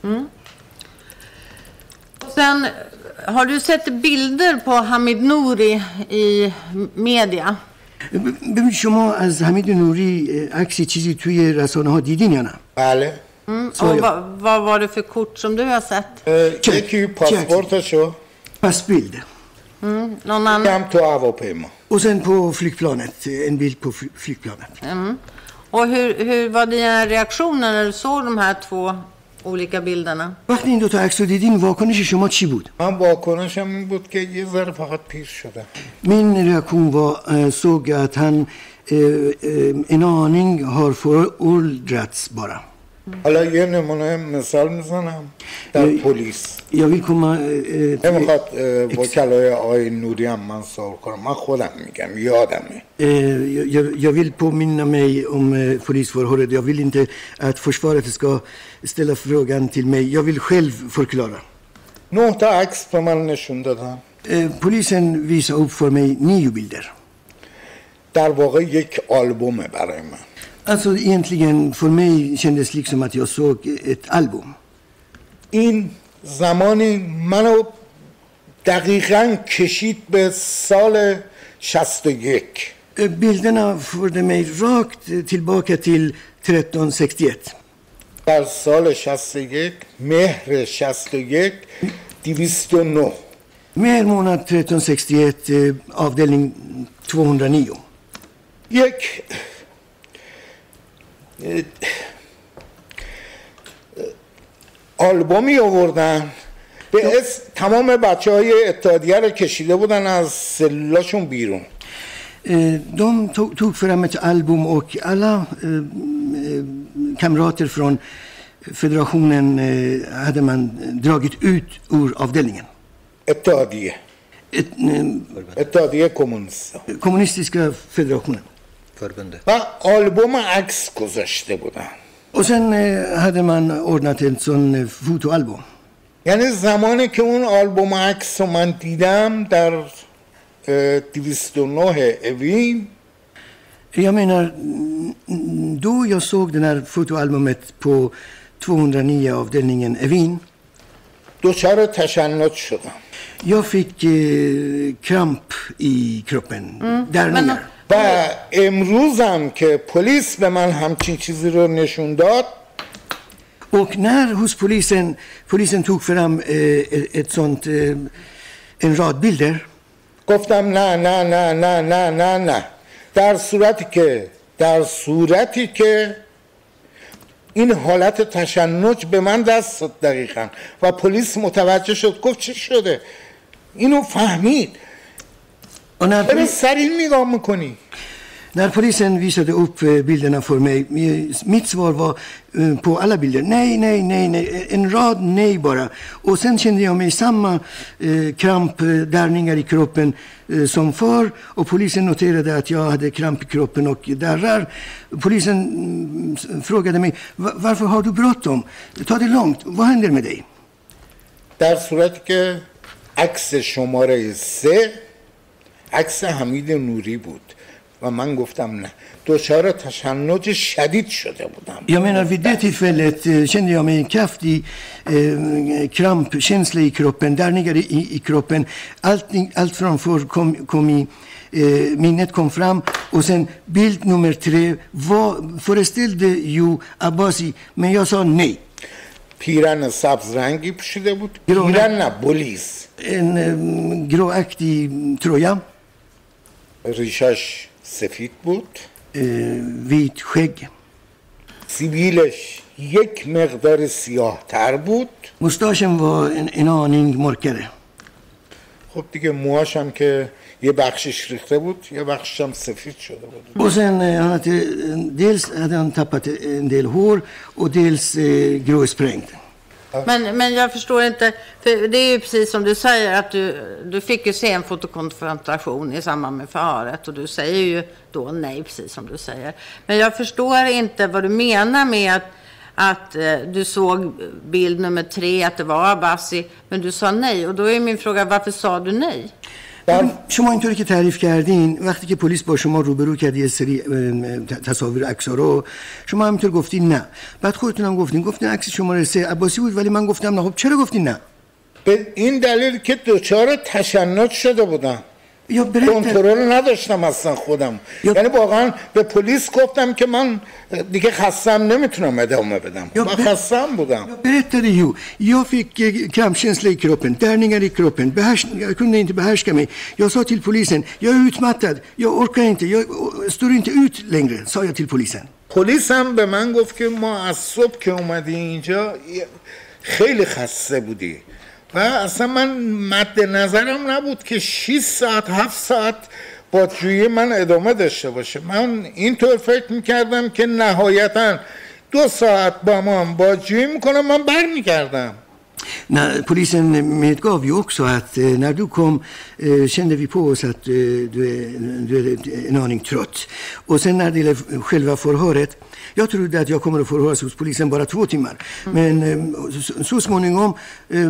Och sen, har du sett bilder på Hamid Nouri i media? ببین شما از حمید نوری اه، عکسی چیزی توی رسانه ها دیدین یا نه؟ بله. Mm. Och Så, ja. vad, vad var det för kort som du har sett? اه، چک. یکی پاسپورتشو Passbild. Mm. Någon annan? هم تو هواپیما. Och sen på flygplanet, eh, en bild på fly- flygplanet. Mm. Och hur, hur var dina reaktioner när du såg de här två olika bilderna? وقتی این دوتا عکس رو دیدین واکنش شما چی بود؟ من واکنشم این بود که یه ذره فقط پیر شدم. Min reaktion var, eh, såg att han eh, eh, en aning har föråldrats bara. حالا یه نمونه مثال میزنم در پلیس. Jag vill komma eh, till, نمیخواد اه، وکلای آقای نوری هم من سوال کنم، من خودم میگم یادمه. eh, jag, jag vill påminna mig om eh, polisförhöret. Jag vill inte att försvaret ska ställa frågan till mig. Jag vill själv förklara. نه تا عکس به من نشون دادن. Eh, polisen visade upp för mig nio bilder. در واقع یک آلبومه برای من. Alltså egentligen för mig kändes liksom att jag såg ett album. این زمانی منو دقیقاً کشید به سال شصت و یک. Eh, Bilderna förde mig rakt eh, tillbaka till tretton sextioett. در سال شصت و یک مهر شصت و یک دویست و نه. Mer månad tretton sextioett, eh, avdelning tvåhundranio. یک اه، آلبومی آوردن به اسم تمام بچه های اتحادیه رو کشیده بودن از سلولاشون بیرون. Eh, De tog, tog fram ett album och alla eh, eh, kamrater från federationen eh, hade man dragit ut ur avdelningen. اتحادیه Ett, eh, اتحادیه کمونیست kommunistiska federationen. و آلبوم عکس گذاشته بودن. Och sen eh, hade man ordnat en sån eh, fotoalbum. یعنی زمانی که اون آلبوم عکس رو من دیدم در اه، دویست و نه اوین، Jag menar, mm, då jag såg det här fotoalbumet på tvåhundranio avdelningen Evin, دچار تشنج شدم. jag fick eh, kramp i kroppen, där Men, nere. و امروزم که پلیس به من همچین چیزی رو نشون داد Och när hos polisen, polisen tog fram eh, ett sånt, eh, en rad bilder. گفتم نه نه نه نه نه نه نه در صورتی که در صورتی که این حالت تشنج به من دست داد دقیقا و پلیس متوجه شد گفت چی شده اینو فهمید چرا سریع نگاه میکنی När polisen visade upp bilderna för mig, mitt svar var på alla bilder, nej, nej, nej, nej, en rad nej bara. Och sen kände jag mig samma eh, kramp, darrningar i kroppen eh, som förr. Och polisen noterade att jag hade kramp i kroppen och darrar. Polisen mm, frågade mig, varför har du bråttom? Ta det långt, vad händer med dig? در صورتی که عکس شماره سه عکس حمید نوری بود و من گفتم نه دچار تشنج شدید شده بودم. Jag menar vid det tillfället eh, kände jag mig en kraftig eh, krampkänsla i kroppen, darrningar i, i kroppen. Allting, allt framför kom, kom i eh, minnet kom fram och sen bild nummer tre var, föreställde ju Abbasi men jag sa nej. پیرن سبز رنگی پوشیده بود پیرن نه بولیس En eh, gråaktig tröja. ریشش سفید بود vit skägg. سیبیلش یک مقدار سیاه تر بود Mustaschen var en, en aning mörkare. خب دیگه موهاش هم که یه بخشش ریخته بود یه بخشش هم سفید شده بود Och sen eh, han hade, dels hade han tappat en del hår och dels eh, gråsprängt. Men, men jag förstår inte, för det är ju precis som du säger att du, du fick ju se en fotokonfrontation i samband med förhöret och du säger ju då nej, precis som du säger. Men jag förstår inte vad du menar med att, att eh, du såg bild nummer tre, att det var Abbasi, men du sa nej. Och då är min fråga, varför sa du nej? شما اینطوری که تعریف کردین وقتی که پلیس با شما روبرو کرد یه سری تصاویر عکس‌ها رو شما همینطور گفتین نه بعد خودتون هم گفتین گفتین عکس شماره سه عباسی بود ولی من گفتم نه خب چرا گفتین نه به این دلیل که دچار تشنج شده بودم کنترل نداشتم اصلا خودم یعنی واقعا به پلیس گفتم که من دیگه خستم نمیتونم ادامه بدم من خستم بودم Jag berättade ju jag fick krampkänsla i kroppen darrningar i kroppen behärs, jag kunde inte behärska mig jag sa till polisen jag är utmattad jag orkar inte jag står inte ut längre sa jag till polisen پلیس هم به من گفت که ما از صبح که اومدی اینجا خیلی خسته بودی و اصلا من مد نظرم نبود که شش ساعت هفت ساعت بازجویی من ادامه داشته باشه من اینطور فکر میکردم که نهایتا دو ساعت با من بازجویی میکنم من بر میگردم när polisen medgav ju också att eh, när du kom eh, kände vi på oss att eh, du, är, du är en aning trött. Och sen när det gäller själva förhöret, jag trodde att jag kommer att förhöras hos polisen bara två timmar. Mm. Men eh, så, så småningom eh,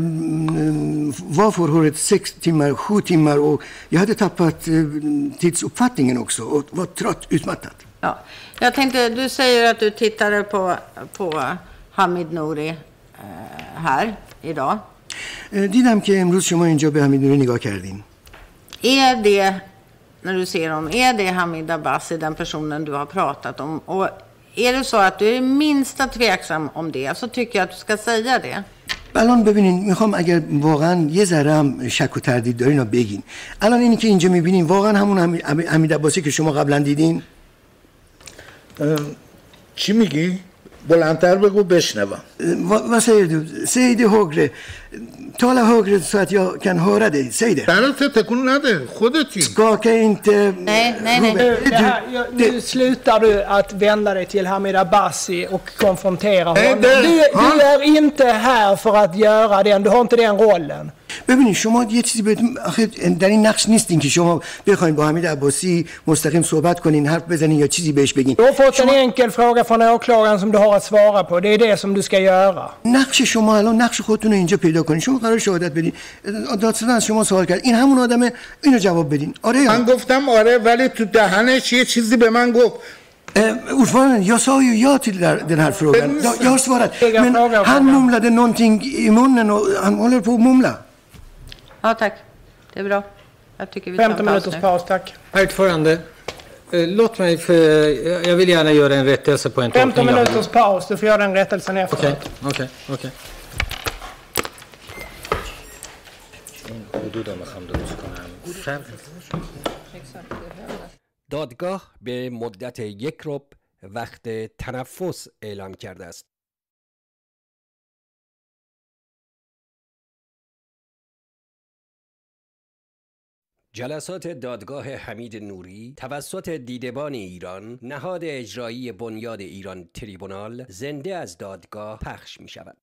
var förhöret sex timmar, sju timmar och jag hade tappat eh, tidsuppfattningen också och var trött, utmattad. Ja. Jag tänkte, du säger att du tittade på, på Hamid Nouri eh, här idag. دیدم که امروز شما اینجا به حمید نوری نگاه کردین. Är det, när du ser dem, är det Hamid Abbasi, den personen du har pratat om? Och är det så att du är minsta tveksam om det så tycker jag att du ska säga det. الان ببینین میخوام اگر واقعا یه ذره هم شک و تردید دارین رو بگین. الان اینی که اینجا میبینین واقعا همون حمید عباسی که شما قبلا دیدین؟ چی میگی؟ بلندتر بگو بشنوم. Vad, vad säger du? Säg det högre. Tala högre så att jag kan höra dig. Säg det. برات تکون نده. خودتی. Skaka inte. Nej, nej, nej. Du, det här, jag, nu slutar du att vända dig till Hamid Abbasi och konfrontera honom. Du, du är inte här för att göra den. Du har inte den rollen. ببینید شما یه چیزی بهتون آخه در این نقش نیستین که شما بخواید با حمید عباسی مستقیم صحبت کنین حرف بزنین یا چیزی بهش بگین. Du har fått en enkel fråga från åklagaren som du har att svara på. Det är det som du ska göra. نقش شما الان نقش خودتون رو اینجا پیدا کنین. شما قرار شهادت بدین. دادستان از شما سوال کرد. این همون آدمه اینو جواب بدین. آره یا من گفتم آره ولی تو دهنش یه چیزی به من گفت. Ordförande, jag sa ju ja till den här frågan. Jag, jag har svarat. Men han mumlade någonting i munnen och han håller på att mumla. Ja, tack. Det är bra. Jag tycker vi femton minuters paus, tack. Herr ordförande, Eh, Låt mig, för jag vill gärna göra en rättelse på en femton tolkning. minuters paus, du får göra den rättelsen efteråt. Okej, okej, okej. دادگاه به مدت یک ربع وقت تنفس اعلام کرده است. جلسات دادگاه حمید نوری توسط دیدبان ایران، نهاد اجرایی بنیاد ایران تریبونال، زنده از دادگاه پخش می شود.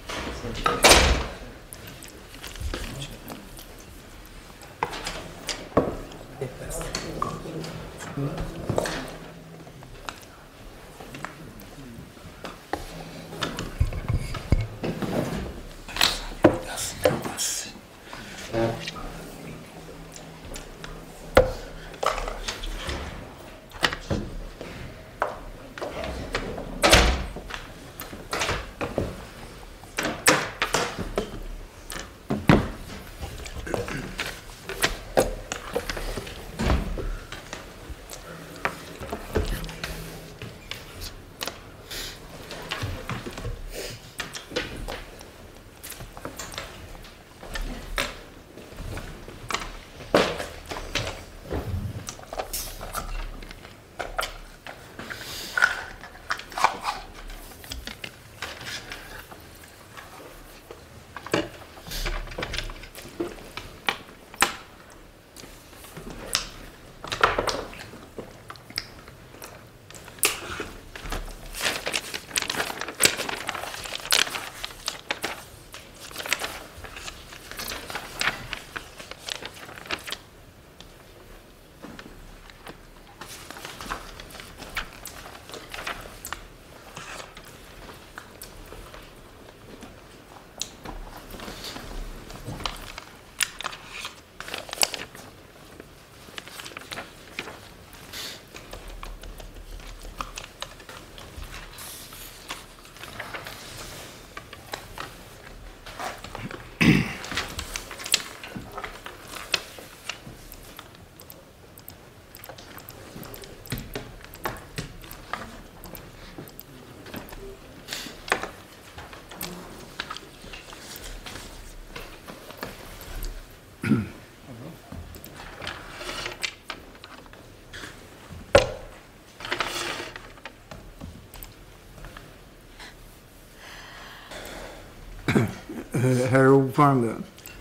Herr ordförande,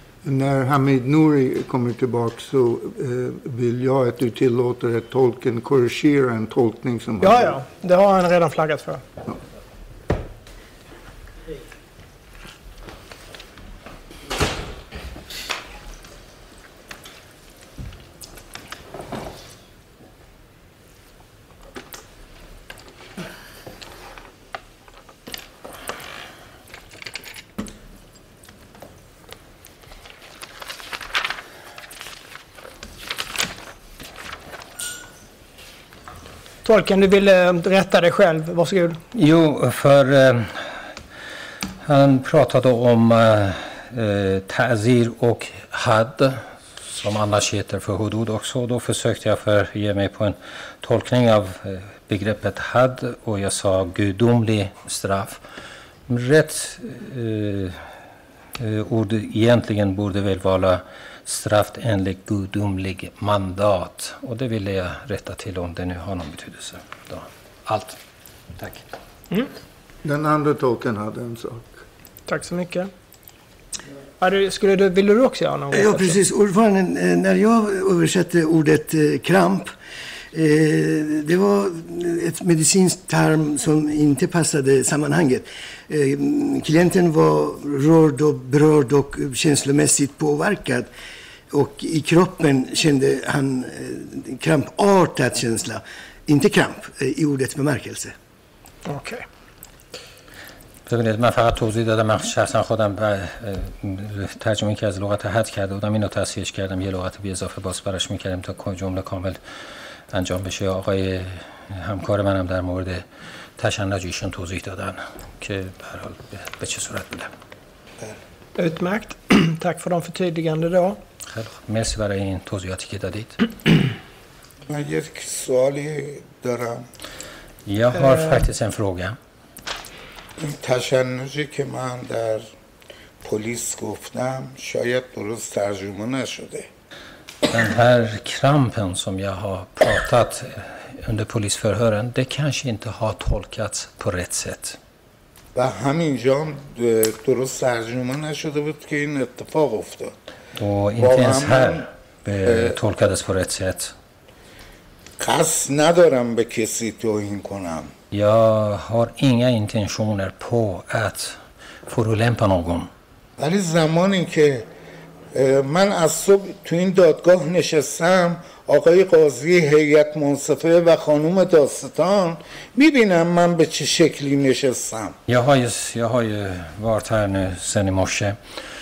när Hamid Nouri kommer tillbaka så eh, vill jag att du tillåter att tolken korrigerar en tolkning som... Ja, ja. Det har han redan flaggat för. Ja. Tolken, du ville rätta dig själv. Varsågod. Jo, för eh, han pratade om eh, ta'zir och had, som annars heter för hudud också. Då försökte jag för ge mig på en tolkning av eh, begreppet had och jag sa gudomlig straff. Rätt eh, eh, ord egentligen borde väl vara straff enligt gudomlig mandat. Och det ville jag rätta till om det nu har någon betydelse. Då. Allt. Tack. Mm. Den andra tolken hade en sak. Tack så mycket. Ja, du, skulle du, vill du också göra något? Ja, precis. Ordförande, när jag översatte ordet eh, kramp, eh, det var ett medicinskt term som inte passade sammanhanget. Eh, klienten var rörd och berörd och känslomässigt påverkad. Och i kroppen kände han eh, krampartad känsla. Inte kramp eh, i ordets bemärkelse. Okej. Okay. ببینید من فقط توضیح دادم. من شخصا خودم ترجمه که از لغت حد کرده بودم اینو تصحیحش کردم، یه لغت بی اضافه باز براش میکردیم تا جمله کامل انجام بشه. آقای همکار منم در مورد تشنج ایشون توضیح دادن که به هر حال به چه صورت بوده. Utmärkt. Tack för de förtydligande då. خیلی خوب. مرسی برای این توضیحاتی که دادید. من یک سوالی دارم. Jag har faktiskt en fråga. این تشنجی که من در پلیس گفتم شاید درست ترجمه نشده. Den här krampen som jag har pratat under polisförhören, det kanske inte har tolkats på rätt sätt. و همینجا هم درست ترجمه نشده بود که این اتفاق افتاد. Och inte ens här eh, tolkades på rätt sätt. قصد ندارم به کسی توهین کنم. Jag har inga intentioner på att förolämpa någon. ولی زمانی که من از صبح تو این دادگاه نشستم، آقای قاضی هیئت منصفه و خانم داستان میبینم من به چه شکلی نشستم. Jag har ju, jag har ju varit här nu sedan i morse.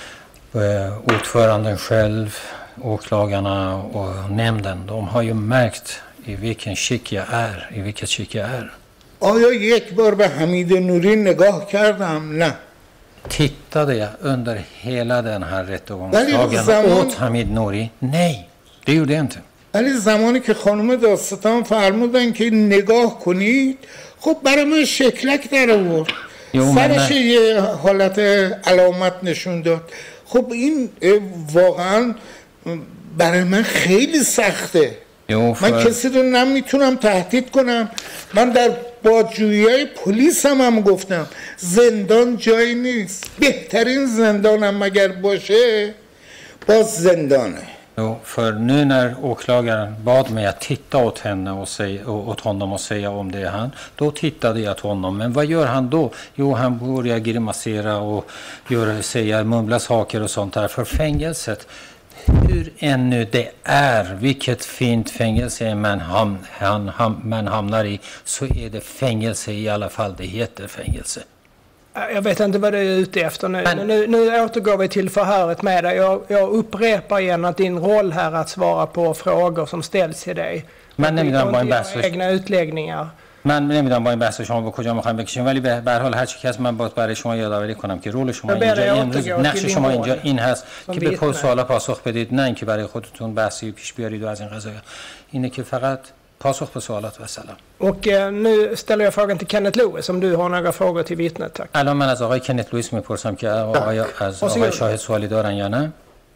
Ordföranden själv, åklagarna och nämnden, de har ju märkt i vilken skick jag är, i vilket skick jag är. آیا یک بار به حمید نوری نگاه کردم؟ نه. Tittade jag under hela den här rättegångsdagen åt Hamid Nouri? Nej, det gjorde jag inte. ولی زمانی که خانم داستان فرمودن که نگاه کنید، خب برای من شکلک در آورد. سرش یه حالت علامت نشون داد. خب این واقعا برای من خیلی سخته. من کسی رو نمیتونم تهدید کنم. من در بازجویی پلیس هم, هم گفتم زندان جایی نیست. بهترین زندانم مگر باشه باز زندانه. Jo, för nu när åklagaren bad mig att titta åt henne och säga, åt honom och säga om det är han, då tittade jag till honom. Men vad gör han då? Jo, han börjar grimasera och gör, säga, mumla saker och sånt där. För fängelset, hur ännu det är, vilket fint fängelse man, ham, han, ham, man hamnar i, så är det fängelse i alla fall. Det heter fängelse. Jag vet inte vad du är ute efter nu. Men, nu, nu återgår vi till förhöret med dig. Jag, jag upprepar igen att din roll här är att svara på frågor som ställs till dig. من نمیدونم با این بحث egna utläggningar. من نمیدونم با این بحث شما به کجا میخوایم بکشیم، ولی به هر حال هر چی که من باید برای شما یادآوری کنم که رول شما اینجا امروز نقش شما اینجا این هست که به سوالا پاسخ بدید، نه اینکه برای خودتون بحثی پیش بیارید و از این قضایا. اینه که فقط پاسخ به سوالات و سلام. Och nu ställer jag frågan till Kenneth Lewis om du har några frågor till vittnet. Tack. الان من از آقای کنت لوئیس میپرسم که آیا از آقای شاهد سوالی دارن یا نه.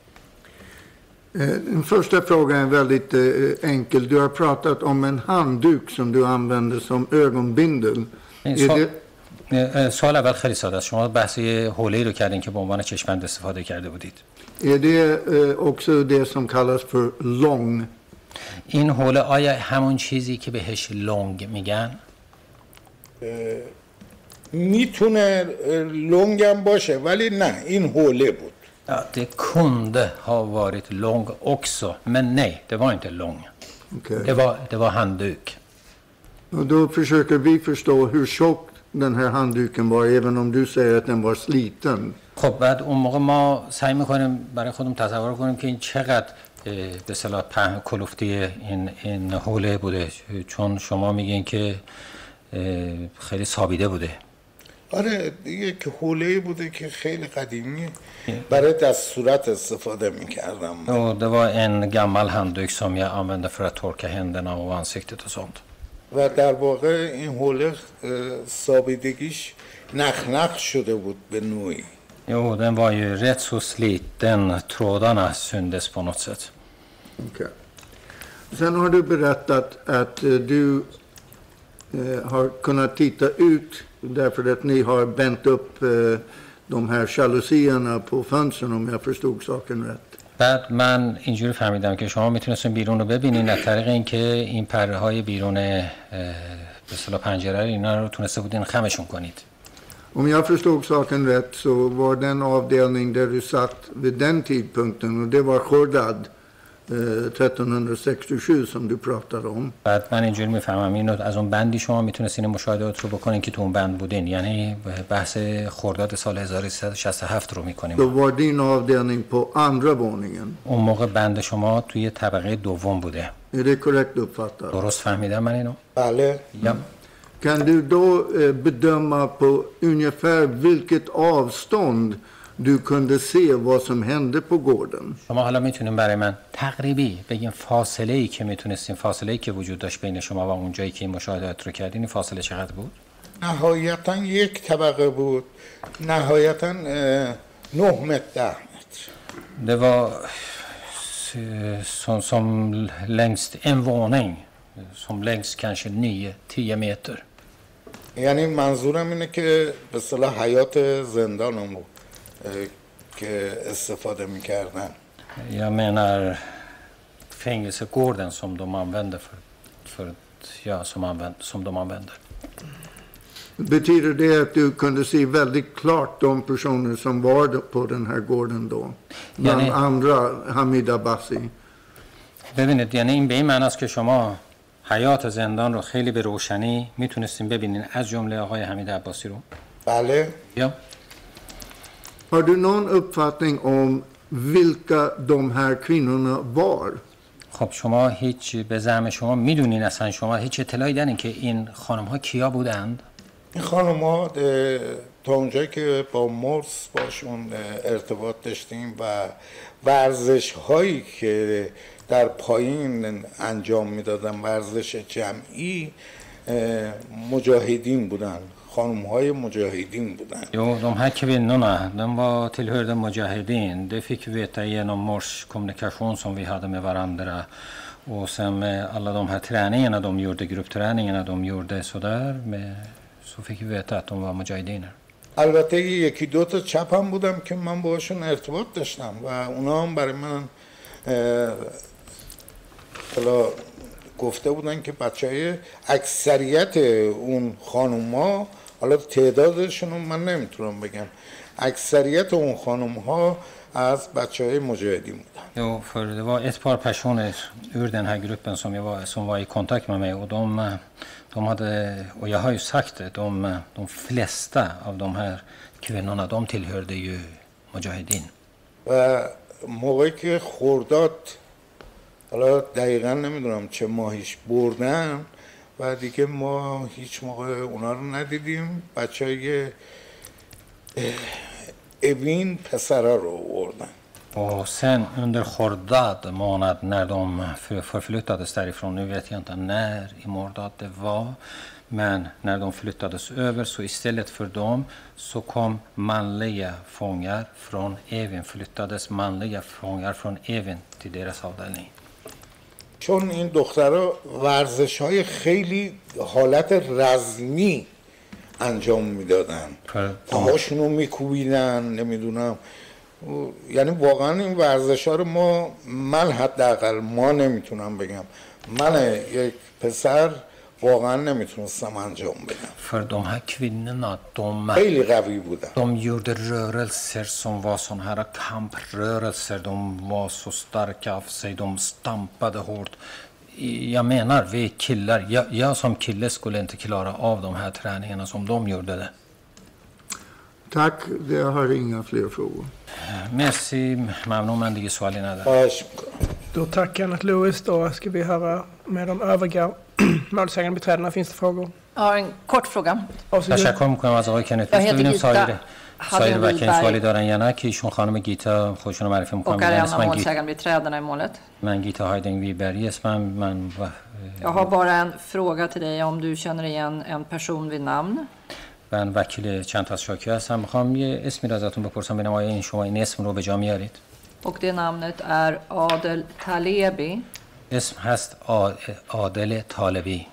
Den första frågan är väldigt enkel. Du har pratat om en handduk som du använder som ögonbindel. سوال اول خیلی ساده است. شما بحثی حوله‌ای رو کردین که به عنوان چشم‌بند استفاده کرده بودید. Är det också det som kallas för lång? این حوله آیا همون چیزی که بهش لونگ میگن؟ میتونه لونگ هم باشه ولی نه این حوله بود. Ja, det kunde ha varit lång också, men nej, det var inte lång. Okay. Det var det var handduk. Och då försöker vi förstå hur tjock den här handduken var, även om du säger att den var sliten. خب بعد اون موقع ما سعی می‌کنیم برای خودمون تصور کنیم که این چقدر به اصطلاح پهن کلفتی این این حوله بوده، چون شما میگین که خیلی سابیده بوده. آره یک حوله بوده که خیلی قدیمی برای دستورات استفاده می‌کردم. Och det var en gammal handduk som jag använde för att torka händerna och ansiktet och sånt. و در واقع این حوله سابیدگیش نخ نخ شده بود به نوعی. Jo, den var ju rätt så sliten. Trådarna syndes på något sätt. Okay. Sen har du berättat att du eh, har kunnat titta ut därför att ni har bänt upp eh, de här jalusierna på fönstren, om jag förstod saken rätt. بعد من اینجوری فهمیدم که شما میتونستین بیرون رو ببینین از طریق اینکه این پره های بیرون به اصطلاح پنجره اینا رو تونسته بودین خمشون کنید. Om jag förstod saken rätt så var den avdelning där du satt vid den tidpunkten, och det var Khordad tretton sextiosju som du pratade om. بعد من اینجوری میفهمم اینو از اون بندی شما میتونستین مشاهدات رو بکنین که تو اون بند بودین، یعنی بحث خرداد سال هزار و سیصد و شصت و هفت رو میکنیم. Då var din avdelning på andra våningen. اون موقع بند شما توی طبقه دوم بوده. Är det korrekt uppfattat? درست فهمیدم من اینو؟ بله. یا Kan du då bedöma på ungefär vilket avstånd du kunde se vad som hände på gården. شما حالا میتونیم برای من تقریبی بگیم فاصله ای که میتونستین فاصله ای که وجود داشت بین شما و اون جایی که این مشاهدات رو کردین این فاصله چقدر بود؟ نهایتا یک طبقه بود. نهایتا اه، نه متر ده متر. Det var som, som längst en våning som längst kanske nio tio meter. یعنی منظورم اینه که به اصطلاح حیات زندانم بود اه، که استفاده میکردن. Jag menar fängelsegården som de använder för, för ja, som, använd, som de använder. Betyder det att du kunde se väldigt klart de personer som var på den här gården då? Bland Yani- andra Hamid Abbasi. ببینید یعنی این به این معنی است که شما حیات زندان رو خیلی به روشنی میتونستین ببینین از جمله آقای حمید عباسی رو. بله. یا Har du någon uppfattning om vilka de här kvinnorna var? خب شما هیچ به زعم شما میدونین اصلا شما هیچ اطلاعی دارین که این خانم ها کیا بودند؟ این خانم ها تا اونجایی که با مرس باشون اه، ارتباط داشتیم و ورزش هایی که در پایین انجام میدادن ورزش جمعی اه، مجاهدین بودن. خانم های مجاهدین بودن. Jo, de här kvinnorna, de var tillhörde Mujahedin. Det fick vi veta genom Mors kommunikation som vi hade med varandra. Och sen med alla de här träningarna de gjorde, gruppträningarna de gjorde sådär, med, så fick vi veta att de var mujahediner. البته یکی دو تا چپ هم بودم که من باشون ارتباط داشتم و اونا هم برای من اه، حالا گفته بودن که بچه های اکثریت اون خانوم ها، حالا تعدادشون رو من نمیتونم بگم، اکثریت اون خانوم ها از بچه های مجاهدین بودن. Jo, för det var ett par personer ur den här gruppen som, jag var, som var i kontakt med mig och de, de hade, och jag har ju sagt det, de, de flesta av de här kvinnorna, de tillhörde ju Mujahedin. و موقعی که خرداد، حالا دقیقا نمیدونم چه ماهیش بردن و دیگه ما هیچ موقع اونا رو ندیدیم. بچه های اوین پسرا رو بردن. Och sen under Khordad månad när de för- förflyttades därifrån, nu vet jag inte när i Mordad det var, men när de flyttades över så istället för dem så kom manliga fångar från Evin, flyttades manliga fångar från Evin till deras avdelning. چون این دخترها ورزش های خیلی حالت رزمی انجام میدادن، پاهاشون رو میکوبیدن، نمیدونم، یعنی واقعا این ورزش ها رو ما، من حداقل ما نمیتونم بگم، من یک پسر واقعا نمیتونستم انجام بدم. För de här kvinnorna, de, خیلی قوی بودن. de gjorde rörelser som var såna här kamprörelser, de var så starka av sig, de stampade hårt. Jag menar, vi killar, jag, jag som kille skulle inte klara av de här träningarna som de gjorde det. Tack, jag har inga fler frågor. مرسی، ممنون، من دیگه سوالی ندارم. خواهش میکنم. Då tackar Kenneth Lewis. Då ska vi höra med de övriga målsägande beträdarna. Finns det frågor? Jag har en kort fråga. تشکر میکنم از آقای کنت. Jag heter ببینیم Gita سایر سایر Hadden وکیل سوالی Wiberg دارن یا نه که ایشون خانم گیتا خودشون رو معرفی میکنم. och är en av målsägande beträdarna i målet. من گیتا هایدنگ ویبری اسمم. من Jag har bara en fråga till dig om du känner igen en person vid namn. من وکیل چند تا از شاکی هستم. میخوام یه اسمی رو ازتون بپرسم ببینم آیا این شما این اسم رو به جا میارید. Och det namnet är Adel Talebi. اسم هست آ- عادل طالبی.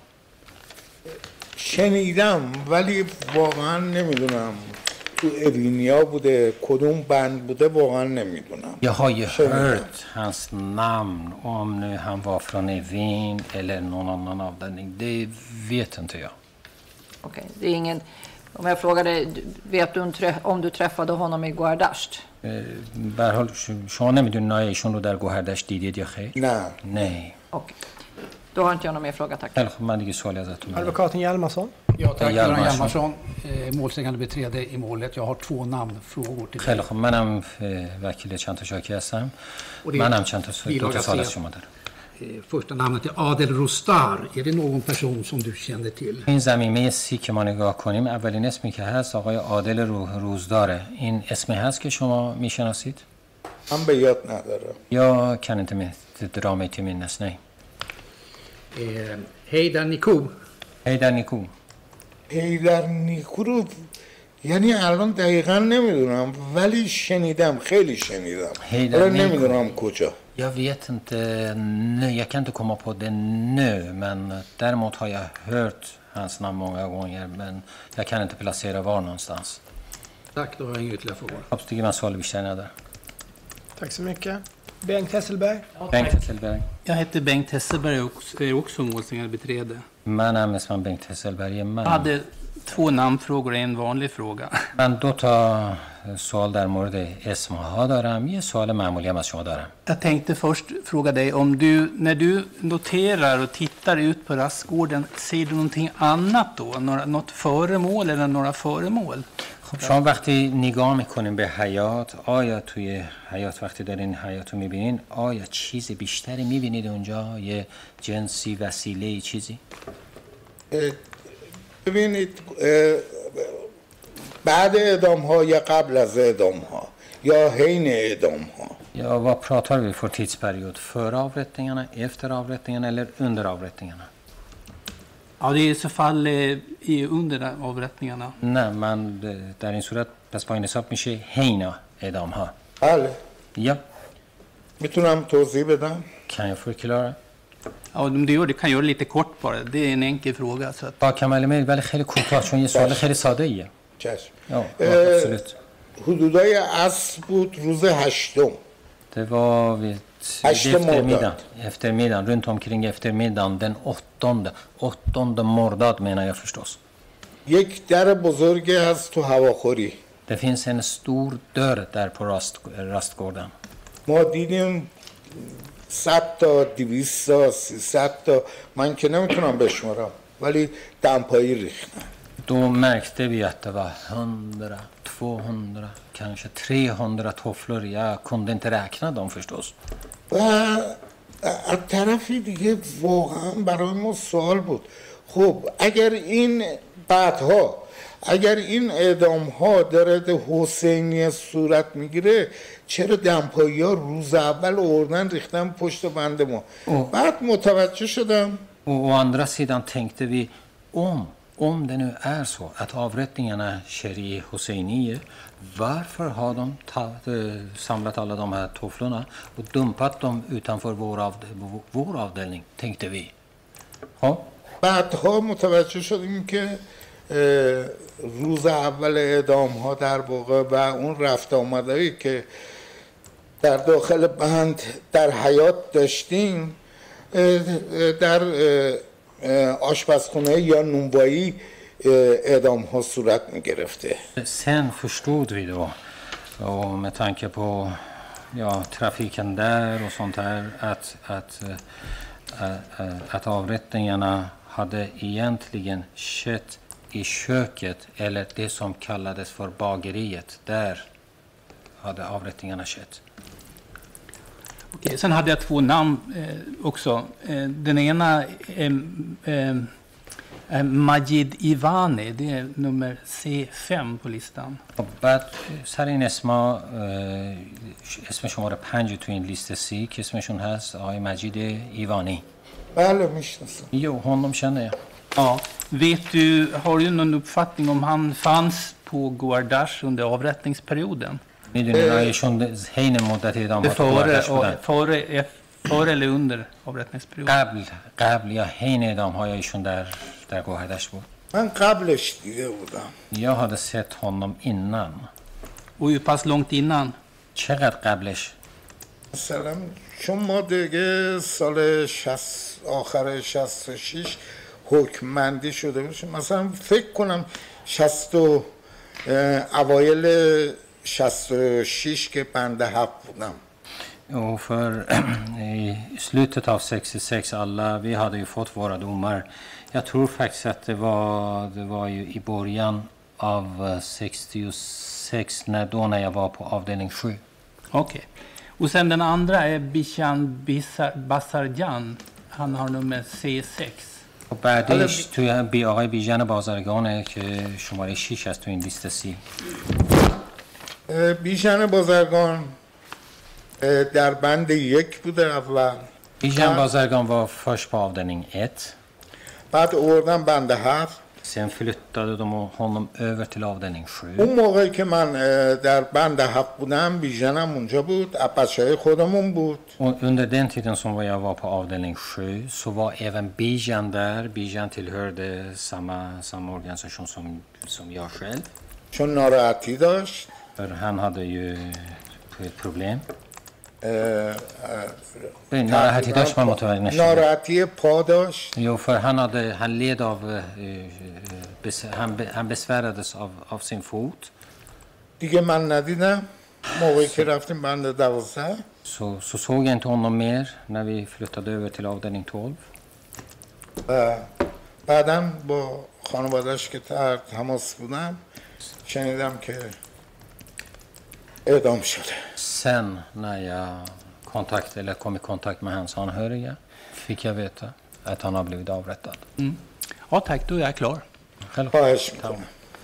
شنیدم ولی واقعا نمیدونم تو اوینیا بوده کدوم بند بوده واقعا نمیدونم. Jag har ju hört hans namn, om nu han var från Evin eller någon annan avdelning. Det vet inte jag. Okej, det är ingen... Om jag frågar dig, du- vet du om trä- om du träffade honom i Guardasht? به هر حال ش- شما نمیدونین آیا ایشون رو در گوهردشت دیدید یا خیر؟ نه. نه. Okej. Då har inte jag någon mer fråga, tack. خیلی خب، من دیگه سوالی ازتون ندارم. Advokaten Hjalmarsson. Ja, tack. Göran Hjalmarsson. Hjalmarsson, eh, målsägande beträde i målet. Jag har två namnfrågor till خیلی dig. خب، منم اه، وکیل چند تا شاکی هستم. Och det är منم چند تا س- دو bilaga تا سوال tre. از شما دارم. eh, första namnet är Adel Rostar. Är det någon person som du känner till? این زمینه سی که ما نگاه کنیم اولین اسمی که هست آقای عادل رو- روزداره. این اسمی هست که شما میشناسید؟ من به یاد ندارم. یا kan inte med- dra mig till minnes, nej. Eh, Heidar Niko. هیدر نیکو. پیدر نیکو رو یعنی الان دقیقا نمیدونم ولی شنیدم خیلی شنیدم هیدر حالا نیکو. نمیدونم کجا. Jag vet inte nu, jag kan inte komma på det nu, men däremot har jag hört hans namn många gånger, men jag kan inte placera var någonstans. Tack, då har jag inga ytterligare frågor. خب دیگه من سوال بیشتر ندارم. Tack så mycket. Bengt Hesselberg. Bengt Hesselberg. Jag heter Bengt Hesselberg och är också målsägandebiträde. منم اسمم بنگ هسلبری. من Jag hade två namnfrågor och en vanlig fråga. من دو تا سوال در مورد اسمها دارم، یه سوال معمولی هم از شما دارم. Jag tänkte först fråga dig om du, när du noterar och tittar ut på rastgården, ser du någonting annat då? Några, något föremål eller några föremål? خب شما وقتی نگاه میکنین به حیات، آیا توی حیات وقتی دارین حیات رو میبینین آیا چیز بیشتری میبینید اونجا؟ یه جنسی، وسیله، چیزی؟ اه، ببینید اه، بعد اعدام ها یا قبل از اعدام ها یا حین اعدام ها. Ja, vad pratar vi för tidsperiod? Före avrättningarna, efter avrättningarna eller under avrättningarna? Ja, det är i så fall eh, i under avrättningarna. نه من در این صورت پس با این حساب میشه حین اعدام ها. بله. Ja, میتونم توضیح بدم؟ kan jag förklara? Ja, om du gör det kan jag göra det lite kort bara. Det är en enkel fråga. Så att... با کمال میل ولی خیلی کوتاه چون یه سوال خیلی ساده ایه. چشم. Ja, اه، absolut. حدودای عصر بود روز هشتم. Det var vid, Hashte vid eftermiddagen, Mordad. eftermiddagen, runt omkring eftermiddagen, den åttonde, åttonde Mordad menar jag förstås. یک در بزرگی هست تو هواخوری. Det finns en stor dörr där på rast, rastgården. ما دیدیم صد تا دویست تا سیصد تا من که نمیتونم بشمارم ولی دمپایی ریختن. Då märkte vi att det var hundra, tvåhundra, kanske trehundra tofflor. Jag kunde inte räkna dem förstås. و از طرفی دیگه واقعا برای ما سوال بود خب اگر این بعدها اگر این اعدام ها در حسینی صورت میگیره چرا دمپایی ها روز اول آوردن ریختن پشت بند ما اوه. بعد متوجه شدم Och å andra sidan tänkte vi om, om det nu är så att avrättningarna sker i Hosseiniye, varför har de ta, samlat alla de här tofflorna och dumpat dem utanför vår, av, vår avdelning, tänkte vi. Ja. بعدها متوجه شدیم که روز اول اعدام ها در واقع و اون رفت آمدهایی که در داخل بند در حیات داشتیم در آشپزخونه یا نونوایی اعدام ها صورت می گرفته. Sen förstod vi då, och med tanke på ja, trafiken där och sånt här, att, att, att, att avrättningarna hade egentligen skett i köket, eller det som kallades för bageriet. Där hade avrättningarna skett. Okej, sen hade jag två namn eh, också. Eh, den ena är eh, eh, Majid Ivani. Det är nummer C fem på listan. بعد سر این اسما اسم شماره پنج تو این لیست سی که اسمشون هست آقای مجید ایوانی. بله میشناسم. Jo, honom känner jag. Ja. Vet du, har du någon uppfattning om han fanns på Goardash under avrättningsperioden? میدونین آیشون حین مدت اعدام ها تو گواردش بودن؟ Före, före eller under avrättningsperioden? قبل قبل یا حین اعدام های ایشون در در گواردش بود. من قبلش دیده بودم. Jag hade sett honom innan. Och hur pass långt innan? چقدر قبلش؟ مثلا چون ما دیگه سال شصت آخر شصت و شش حکمندی شده باشیم مثلا فکر کنم شصت و اوایل شصت و شش که بنده حق بودم. Och för i slutet av sextiosex alla, vi hade ju fått våra domar. Jag tror faktiskt att det var, det var ju i början av sextiosex när, då när jag var på avdelning sju. Okej. Och sen den andra är Bishan Basarjan. Han har nummer C sex. و بعدش توی بی آقای بیژن بازرگانه که شماره شش است تو این لیست سی. بیژن بازرگان در بند یک بوده اول. بیژن بازرگان var först på avdelning ett. بعد آوردن بند هفت. Sen flyttade de honom över till avdelning sju. اون موقعی که من در بند هفت بودم بیژنم اونجا بود، بچه‌های خودمون بود. Och under den tiden som jag var på avdelning sju så var även Bijan där. Bijan tillhörde samma, samma organisation som, som jag själv. چون ناراحتی داشت. För han hade ju ett problem. ناراحتی داشت من متوجه نشدم. ناراحتی پا داشت. Jo, för han hade han led av han han besvärades av av sin fot. دیگه من ندیدم موقعی که رفتیم بند دوازده. Så så såg jag inte honom mer när vi flyttade över till avdelning tolv. و بعداً با خانواده‌اش که در تماس بودم شنیدم که اعدام شده. Sen när jag kontakt eller kom i kontakt med hans anhöriga fick jag veta att han har blivit avrättad. Mm. Ja tack, då är jag klar. خواهش میکنم.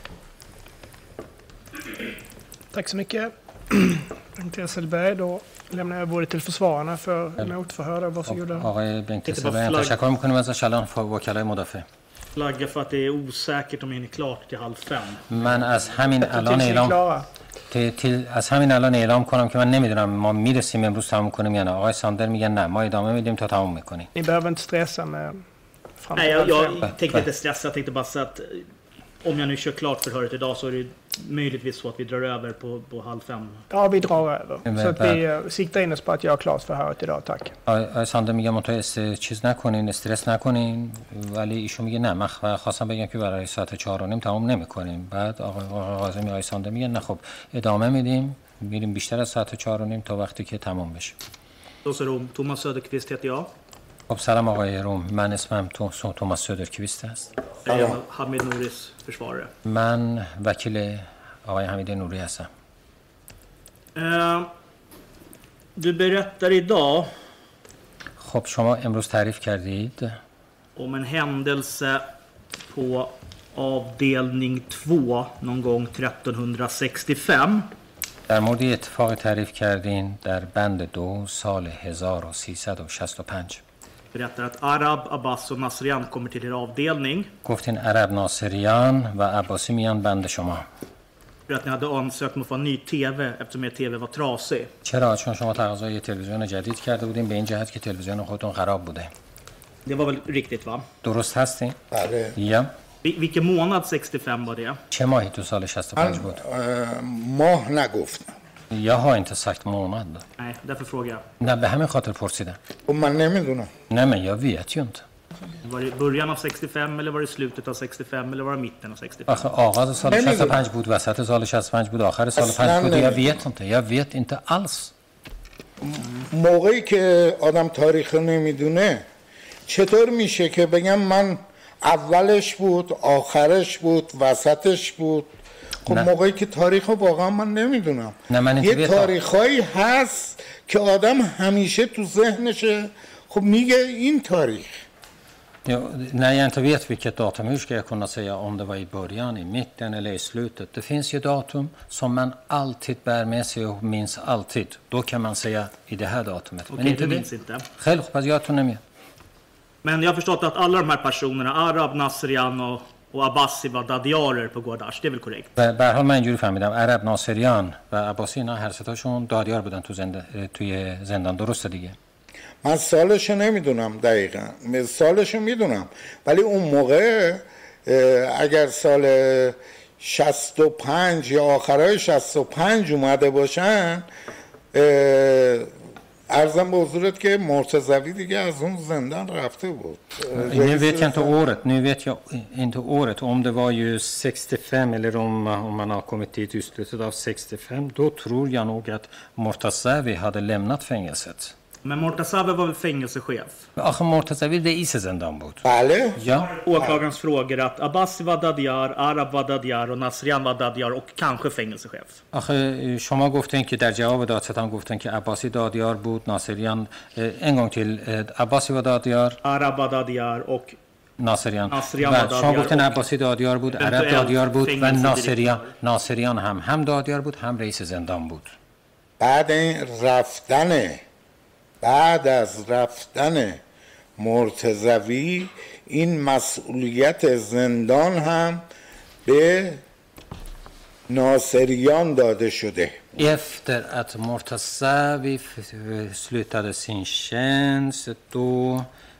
Tack så mycket. Bengt Hesselberg, då lämnar jag ordet till försvararna för motförhör. Varsågoda. آقای بنت هسلبرگ تشکر می‌کنیم از شلان وکلای مدافع. Flagga för att det är osäkert om det är klart till halv fem. من از همین الان اعلام till از همین الان اعلام کنم که من نمیدونم ما میرسیم امروز تموم کنیم یا نه. آقای ساندر میگن نه ما ادامه میدیم تا تموم میکنیم. Ni behöver inte stressa med fram Nej, jag, jag tänkte inte stressa, jag tänkte bara så att om jag nu kör klart förhöret idag så är det möjligtvis så att vi drar över på, på halv fem. Ja, vi drar över. Så att vi siktar in oss på att göra klart förhöret idag, tack. آقای ساندر میگه منتها چیز نکنین، استرس نکنین، ولی ایشون میگه نه من خواستم بگم که برای ساعت چهار و نیم تموم نمیکنیم. بعد آقای قاسمی آقای ساندر میگه نه خب ادامه میدیم، میریم بیشتر از ساعت چهار و نیم تا وقتی که تموم بشه. Då så Rom, Thomas Söderqvist heter jag. خب سلام آقای روم، من اسمم تو توماس سودرکویست است. Jag är Hamid Nouris försvarare. من وکیل آقای حمید نوری هستم. Uh, du berättar idag خب شما امروز تعریف کردید om en händelse på avdelning två någon gång tretton sextiofem. در مورد اتفاق تعریف کردین در بند دو سال هزار و سیصد و شصت و پنج. Berättar att Arab, Abbas och Nasrian kommer till er avdelning. گفتین عرب ناصریان و عباسی میان بند شما. För att ni hade ansökt om att få en ny tv eftersom er tv var trasig. چرا؟ چون شما تقاضای تلویزیون جدید کرده بودین به این جهت که تلویزیون خودتون خراب بوده. Det var väl riktigt va? درست هستین؟ بله. یا. Vilken månad sextiofem var det? چه ماهی تو سال شصت و پنج بود؟ ماه نگفتم. Jag har inte sagt månad. Nej, därför frågar jag. نه به همین خاطر پرسیدم. و من نمیدونم. نه men jag vet ju inte. Var det början av sextiofem eller var det slutet av sextiofem eller var det mitten av sextiofem? آخه آغاز سال شصت و پنج بود، وسط سال شصت و پنج بود، آخر سال پنج بود. Jag vet inte. Jag vet inte alls. موقعی که آدم تاریخ نمیدونه چطور میشه که بگم من اولش بود، آخرش بود، وسطش بود؟ خب موقعی که تاریخ واقعا من نمیدونم. یه تاریخایی هست که آدم همیشه تو ذهنشه خب میگه این تاریخ. Ja, när jag inte vet vilket datum, hur ska jag kunna säga om det var i början, i mitten eller i slutet? Det finns ju datum som man alltid bär med sig och minns alltid. Då kan man säga i det här datumet. Okej, inte du minns det. Inte. Själv, fast jag tror nämligen. Men jag har förstått att alla de här personerna, Arab, Nasrian och, och Abbasi var dadiarer på Gordash. Det är väl korrekt? به هر حال من اینجوری فهمیدم عرب ناصریان و عباسی اینا هر ستاشون دادیار بودن تو زنده توی زندان، درسته دیگه؟ من سالشو نمیدونم دقیقا، سالشو میدونم ولی اون موقع اگر سال شصت و پنج یا آخرای شصت و پنج اومده باشن ارزم به حضورت که مرتضوی دیگه از اون زندان رفته بود. Nu vet jag inte året, nu vet jag inte året, om det var ju sextiofem eller om, om man har kommit dit i slutet av sextiofem, då tror jag nog att Mortazavi hade lämnat fängelset. Men Mortazavi var väl fängelsechef? آخه مرتضوی رئیس زندان بود. بله Ja, Åklagarens frågor att Abbasi var Dadjar, Arab var Dadjar och Nasrian var Dadjar och kanske fängelsechef. آخه شما گفتین که در جواب دادستان گفتن که عباسی دادیار بود، ناصریان en gång till عباسی و دادیار، Arab var Dadjar och ناصریان. ناصریان و و شما دادیار گفتین و عباسی دادیار بود، عرب eventuellt دادیار بود و fängelsedirektör. ناصریان ناصریان هم هم دادیار بود هم رئیس زندان بود. بعد این رفتن بعد از رفتن مرتضوی این مسئولیت زندان هم به ناصریان داده شده. Efter att Mortazavi slutade sin tjänst då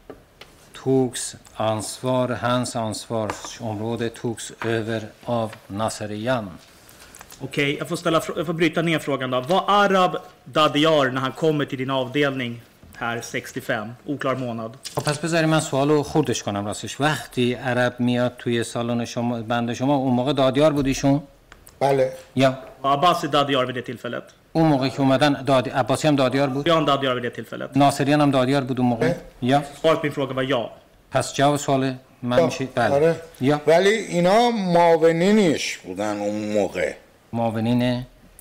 togs ansvar, hans ansvarsområde togs över av Naserian. Okej, jag får, ställa, jag får bryta ner frågan då. Var Arab Dadjar när han kommer till din avdelning här sextiofem, oklar månad? خب پس بذاری من سوالو خوردش کنم راستش. وقتی عرب میاد توی سالن شما بنده شما اون موقع دادیار بودیشون؟ بله. یا Var Abbasi Dadjar vid det tillfället? اون موقع که اومدن داد... عباسی هم دادیار بود؟ Jan Dadjar vid det tillfället? ناصریان هم دادیار بود اون موقع؟ یا Svaret på min fråga var ja. پس جواب سوال من میشه بله. آره. یا ولی اینا معاونینش بودن اون موقع. معاونین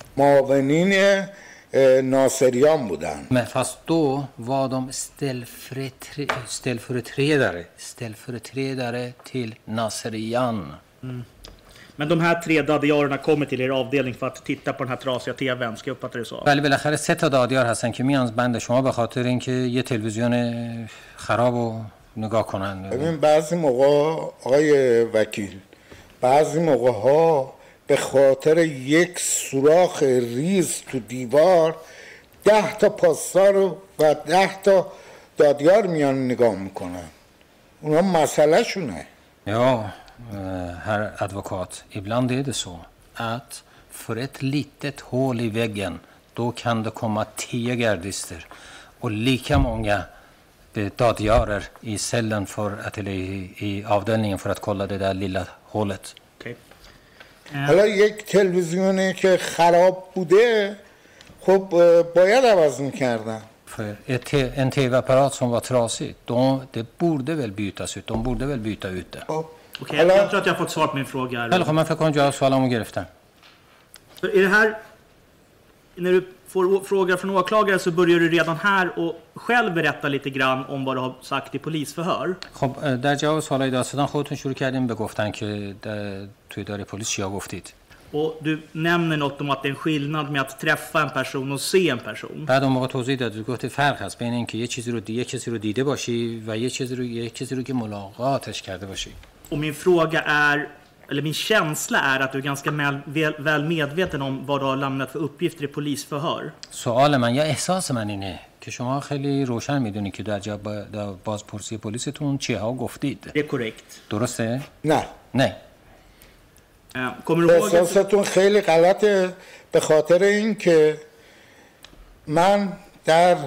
معاونین اه، ناصریان بودن. Men fast då var de ställföretre- ställföreträdare, ställföreträdare till Naserian. Men de här tre Dadjarerna kommer till er avdelning för att titta på den här trasiga tvn, ska jag uppfatta det så? ولی بالاخره سه تا دادیار هستن که میان بند شما به خاطر اینکه یه تلویزیون خرابو نگاه کنن. ببین بعضی موقع آقای وکیل بعضی موقع ها به خاطر یک سوراخ ریز تو دیوار ده تا پاسدار و ده تا دادیار میان نگاه میکنن. اونا مسئله شونه. Ja, herr advokat, ibland är det så att för ett litet hål i väggen då kan det komma tio gardister och lika många dadiarer i cellen för att, eller i, i avdelningen för att kolla det där lilla hålet. Okej. حالا یک تلویزیونی که خراب بوده خب باید عوض میکردن. För ett, te- en tv-apparat som var trasig, de, det borde väl bytas ut. De borde väl byta ut det. Okej, jag, jag tror att jag har fått svar på min fråga här. خیلی خب من فکر کنم جواب سوالمو گرفتم. Så är det här, när du får frågor från åklagare så börjar du redan här och själv berätta lite grann om vad du har sagt i polisförhör. خب در جواب سوالای دادستان خودتون شروع کردیم به گفتن که در- توی اداره پلیس چیا گفتید. Och du nämner något om att det är en skillnad med att träffa en person och se en person. بعد اون موقع توضیح داد گفت فرق هست بین اینکه یه چیزی رو دی... یه کسی رو دیده باشی و یه چیزی رو یه کسی رو که ملاقاتش کرده باشی. Och min fråga är, eller min känsla är att du är ganska väl, väl, väl medveten om vad du har lämnat för uppgifter i polisförhör. سوال من یا احساس من اینه که شما خیلی روشن میدونید که در جواب در بازپرسی پلیستون چیها گفتید. Det är korrekt. درسته؟ نه. نه. Eh, Kommer du ihåg att... احساستون خیلی غلطه به خاطر اینکه من در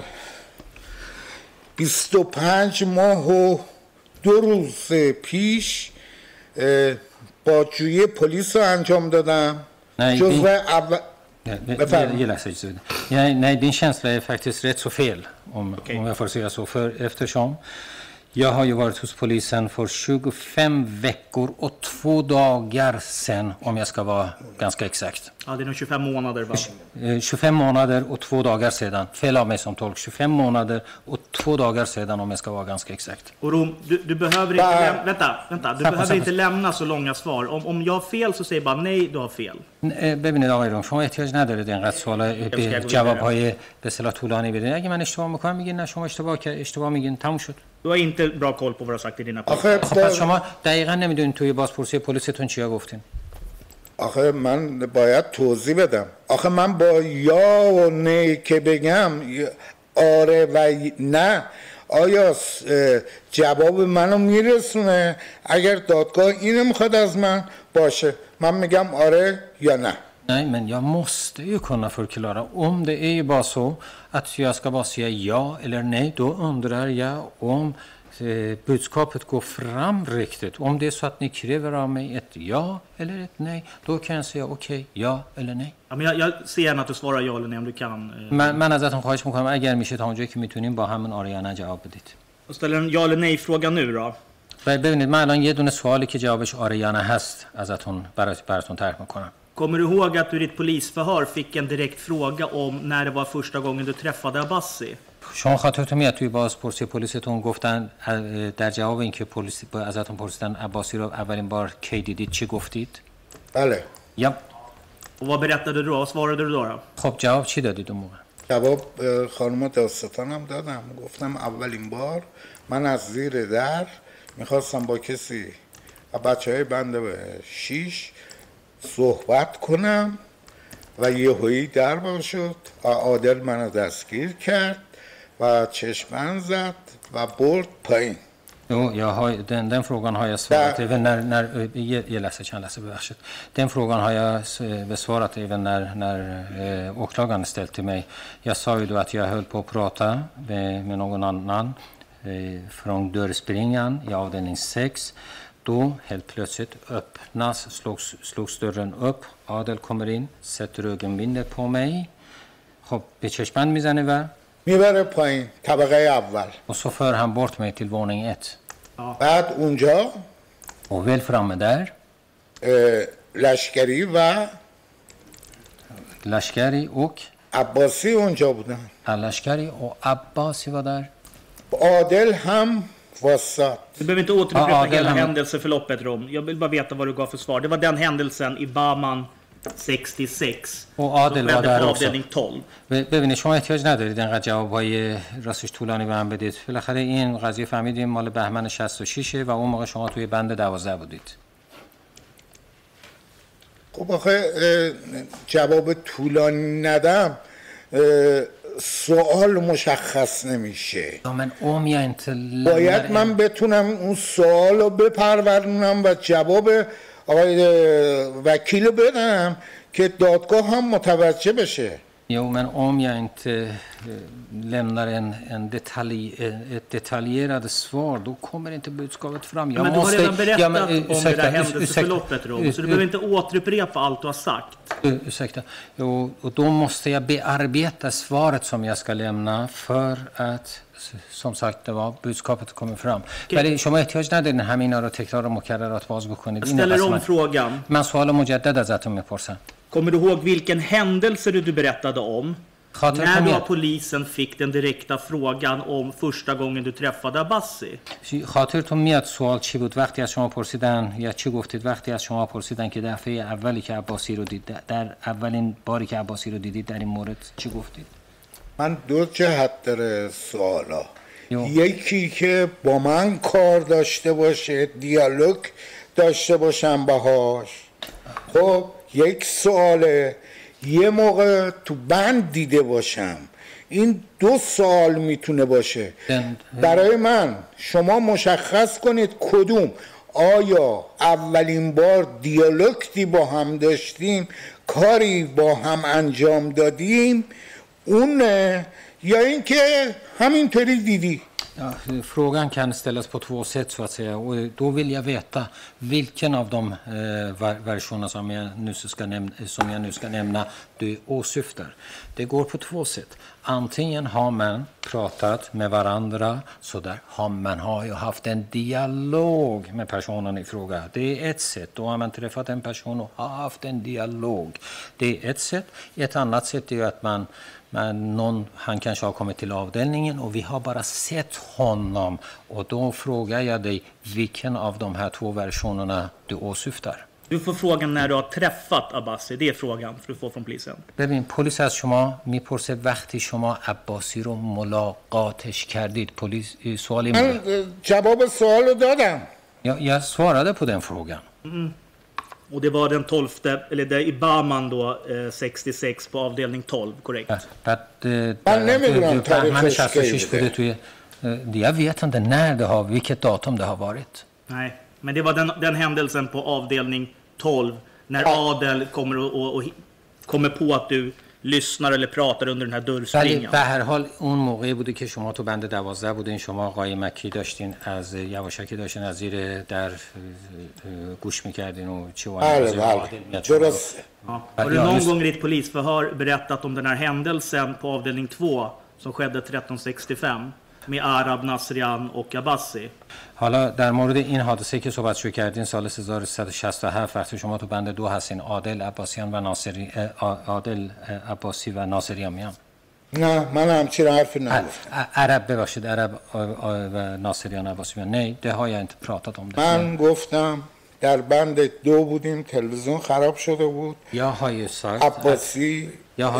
بیست و پنج ماه و دو روز پیش اه، بازجویی پلیس رو انجام دادم. Nej, جزو din, اول ja, det, Befärd. det gillar sig så. Ja, nej, din känsla är faktiskt rätt så fel om, om jag får säga så. För eftersom jag har ju varit hos polisen för tjugofem veckor och två dagar sedan, om jag ska vara ganska exakt. Ja, det är nog tjugofem månader va? Eh, tjugofem månader och två dagar sedan. Fel av mig som tolk. tjugofem månader och två dagar sedan om jag ska vara ganska exakt. Och Rom, du, du behöver inte Bah. lämna, vänta, vänta, du Samma, behöver samma. inte lämna så långa svar. Om, om jag har fel så säg bara nej, du har fel. اه، ببینید آقای روم شما احتیاج ندارید اینقدر سوال به جواب‌های به اصطلاح طولانی بدین. اگه من اشتباه میکنم میگین نه شما اشتباه که اشتباه میگین تموم شد. Du har inte bra koll på vad du har sagt i dina آخه خب پس شما دقیقاً نمیدونید توی بازپرسی پلیستون چیا گفتین. آخه من باید توضیح بدم. آخه من با یا و نه که بگم آره و نه آیا اه، جواب منو میرسونه؟ اگر دادگاه اینو میخواد از من باشه من میگم آره یا نه. Nej, men jag måste ju kunna förklara. Om det är ju bara så att jag ska bara säga ja eller nej, då undrar jag om eh, budskapet går fram riktigt. Om det är så att ni kräver av mig ett ja eller ett nej, då kan jag säga okej, okay, ja eller nej. Ja, men jag, jag ser gärna att du svarar ja eller nej om du kan. Eh. من من ازتون خواهش میکنم اگر میشه تا اونجایی که میتونیم با همون آره یا نه جواب بدید. Och ställer en ja eller nej fråga nu då. ببینید من الان یه دونه سوالی که جوابش آره یا نه هست ازتون برات براتون طرح میکنم. Kommer du ihåg att du i ditt polisförhör fick en direkt fråga om när det var första gången du träffade Abbasi? شما خاطرتون میاد توی بازپرسی پلیستون گفتن در جواب اینکه پلیس ازتون پرسیدن عباسی رو اولین بار کی دیدید چی گفتید؟ بله. یا. Och vad berättade du då? Vad svarade du då? då? خب جواب چی دادید اون موقع؟ جواب خانم داستانم دادم. گفتم اولین بار من از زیر در میخواستم با کسی بچهای بنده به شیش صحبت کنم و یهویی در باز شد و عادل منو دستگیر کرد و چشمن زد و برد پایین. Jo, jag har, den, den frågan har jag svarat även när, när jag läser, kan läsa bevärset. Den frågan har jag besvarat även när, när eh, åklagaren ställt till mig. Jag sa ju då att jag höll på att prata med, med någon annan eh, från dörrspringan i avdelning sex. Då helt plötsligt öppnas, slogs, slogs dörren upp. Adel kommer in, sätter ögonbindet på mig. خب به چشمند میزنه و میبره پایین طبقه اول. Och så för han bort mig till våning ett. بعد اونجا och väl framme där لشکری و لشکری och عباسی اونجا بودن. لشکری och Abbasi var där. عادل هم واسط. Du behöver inte återupprepa ah, hela händelseförloppet, Rom. Jag vill bara veta vad du gav för svar. Det var den händelsen i Bahman sextiosex. och Adel var där också. Avdelning tolv. ببینید شما احتیاج ندارید اینقدر جوابای راستش طولانی به من بدید. بالاخره این قضیه فهمیدیم مال بهمن شصت و شش و اون موقع شما توی بند دوازده بودید. خب آخه جواب طولانی ندم سوال مشخص نمیشه. من om jag inte باید من بتونم اون سوال رو بپرورونم و جواب آقای وکیل بدم که دادگاه هم متوجه بشه. Jo, men om jag inte lämnar en, en detalj, ett detaljerat svar, då kommer inte budskapet fram. Jag men måste, du har redan berättat ja, men, om ursäkta, det där händelseförloppet, Rom, så du behöver inte återupprepa allt du har sagt. Ursäkta. Jo, och då måste jag bearbeta svaret som jag ska lämna för att som sagt det var budskapet kommer fram. ولی شما احتیاج ندارین همینا رو تکرار و مکررات باز بکنید. Jag ställer om frågan. من سوال مجدد ازتون میپرسم. Kommer du ihåg vilken händelse du berättade om? När då polisen fick den direkta frågan om första gången du träffade Abbasi? خاطرتون میاد سوال چی بود وقتی از شما پرسیدن یا چی گفتید وقتی از شما پرسیدن که دفعه اولی که عباسی رو دید در اولین باری که عباسی رو دیدید در این مورد چی گفتید؟ من دو جهت داره سوالا. یکی که با من کار داشته باشه دیالوگ داشته باشم باهاش. خب یک سواله یه موقع تو بند دیده باشم. این دو سوال میتونه باشه. برای من شما مشخص کنید کدوم آیا اولین بار دیالوگی با هم داشتیم کاری با هم انجام دادیم اونه یا اینکه همینطوری دیدی. Ja, frågan kan ställas på två sätt så att säga och då vill jag veta vilken av de eh, versionerna som jag, nu ska nämna, som jag nu ska nämna du åsyftar. Det går på två sätt. Antingen har man pratat med varandra så där har man har ju haft en dialog med personen i fråga. Det är ett sätt. Då har man träffat en person och har haft en dialog. Det är ett sätt. Ett annat sätt är ju att man Men någon, han kanske har kommit till avdelningen och vi har bara sett honom. Och då frågar jag dig vilken av de här två versionerna du åsyftar. Du får frågan när du har träffat Abbasi. Det är frågan för du får från polisen. ببین پلیس از شما میپرسه وقتی شما عباسی رو ملاقاتش کردید. پلیس سوالی من جواب سوال رو دادم. Ja, jag svarade på den frågan. Mm. Och det var den tolfte, eller det i Bahman då, eh, sextiosex på avdelning tolv, korrekt? Jag vet inte när det har, vilket datum det har varit. Nej, men det var den, den händelsen på avdelning tolv när Adel kommer och, och, och kommer på att du lyssnar eller pratar under den här ولی dörrspringan. به هر حال اون موقعی بوده که شما تو بند دوازده بودین، شما آقای مکی داشتین از یواشکی داشتین از زیر در گوش میکردین و چی و بله بله درسته. Ja. Har du någon gång i ditt polisförhör berättat om den här händelsen på avdelning två som skedde tretton sextiofem med Arab, Nasrian och Abbasi? حالا در مورد این حادثه که صحبت شو کردین سال هزار و سیصد و شصت و هفت وقتی شما تو بند دو هستین، عادل عباسیان و ناصری عادل عباسی و ناصریان میان؟ نه من همچین حرفی نگفتم. عرب ببخشید عرب و ناصریان عباسی میان. نه det har jag inte pratat om det. من گفتم در بند دو بودیم، تلویزیون خراب شده بود. یا های سایت عباسی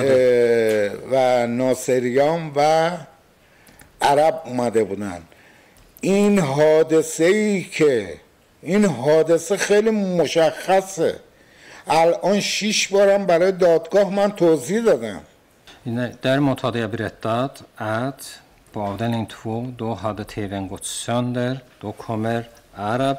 و ناصریان و عرب اومده بودن. این حادثه ای که این حادثه خیلی مشخصه. الان شش بارم برای دادگاه من توضیح دادم. Däremot hade jag berättat att på avdelning två då hade tvn gått sönder. Då kommer Arab,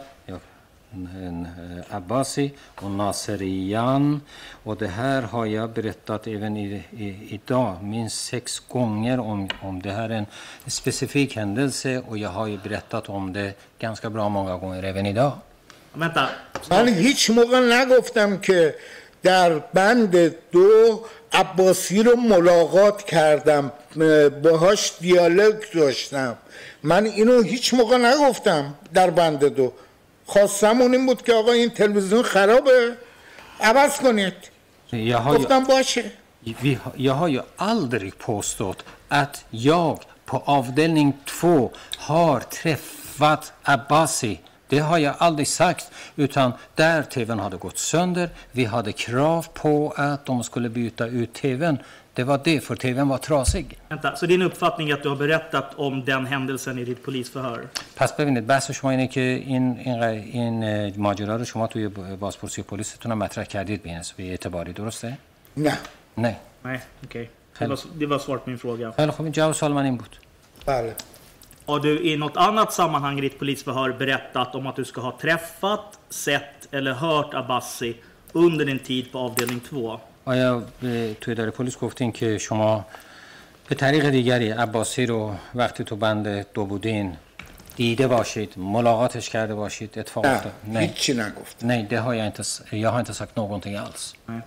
Abbasi och Naserian. Och det här har jag berättat även i, i, idag minst sex gånger om, om det här är en specifik händelse. Och jag har ju berättat om det ganska bra många gånger även idag. Vänta. من هیچ موقع نگفتم که در بند دو عباسی رو ملاقات کردم، باهاش دیالوگ داشتم. من اینو هیچ موقع نگفتم در بند دو. خواستم اون این بود که آقا این تلویزیون خرابه عوض کنید. گفتم باشه. Jag har ju aldrig påstått att jag på avdelning två har träffat Abbasi. Det har jag aldrig sagt, utan där tvn hade gått sönder. Vi hade krav på att de skulle byta ut tvn. Det var det, för tvn var trasig. Vänta, så din uppfattning är att du har berättat om den händelsen i ditt polisförhör? پس ببینید بحث شما اینه که این این این ماجرا رو شما توی بازپرسی پلیستون مطرح کردید به حساب اعتباری، درسته؟ نه. نه. Nej, okej. Det var det var svaret på min fråga. خیلی خوب، جواب سوال من این بود. بله. Har du i något annat sammanhang i ditt polisförhör berättat om att du ska ha träffat, sett eller hört Abbasi under din tid på avdelning två? آیا توی اداره پلیس گفتین که شما به طریق دیگری عباسی رو وقتی تو بند دو بودین دیده باشید، ملاقاتش کرده باشید، اتفاق افتاد؟ نه، هیچی نگفت. Nej, det har jag inte, jag har inte sagt någonting alls. Nej.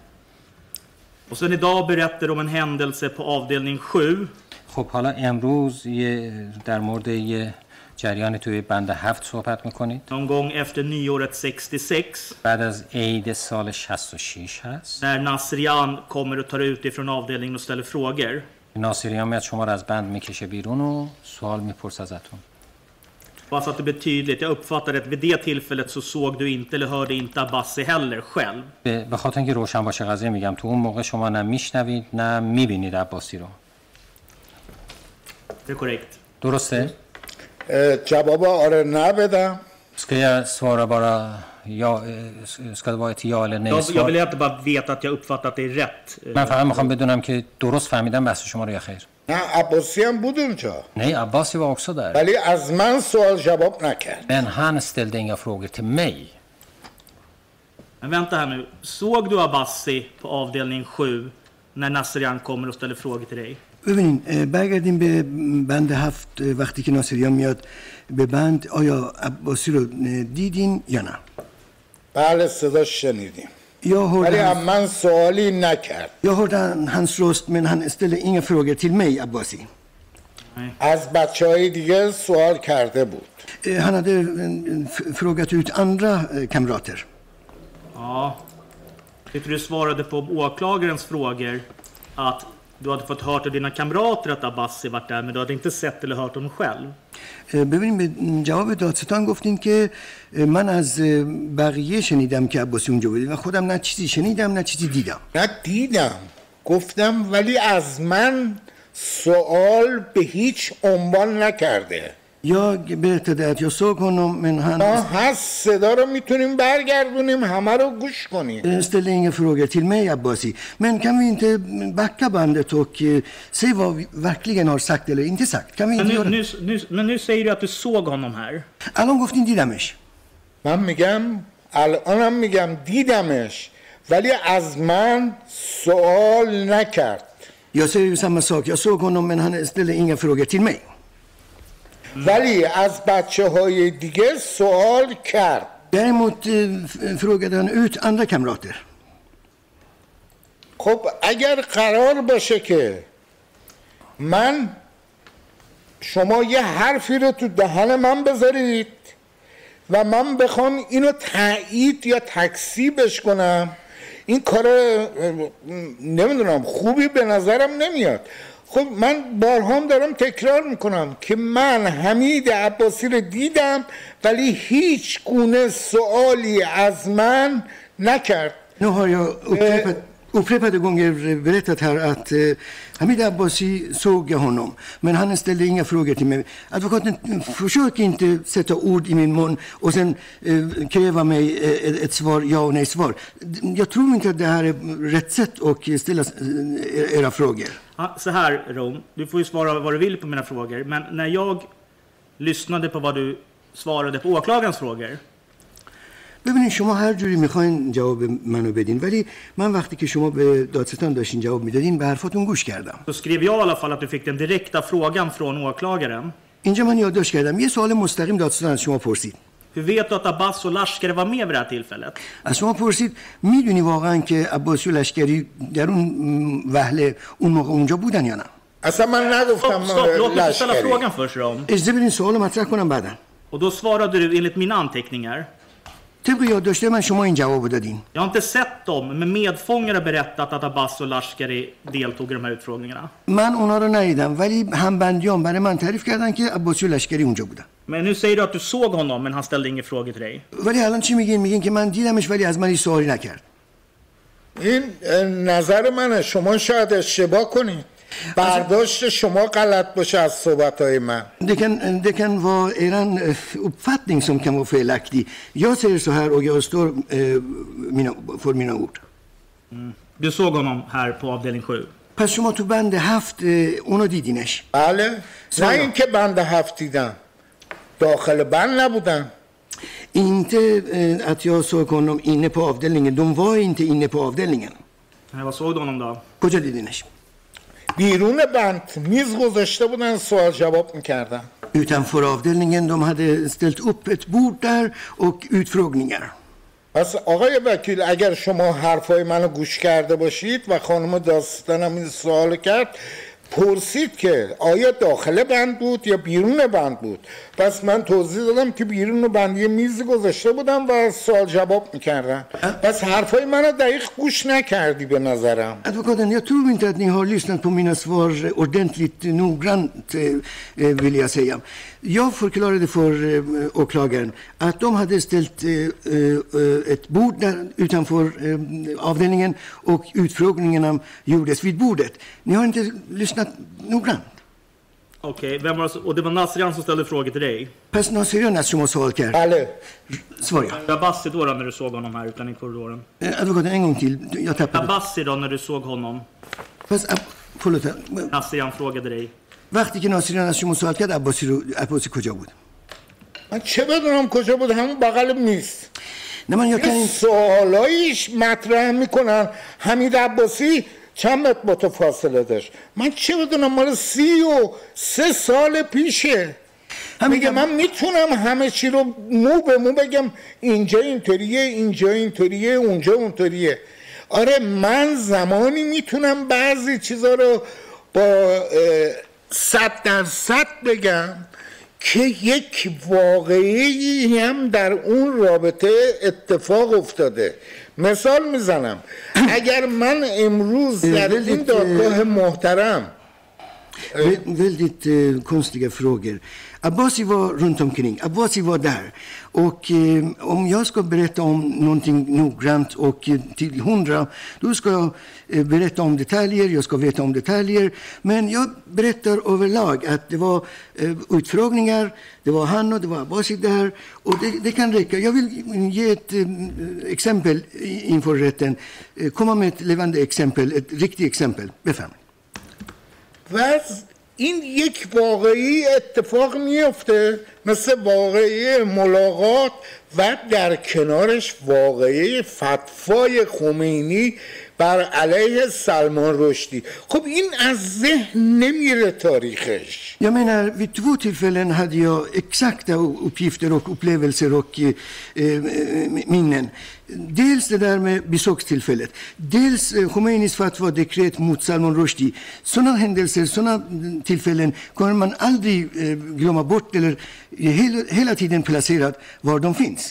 Och sen idag berättar du om en händelse på avdelning sju. خب حالا امروز یه در مورد یه جریانی توی بند هفت صحبت میکنید. Någon gång efter nyåret sextiosex. بعد از عید سال شصت و شش هست. När Nasrian kommer och tar ut ifrån avdelningen och ställer frågor. ناصریان میاد شما رو از بند میکشه بیرون و سوال میپرسه ازتون. Bara så att det blir tydligt, jag uppfattade att vid det tillfället så såg du inte eller hörde inte Abbasi heller själv. به خاطر اینکه روشن باشه قضیه میگم تو اون موقع شما نه میشنوید نه میبینید عباسی رو. Det är korrekt. درسته؟ جواب آره نه بدم. Ska jag svara bara ja, ska det vara ett ja eller nej svar? Jag vill inte bara veta att jag uppfattat att det är rätt. من فقط میخوام بدونم که درست فهمیدم بحث شما رو یا خیر. نه عباسی هم بود اونجا. Nej, Abbasi var också där. ولی از من سوال جواب نکرد. Men han ställde inga frågor till mig. Men vänta här nu. Såg du Abbasi på avdelning sju när Nasrian kommer och ställer frågor till dig? ببینین برگردیم به بند هفت وقتی که ناصریان میاد به بند، آیا عباسی رو دیدین یا نه؟ بله صداش شنیدیم. Jag ولی hörde, هم من سوالی نکرد. jag hörde hans röst men han ställde inga frågor till mig, Abbasi. از بچه های دیگه سوال کرده بود. Han hade f- frågat ut andra eh, kamrater. Ja. Tyckte du svarade på åklagarens frågor att du hade fått hört av dina kamrater att Abbasi varit där, men du hade inte sett eller hört honom själv. ببینیم به جواب دادستان گفتین که من از بقیه شنیدم که عباسی اونجا بود و خودم نه چیزی شنیدم نه چیزی دیدم. نه دیدم گفتم ولی از من سوال به هیچ عنوان نکرده. Jag berättade att jag såg honom men han ما هست صدا رو میتونیم برگردونیم همه رو گوش کنیم. ställde inga frågor till mig, Abbasi. Men kan vi inte backa bandet och se vad vi verkligen har sagt eller inte sagt? Kan vi inte Men göra nu, nu, nu, men nu säger du att du såg honom här. الان گفتین دیدمش. من میگم الانم میگم دیدمش ولی از من سوال نکرد. Jag säger ju samma sak. Jag såg honom men han ställde inga frågor till mig. ولی از بچه های دیگه سوال کرد. Däremot eh, frågade han ut andra kamrater. خب اگر قرار باشه که من شما یه حرفی رو تو دهن من بذارید و من بخوام اینو تایید یا تکذیبش کنم، این کار نمیدونم خوبی به نظرم نمیاد. خب من بارهام دارم تکرار میکنم که من حمید عباسی رو دیدم ولی هیچ گونه سوالی از من نکرد. Nu har jag upprepat, upprepade gånger berättat här att eh, Hamid Abbasi såg jag honom, men han ställde inga frågor till mig. Advokaten, försök inte sätta ord i min mun och sen eh, kräva mig eh, ett svar, ja och nej svar. Jag tror inte att det här är rätt sätt att ställa eh, era frågor. Ja, så här, Rom, du får ju svara vad du vill på mina frågor, men när jag lyssnade på vad du svarade på åklagarens frågor. ببینید شما هر جوری میخواین جواب منو بدین، ولی من وقتی که شما به دادستان داشتین جواب میدادین به حرفاتون گوش کردم. Så skrev jag i alla fall att du fick den direkta frågan från åklagaren. اینجا من یادداشت کردم یه سوال مستقیم دادستان از شما پرسید. Hur vet du att Abbas och Lashkari var med vid det här tillfället? از شما پرسید میدونی واقعا که عباسی و لشکری در اون وهله اون موقع اونجا بودن یا نه؟ اصلا من نگفتم لشکری. اجازه بدین سوالو مطرح کنم بعدا. Och då svarade du enligt mina anteckningar. طبق یادداشت من شما این جواب دادین. Jag har inte sett dem, men medfångar har berättat att Abbas och Lashkari deltog i de här utfrågningarna. من اونا رو ندیدم ولی همبندیان برای من تعریف کردن که عباسی و لشکری اونجا بودن. Men nu säger du att du såg honom, men han ställde inga frågor till dig. ولی الان چی میگین؟ میگین که من دیدمش ولی از من هیچ سوالی نکرد. این نظر منه، شما شاید اشتباه کنید. برداشت شما غلط باشه از صحبت‌های من. Det kan, det kan vara er uppfattning som kan vara felaktig. Jag säger så här och jag står eh, mina, för mina ord. Mm. Du såg honom här på avdelning sju. پس شما تو بند هفت اونو دیدینش؟ بله. نه اینکه بند هفت دیدم. داخل بند نبودم. Inte eh, att jag såg honom inne på avdelningen. De var inte inne på avdelningen. Nej, vad såg du honom då? کجا دیدینش؟ بیرون بند میز گذاشته بودن سوال جواب میکردن. Utanför avdelningen de hade ställt upp ett bord där och utfrågningar. پس آقای وکیل اگر شما حرفای منو گوش کرده باشید و خانم داستانم این سوال کرد پرسید که آیا داخل بند بود یا بیرون بند بود. پس من توضیح دادم که بیرون بند یه میز گذاشته بودم و سوال جواب میکردن. پس حرفای منو دقیق گوش نکردی به نظرم. Advokaten, jag tror inte att ni har lyssnat på mina svar ordentligt noggrant vill jag säga. Jag förklarade för åklagaren att de hade ställt ett bord där utanför avdelningen och utfrågningarna gjordes vid bordet. Ni har inte lyssnat noggrant. Okej, vem var och det var Nasrian som ställde frågor till dig? پس ناصریان از شما سوال کرد. بله. سوال. Abbasi då när du såg honom här utan i korridoren? Advokaten en gång till. Jag tappade. Abbasi då när du såg honom? پس förlåt. Nasrian frågade dig. وقتی که ناصریان از شما سوال کرد عباسی رو عباسی کجا بود؟ من چه بدونم کجا بود؟ همون بغل میز. نه من یه سوالایش مطرح میکنن. حمید عباسی چند متر با تو فاصله داشت؟ من چه بدونم مال سی و سه سال پیشه. میگه من میتونم همه چی رو مو به مو بگم اینجا اینطوریه اینجا اینطوریه اونجا اونطوریه. آره من زمانی میتونم بعضی چیزا رو با صد درصد بگم که یک واقعی هم در اون رابطه اتفاق افتاده. مثال میزنم اگر من امروز در این دادگاه محترم väldigt eh, konstiga frågor. Abbasi var runt omkring. Abbasi var där. Och eh, om jag ska berätta om någonting noggrant och eh, till hundra, då ska jag eh, berätta om detaljer, jag ska veta om detaljer. Men jag berättar överlag att det var eh, utfrågningar, det var han och det var Abbasi där. Och det, det kan räcka. Jag vill ge ett eh, exempel inför rätten. Eh, komma med ett levande exempel, ett riktigt exempel. Befram. و این یک واقعی اتفاق میفته مثل واقعه ملاقات و در کنارش واقعه فتوای خمینی بر علیه سلمان رشدی. خب این از ذهن نمیره تاریخش. Jag menar, vid två tillfällen hade jag exakta uppgifter och upplevelser och eh, minnen. Dels det där med besökstillfället. Dels eh, Khomeinis fatwa dekret mot Salman Rushdie. Sådana händelser, sådana tillfällen kommer man aldrig eh, glömma bort eller hela, hela tiden placerat var de finns.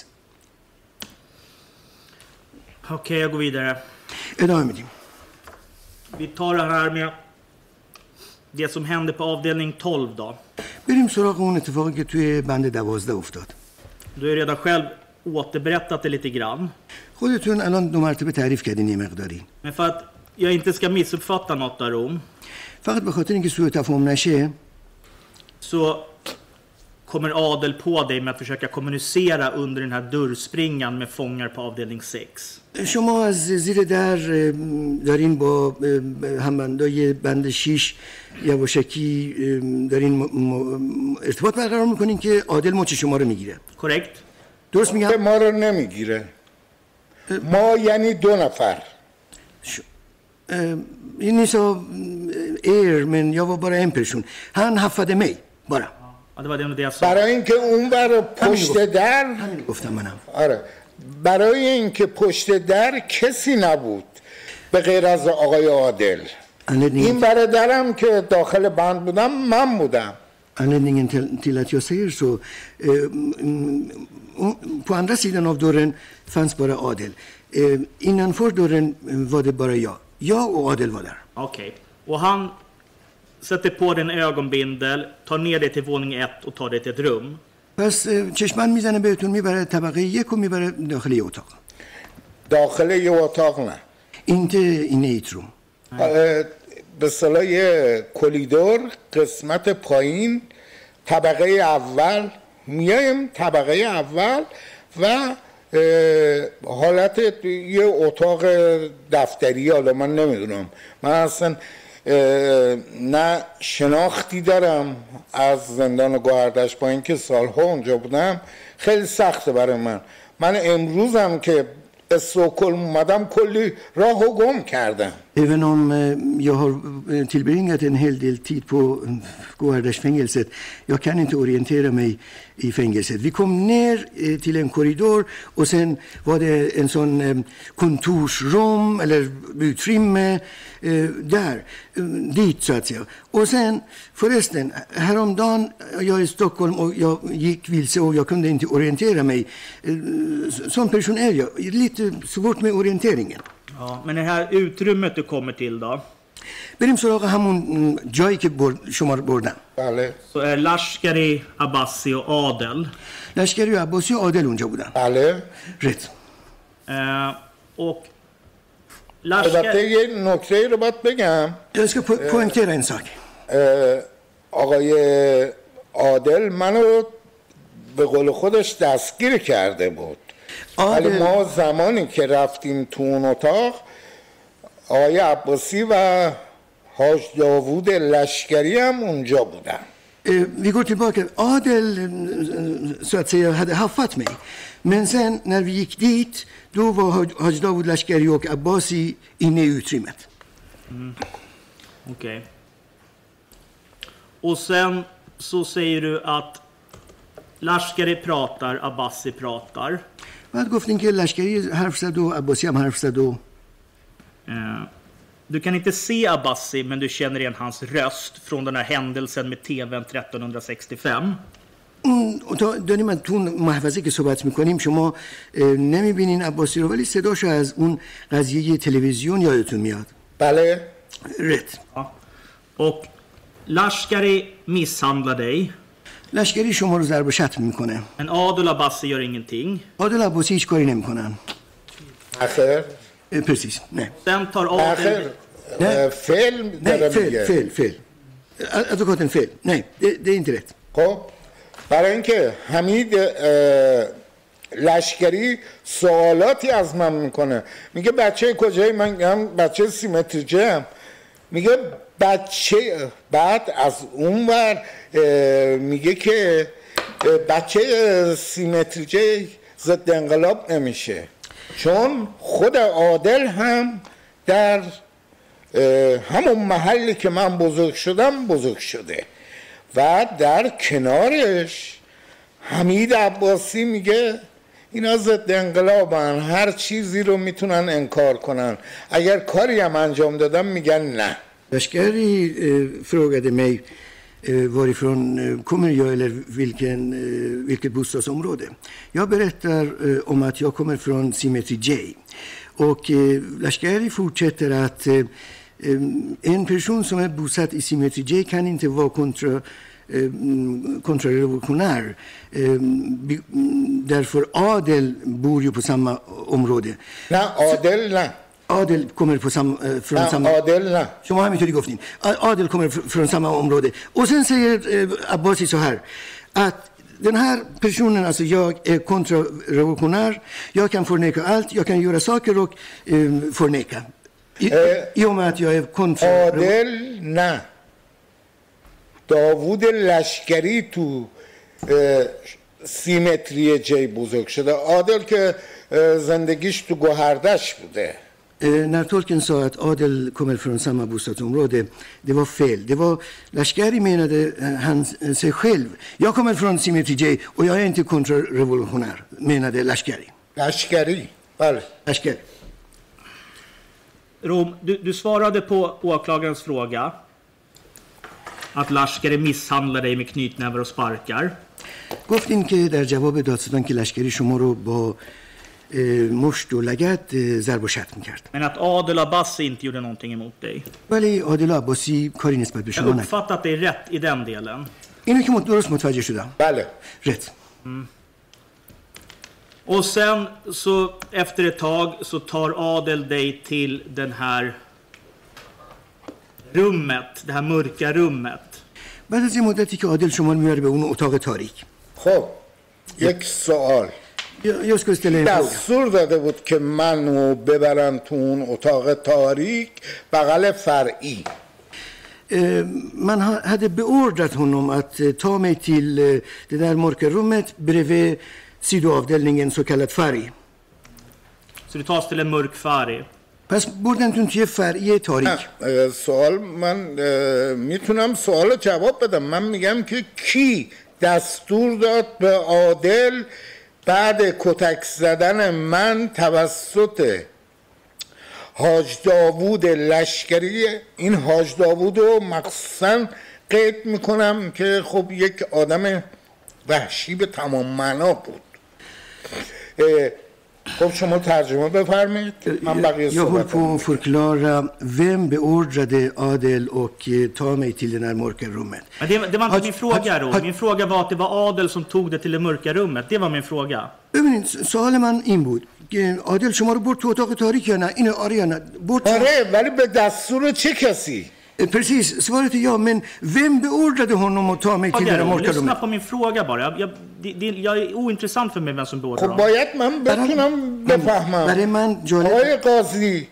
Okej, okay, jag går vidare. ادامه میدیم. Vi tar det här med det som hände på avdelning tolv då. بریم سراغ اون اتفاقی که توی بند دوازده افتاد. Du har redan själv återberättat det lite grann. خودتون الان دو مرتبه تعریف کردین یه مقداری. Men för att jag inte ska missuppfatta något där om. فقط به خاطر اینکه سوء تفاهم نشه. Så kommer Adel på dig med att försöka kommunicera under den här dörrspringan med fångar på avdelning sex. شما از زیر در دارین با همبندای بند شیش یواشکی دارین ارتباط برقرار میکنین که عادل مچ شما رو میگیره. korrekt. درست میگم؟ ما رو نمیگیره. ما یعنی دو نفر. Ni sa er, men jag var bara en person. Han haffade mig, bara. Ja, det var det jag sa. برای اینکه اون بر پشت در همین گفتم منم. آره. برای اینکه پشت در کسی نبود به غیر از آقای عادل. این برادرم که داخل بند بودم من بودم. Anledningen till, till att jag säger så, eh, på andra sidan av dörren fanns bara Adel. Eh, innanför dörren var det bara jag. Jag och Adel var där. Okej. Okay. Och han sätter på den ögonbindel, tar ner dig till våning ett och tar dig till ett rum. پس چشمان میزنه بهتون میبره طبقه یک و میبره داخل یه اتاق. داخل یه اتاق نه. inte inne i ett rum. به اصطلاح یه کلیدور قسمت پایین طبقه اول میایم طبقه اول و حالت یه اتاق دفتری. حالا من نمیدونم، من اصلا نه شناختی دارم از زندان گوهردشت با اینکه سالها اونجا بودم. خیلی سخته برای من. من امروزم که استکهلم اومدم کلی راه و گم کردم. Även om jag har tillbringat en hel del tid på Gåhärdasjfängelset, jag kan inte orientera mig i fängelset. Vi kom ner till en korridor och sen var det en sån kontorsrum eller utrymme där, dit så att säga. Och sen förresten, häromdagen jag är i Stockholm och jag gick vilse och jag kunde inte orientera mig. Sån person är jag, lite svårt med orienteringen. Ja, men det här utrymmet du kommer till då? بریم سراغ همون جایی که شما رو بردن. بله. Så är Lashkari, Abbasi och Adel. لشکری و عباسی و عادل اونجا بودن. بله. rätt. Eh, och البته یه نکته رو باید بگم. Jag ska po poängtera en sak. آقای عادل منو به قول خودش دستگیر کرده بود. ولی ما زمانی که رفتیم تو اون اتاق آقای عباسی و حاج داوود لشکری هم اونجا بودن. Vi går tillbaka. Adel så att säga hade haffat mig. Men sen när vi gick dit då var Haj Dawud Lashkari och Abbasi inne i utrymmet. Mm. Okej. Okay. Och sen så säger du att Lashkari pratar, Abbasi pratar. بعد گفتین که لشکری حرف زد و عباسی هم حرف زد و Du kan inte se Abbasi men du känner igen hans röst från den här händelsen med T V:n tretton sextiofem. تا داریم من تو محفظه که صحبت میکنیم شما نمیبینین عباسی رو ولی صداشو از اون قضیه تلویزیون یادتون میاد. بله. rätt. Ja. Och Lashkari misshandlar dig. لشکری شما رو ضرب و شتم میکنه. En Adel Abbasi gör ingenting. عادل عباسی هیچ کاری نمیکنن. آخر. precis. Nej. Sen tar Adel. Nej. Fel. Nej, fel, fel, fel. Advokaten fel. Nej, det, det är inte rätt. خب برای اینکه حمید لشکری سوالاتی از من میکنه، میگه بچه کجایی؟ من میگم بچه سیمتریجه هم. میگه بچه، بعد از اون ور میگه که بچه سیمتری جی ضد انقلاب نمیشه، چون خود عادل هم در همون محلی که من بزرگ شدم بزرگ شده و در کنارش حمید عباسی میگه اینا ضد انقلابن، هر چیزی رو میتونن انکار کنن، اگر کاری هم انجام دادن میگن نه. Lashkari frågade mig varifrån kommer jag eller vilken, vilket bostadsområde. Jag berättar om att jag kommer från Symmetry J. Och Lashkari fortsätter att en person som är bosatt i Symmetry J kan inte vara kontra kontrarevolutionär. Därför Adel bor ju på samma område. Nej, Adel nej. Adel kommer på sam, från nej, samma... Adel nej. Som har mycket goftin. Adel kommer från samma område. Och sen säger Abbasi så här att den här personen, alltså jag är kontrarevolutionär. Jag kan förneka allt. Jag kan göra saker och eh, förneka. I, eh, I och med att jag är kontra... Adel nej. داوود لشکری تو سیمتری جی بزرگ شده. عادل که زندگیش تو گوهردش بوده. När tolken sa att Adel kommer från samma bostadsområde, det var fel. Det var Lashkari menade han sig själv. Jag kommer från Symmetry J och jag är inte kontrarevolutionär, menade Lashkari. Lashkari, väl? Lashkari. Rom, du, du svarade på åklagarens fråga att Lashkari misshandlar dig med knytnävar och sparkar. گفتین که در جواب دادستان که لشکری شما رو با مشت و لگد ضرب و شتم می‌کرد. Men att Adel Abbasi inte gjorde någonting emot dig. ولی عادل عباسی کاری نسبت به شما نکرد. نکرد. Jag uppfattar att det är rätt i den delen. اینو که درست متوجه شدم. بله. rätt. Mm. Och sen så efter ett tag så tar Adel dig till den här rummet, det här mörka rummet. بعد از این مدتی که عادل شما رو میاره به اون اتاق تاریک. خب یک سوال. Jag skulle ställa en fråga. دستور داده بود که منو ببرن تو اون اتاق تاریک بغل فرعی. Man hade beordrat honom att ta mig till det där mörka rummet bredvid sidoavdelningen så kallat färg. Så du tas till en mörk färg. پس بردن توی فرعی تاریک. سوال من میتونم سوال جواب بدم. من میگم که کی دستور داد به عادل بعد کتک زدن من توسط حاج داوود لشکری، این حاج داوود رو مخصوصا قید میکنم که خب یک آدم وحشی به تمام معنا بود. خب شما ترجمه بفرمایید. من بقیه Jag håller صحبت på att förklara vem beordrade Adel och ta mig till det här mörka rummet. Men det, det var inte min fråga då. Min fråga var att det var Adel som tog det till det mörka rummet. Det var min fråga. ببینید سوال من این بود که عادل شما رو برد تو اتاق تاریک یا نه؟ اینو آره یا نه؟ برد. آره ولی به دستور چه کسی؟ Precis, svaret är ja, men vem beordrade honom att ta mig till det mörka rummet? Lyssna på min fråga bara. Jag, jag, det, jag är ointressant för mig vem som beordrar خب باید من بتونم بفهمم. برای من جالب. آقای قاضی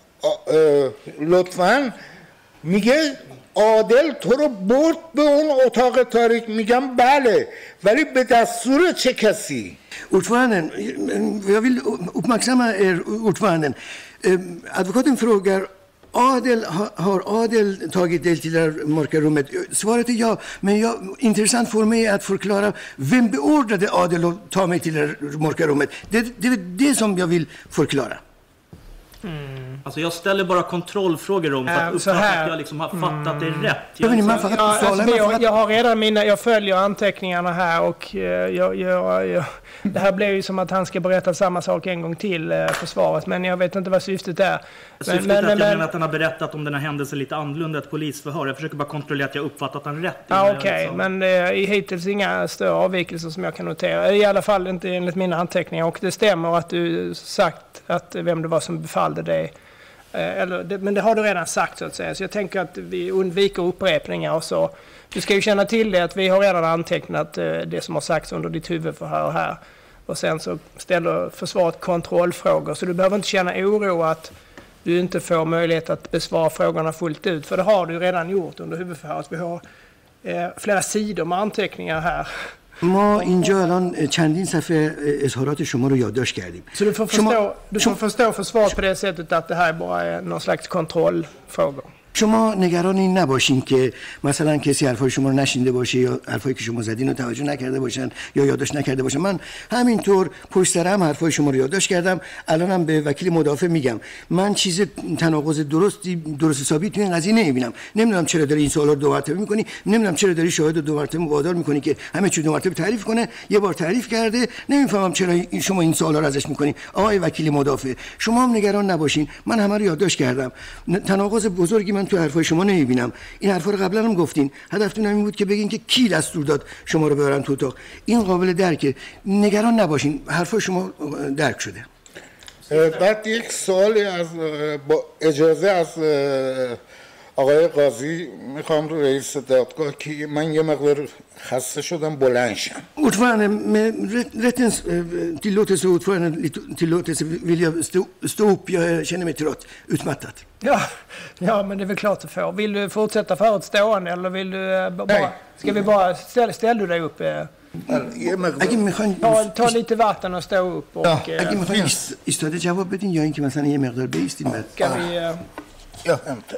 لطفاً میگه عادل تو رو برد به اون اتاق تاریک. میگم بله ولی به دستور چه کسی؟ Ordföranden, jag vill uppmärksamma er ordföranden. Advokaten frågar Adel, har Adel tagit del till det mörka rummet? Svaret är ja, men jag, intressant för mig att förklara vem beordrade Adel att ta mig till det mörka rummet. Det, det är det som jag vill förklara. Mm. Alltså jag ställer bara kontrollfrågor om för att uppfatta att jag liksom har fattat det rätt. Jag, ja, alltså, jag, jag har redan mina, jag följer anteckningarna här och jag, jag, jag, det här blir ju som att han ska berätta samma sak en gång till för svaret, men jag vet inte vad syftet är. Syftet men, är att jag men, menar att han har berättat om den här händelsen lite annorlunda ett polisförhör. Jag försöker bara kontrollera att jag uppfattat han rätt. Ja, okej, okay. Men det är hittills inga större avvikelser som jag kan notera. I alla fall inte enligt mina anteckningar, och det stämmer att du sagt att vem det var som befallde dig. Eller, det, men det har du redan sagt så att säga. Så jag tänker att vi undviker upprepningar och så. Du ska ju känna till det att vi har redan antecknat det som har sagts under ditt huvudförhör här. Och sen så ställer försvaret kontrollfrågor. Så du behöver inte känna oro att du inte får möjlighet att besvara frågorna fullt ut. För det har du redan gjort under huvudförhöret. Vi har eh, flera sidor med anteckningar här. ما اینجا الان چندین صفحه اظهارات شما رو یادداشت کردیم. Så du får förstå, du får förstå försvaret på det sättet att det här bara är någon slags kontrollfrågor. شما نگران این نباشین که مثلا کسی حرفای شما رو نشینده باشه یا حرفایی که شما زدین رو توجه نکرده باشن یا یادداشت نکرده باشن. من همینطور پشت سر هم حرفای شما رو یادداشت کردم. الانم به وکیل مدافع میگم من چیز تناقض درستی درست حسابی تو این قضیه نمیبینم. نمیدونم چرا داری این سوالا رو دو مرتبه میکنی، نمیدونم چرا داری شاهد رو دو مرتبه وادار میکنی که همه چی دو مرتبه تعریف کنه. یه بار تعریف کرده، نمیفهمم چرا شما این سوالا رو ازش میکنی. آقای وکیل مدافع شما هم نگران نباشین، من همه رو یادداشت کردم. تناقض بزرگی من تو حرفای شما نمیبینم. این حرفا رو قبلا هم گفتین. هدفتون همین بود که بگین که کی دستور داد شما رو ببرن تو اتاق. این قابل درکه. نگران نباشین، حرفای شما درک شده. بعد یک سوالی از با اجازه از آقای قاضی میخوام رو رئیس دادگاه که من یه مقدار خسته شدم بلند شم. Ordförande, med rättens tillåtelse ordförande tillåtelse vill jag stå, stå upp. Jag känner mig trött, utmattad. Ja, ja, men det är väl klart du får. Vill du fortsätta för ett stående eller vill du bara... Nej. Ska vi bara... Ställ, ställ du dig upp? Ta, ta lite vatten och stå upp och... Ja, اگه میخواین ایستاده جواب بدین یا اینکه مثلا یه مقدار بیستین بعد. Ska vi... Jag hämtar.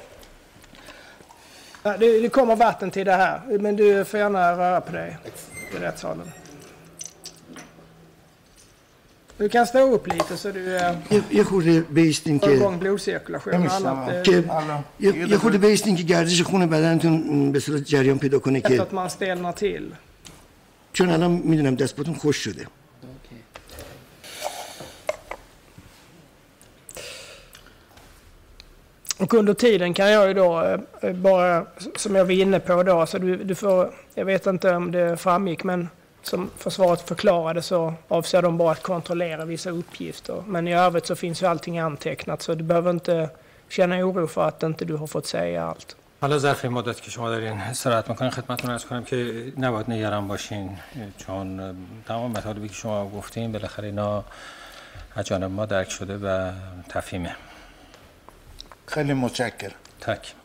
Det, det kommer vatten till det här, men du får gärna röra på dig i rättssalen. Du kan stå upp lite så du یه خورده بیستین får که igång blodcirkulation och annat. که یه خورده بیستین که گردش خون بدنتون به صورت جریان پیدا کنه Efter که att man stelnar till. چون الان میدونم دست پاتون خوش شده. Och under tiden kan jag ju då bara, som jag var inne på då, så du, du får, jag vet inte om det framgick, men som försvaret förklarade så avser de bara att kontrollera vissa uppgifter. Men i övrigt så finns ju allting antecknat, så du behöver inte känna oro för att inte du har fått säga allt. حالا ظرف این مدت که شما دارین استراحت میکنین خدمتتون عرض کنم که نباید نگران باشین، چون تمام مطالبی که شما گفتین بالاخره اینا از جانب ما درک شده و تفهیمه. خیلی متشکرم. تک.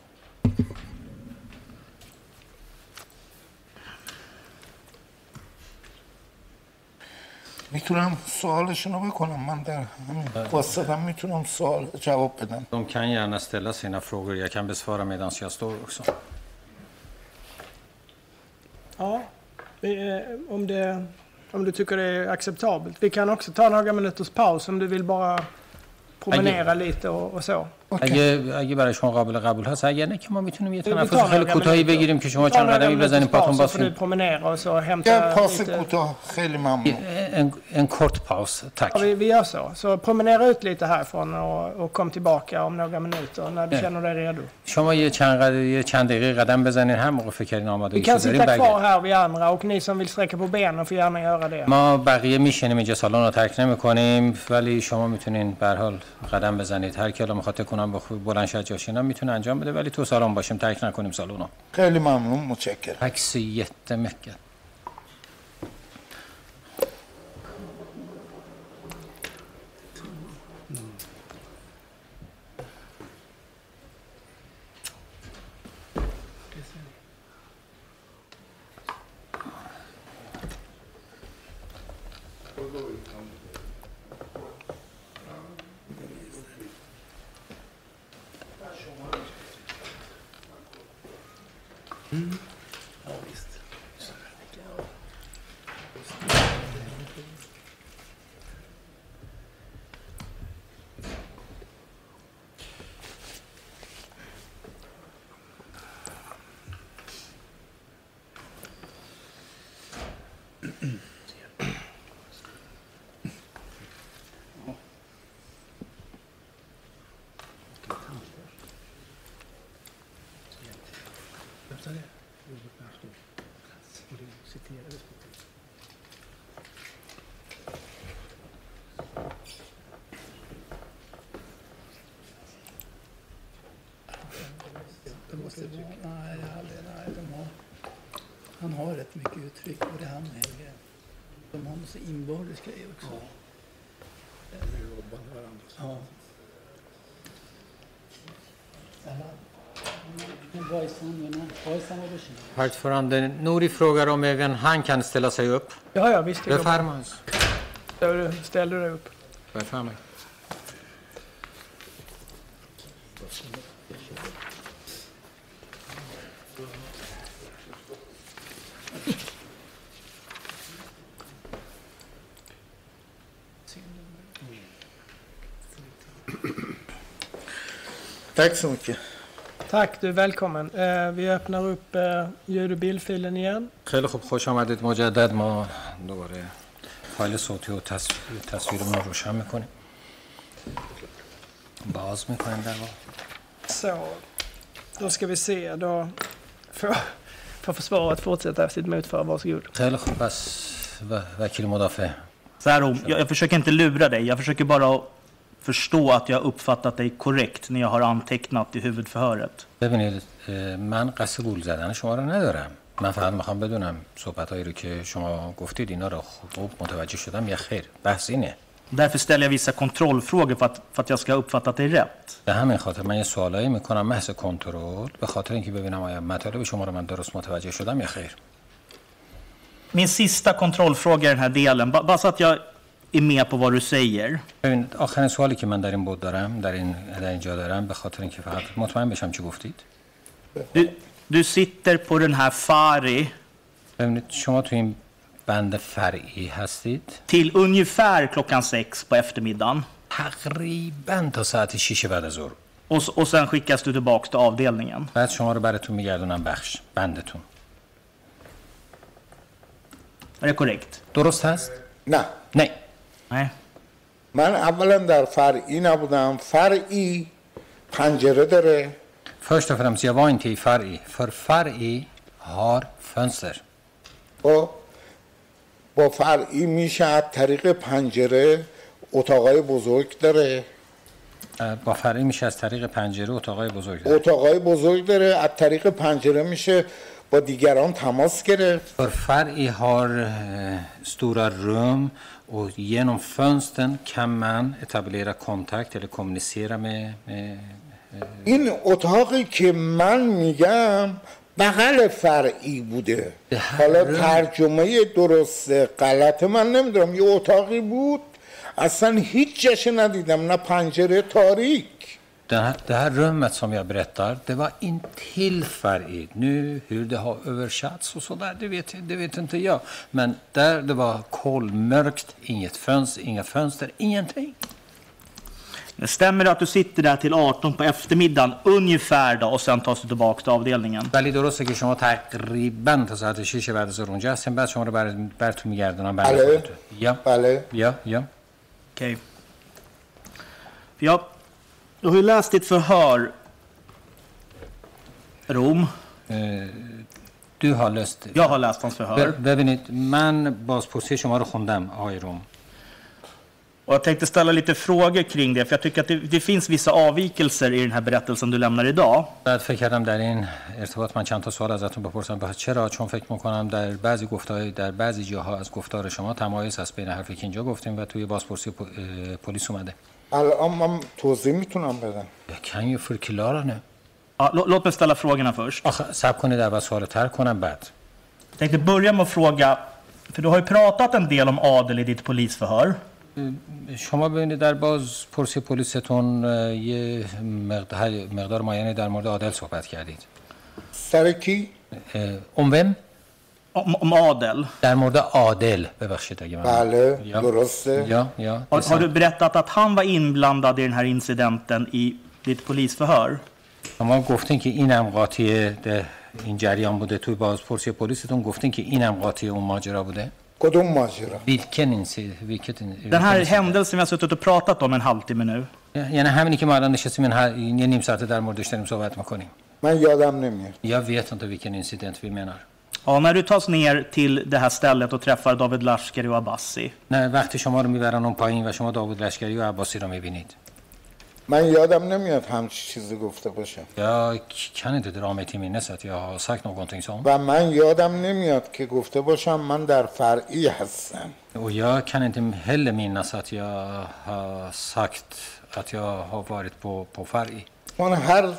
میتونم سوالشون رو بکنم؟ من در همین واسطم میتونم سوال جواب بدم. De kan gärna ställa sina frågor. Jag kan besvara medan jag står också. Ja, om, det, om du tycker det är acceptabelt. Vi kan också ta några minuters paus om du vill bara promenera lite och, och så. اگه اگه برای شما قابل قبول هست، اگر نه که ما میتونیم یه تنفس خیلی کوتاهی بگیریم که شما چند قدمی بزنید پاتون باز کنید. یه پاس کوتاه خیلی ممنون. En, en kort paus, tack. Ja, vi, vi gör så. Så promenera ut lite härifrån och, och kom tillbaka om några minuter när du yeah. känner dig redo. شما یه چند قدم یه چند دقیقه قدم بزنید هر موقع فکر کردین آماده شدید. Vi kan sitta kvar här vid andra och ni som vill sträcka på benen får gärna göra det. ما بقیه میشینیم اینجا، سالن رو ترک نمی‌کنیم، ولی شما میتونین به هر حال قدم بزنید. هر کی الان میخواد تکونم بخوره بلند شه جاشینم میتونه انجام بده، ولی تو سالن باشیم، ترک نکنیم سالن رو. خیلی ممنون، متشکرم. Tack så jättemycket. Mm. Ja, visst. Nej, nej, de har, han har rätt mycket uttryck, och det han Helge. De har något så inbördes grej också. Ja. De jobbar med varandra. Ja. Ordförande Nouri frågar om även han kan ställa sig upp. Ja, ja, visst. Befärmas. Ställer du dig upp? Befärmas. Tack så mycket. Tack, du är välkommen. Eh, vi öppnar upp eh, ljud- och bildfilen igen. خیلی خوب خوش آمدید مجدد ما دوباره فایل صوتی و تصویر تصویرمون رو روشن میکنیم باز میکنیم در واقع Så, då ska vi se. Då får, får försvaret fortsätta sitt motförande. Varsågod. خیلی خوب پس و- وکیل مدافع Så här, Rom, jag, jag försöker inte lura dig. Jag försöker bara förstå att jag uppfattat dig korrekt när jag har antecknat i huvudförhöret. ببینید اه، من قصد گول زدن شما رو ندارم من فقط میخوام بدونم صحبتهایی رو که شما گفتید اینا رو خوب متوجه شدم یا خیر بحث اینه Därför ställer jag vissa kontrollfrågor för att, för att jag ska ha uppfattat dig rätt. به همین خاطر من یه سوالایی میکنم محض کنترل به خاطر اینکه ببینم آیا مطالب شما رو من درست متوجه شدم یا خیر Min sista kontrollfråga i den här delen, ba- bara så att jag är med på vad du säger. ببینید آخرین سوالی که من در این بود دارم در این در اینجا دارم به خاطر اینکه فقط مطمئن بشم چی گفتید Du, du sitter på den här Fari ببینید شما تو این بند فرعی هستید till ungefär klockan sex på eftermiddagen. تقریبا تا ساعت شش بعد از ظهر Och, s- och sen skickas du tillbaka till avdelningen. بعد شما رو براتون میگردونم بخش بندتون Är det korrekt? درست هست نه نه Nej. من اولا در فرعی نبودم. فرعی پنجره داره. Först och främst, jag var inte i Far'i. För Far'i har fönster. با با فرعی میشه از طریق پنجره اتاقای بزرگ داره. اه، با فرعی میشه از طریق پنجره اتاقای بزرگ داره. اتاقای بزرگ داره. از طریق پنجره میشه با دیگران تماس گرفت. För Far'i har eh, stora rum och genom fönstren kan man etablera kontakt eller kommunicera med, med این اتاقی که من میگم بغل فرعی بوده. حالا ترجمه درست غلط من نمیدونم. یه اتاقی بود اصلا هیچ جاش ندیدم نه پنجره تاریک. det här, det här rummet som jag berättar, det var intill Far'i. Nu hur det har översatts och så där, det vet, det vet inte jag. Men där det var kolmörkt, inget fönster, inga fönster, ingenting. Det stämmer att du sitter där till arton på eftermiddagen ungefär då, och sen tas du tillbaka till avdelningen. ولی درسته که شما تقریبا تا ساعت شش بعد از ظهر اونجا هستین بعد شما رو بر براتون میگردونم برای بله. خودتون. یا بله. یا یا Okej. För jag, jag har ju läst ditt förhör, Rom. Du har läst. Jag har läst hans förhör. ببینید من بازپرسی شما رو خوندم آقای روم. Och jag tänkte ställa lite frågor kring det, för jag tycker att det, det finns vissa avvikelser i den här berättelsen du lämnar idag. بعد فکر کردم در این ارتباط من چند تا سوال ازتون بپرسم. به چرا؟ چون فکر می‌کنم در بعضی گفتار در بعضی جاها از گفتار شما تمایز هست بین حرفی که اینجا گفتیم و توی بازپرسی پلیس اومده. الان من توضیح میتونم بدم. Jag kan ju förklara nu. Ja, lå- låt mig ställa frågorna först. آخه صبر کنید اول سوال تر کنم بعد. Jag tänkte börja med att fråga, för du har ju pratat en del om adel i ditt polisförhör. شما ببینید در باز پرسی پلیستون یه مقدار مقدار معینی در مورد عادل صحبت کردید. سر کی؟ om vem؟ Om, om adel. در مورد عادل ببخشید اگه من. بله Ja. درسته. Ja, ja. Har, har du berättat att han var inblandad i den här incidenten i ditt polisförhör? شما گفتین که اینم قاطی این جریان بوده توی بازپرسی پلیستون گفتین که اینم قاطی اون ماجرا بوده؟ کدوم ماجرا؟ Vilken incident? Vilket in- Den här händelsen vi har suttit och pratat om en halvtimme nu. یعنی همینی که ما الان نشستیم این ه- یه نیم ساعته در موردش داریم صحبت میکنیم. من یادم نمیاد. Jag vet inte vilken incident vi menar. Ja, när du tas ner till det här stället och träffar David Lashkari och Abbasi. نه وقتی شما رو میبرن اون پایین و شما داوود لشکری و عباسی رو میبینید. من یادم نمیاد همچی چیزی گفته باشم. Jag kan inte dra mig till minnes att jag har sagt någonting sånt. و من یادم نمیاد که گفته باشم من در فرعی هستم. Och jag kan inte heller minnas att jag har sagt att jag har varit på, på Far'i. من هر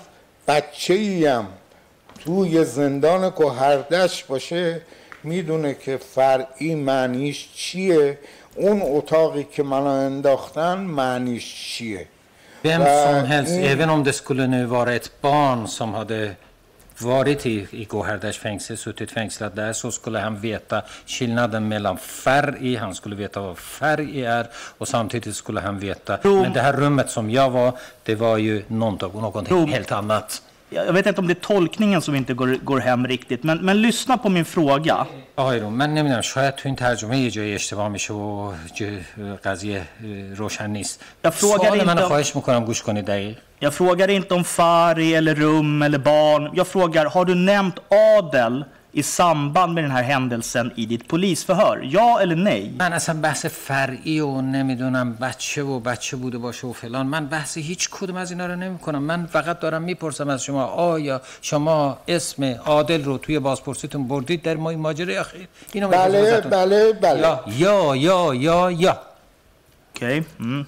بچه‌ایم توی زندان گوهردشت باشه میدونه که فرعی معنیش چیه، اون اتاقی که منو انداختن معنیش چیه. Vem som helst, även om det skulle nu vara ett barn som hade varit i, i Gåhärdars fängelse, suttit fängslad där, så skulle han veta skillnaden mellan färg, han skulle veta vad färg är, och samtidigt skulle han veta, men det här rummet som jag var, det var ju någonting, någonting helt annat. Jag vet inte om det är tolkningen som inte går, går hem riktigt, men, men lyssna på min fråga. آقای رو من نمیدونم شاید تو این ترجمه یه جایی اشتباه میشه و قضیه روشن نیست. سوال منو خواهش میکنم گوش کنید دقیق. Jag frågar inte om färg eller rum eller barn. Jag frågar, har du nämnt adel i samband med den här händelsen i ditt polisförhör? Ja eller nej? من اصلا بحث فرعی و نمیدونم بچه و بچه بوده باشه و فلان، من بحث هیچ کدوم از اینا رو نمیکنم. من فقط دارم میپرسم از شما آیا شما اسم عادل رو توی بازپرسیتون بردید در ما این ماجرای اخیر؟ اینو بله بله بله. یا یا یا یا یا. Okej. Mm.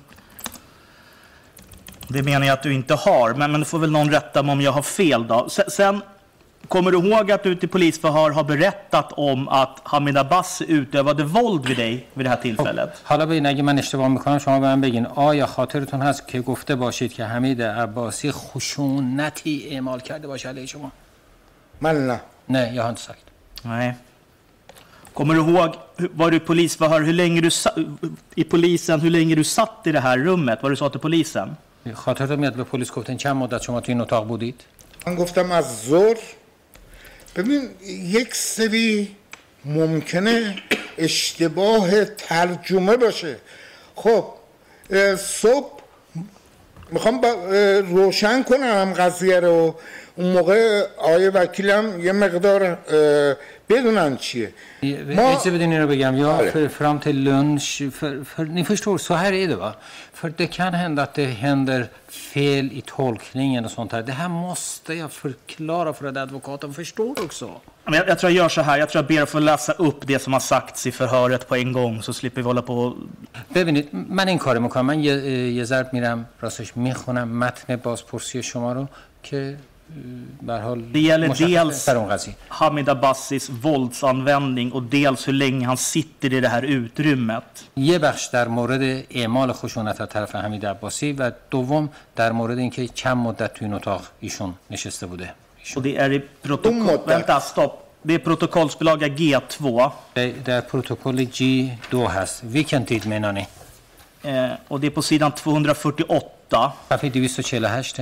Det menar jag att du inte har, men, men då får väl någon rätta mig om jag har fel då. Sen, sen kommer du ihåg att du till polisförhör har berättat om att Hamid Abbasi utövade våld vid dig vid det här tillfället? حالا ببین اگه من اشتباه میکنم شما به من بگین آیا خاطرتون هست که گفته باشید که حمید عباسی خشونتی اعمال کرده باشه علیه شما؟ من نه. نه jag har inte sagt. Nej. Kommer du ihåg, var du polisförhör hur länge du i polisen hur länge du satt i det här rummet? Vad du sa till polisen? خاطرتون میاد به پلیس گفتین چند مدت شما تو این اتاق بودید؟ من گفتم از ظهر. ببین یک سری ممکنه اشتباه ترجمه باشه. خب صبح میخوام روشن کنم قضیه رو، اون موقع آیه وکیلم یه مقدار بدونن چیه. ما اجازه بدین رو بگم یا för, fram till lunch för, för, ni förstår så här är det va, för det kan hända att det händer fel i tolkningen och sånt här. Det här måste jag förklara för att advokaten förstår också. Men jag, jag tror jag gör så här, jag tror jag ber att få läsa upp det som har sagts i förhöret på en gång så slipper vi hålla på. ببینید من این کارو میکنم، من یه, یه ضرب میرم راستش میخونم متن بازپرسی شما رو که Det gäller dels Hamid Abbasis våldsanvändning och dels hur länge han sitter i det här utrymmet. یه بخش در مورد اعمال خشونت از طرف حمید عباسی و دوم در مورد اینکه چند مدت تو این اتاق ایشون نشسته بوده. Och det är i protokoll vänta stopp. Det är protokollsbilaga G två. Det är protokoll G två هست. Vilken tid menar ni? Eh, och det är på sidan tvåhundrafyrtioåtta. صفحه دویست و چهل و هشت.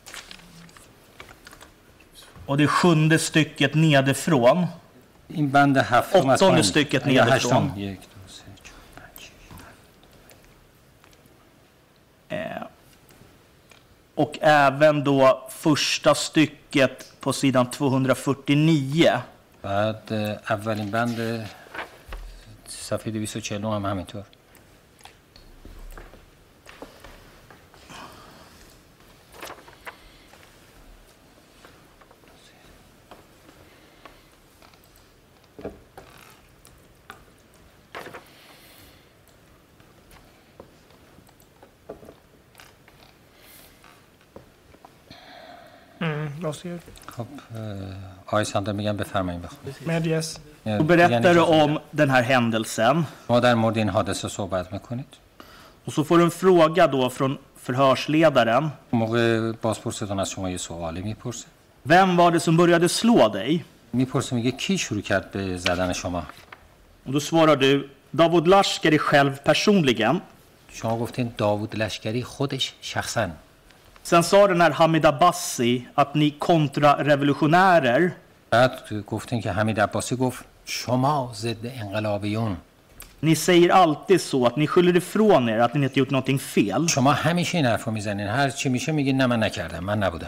Och det är sjunde stycket nedifrån. این بند هفتم از åttonde stycket nedifrån. Eh, och även då första stycket på sidan tvåhundrafyrtionio. بعد اولین بند صفحه دویست و چهل هم همینطور. خب آقای ساندر میگم بفرمایید بخونید. Medges. Och berättar du om den här händelsen. ما در مورد این حادثه صحبت میکنید. Och så får du en fråga då från förhörsledaren. موقع بازپرستون از شما یه سوالی میپرسه. Vem var det som började slå dig? میپرسه میگه کی شروع کرد به زدن شما؟ Och då svarar du Davud Lashkari själv personligen. شما گفتین داوود لشکری خودش شخصا. Sen sa den här Hamid Abbasi att ni kontrarevolutionärer. بعد گفتین که حمید عباسی گفت شما ضد انقلابیون. Ni säger alltid så att ni skyller ifrån er att ni inte gjort någonting fel. شما همیشه این حرفو میزنین، هر چی میشه میگین نه من نکردم، من نبودم.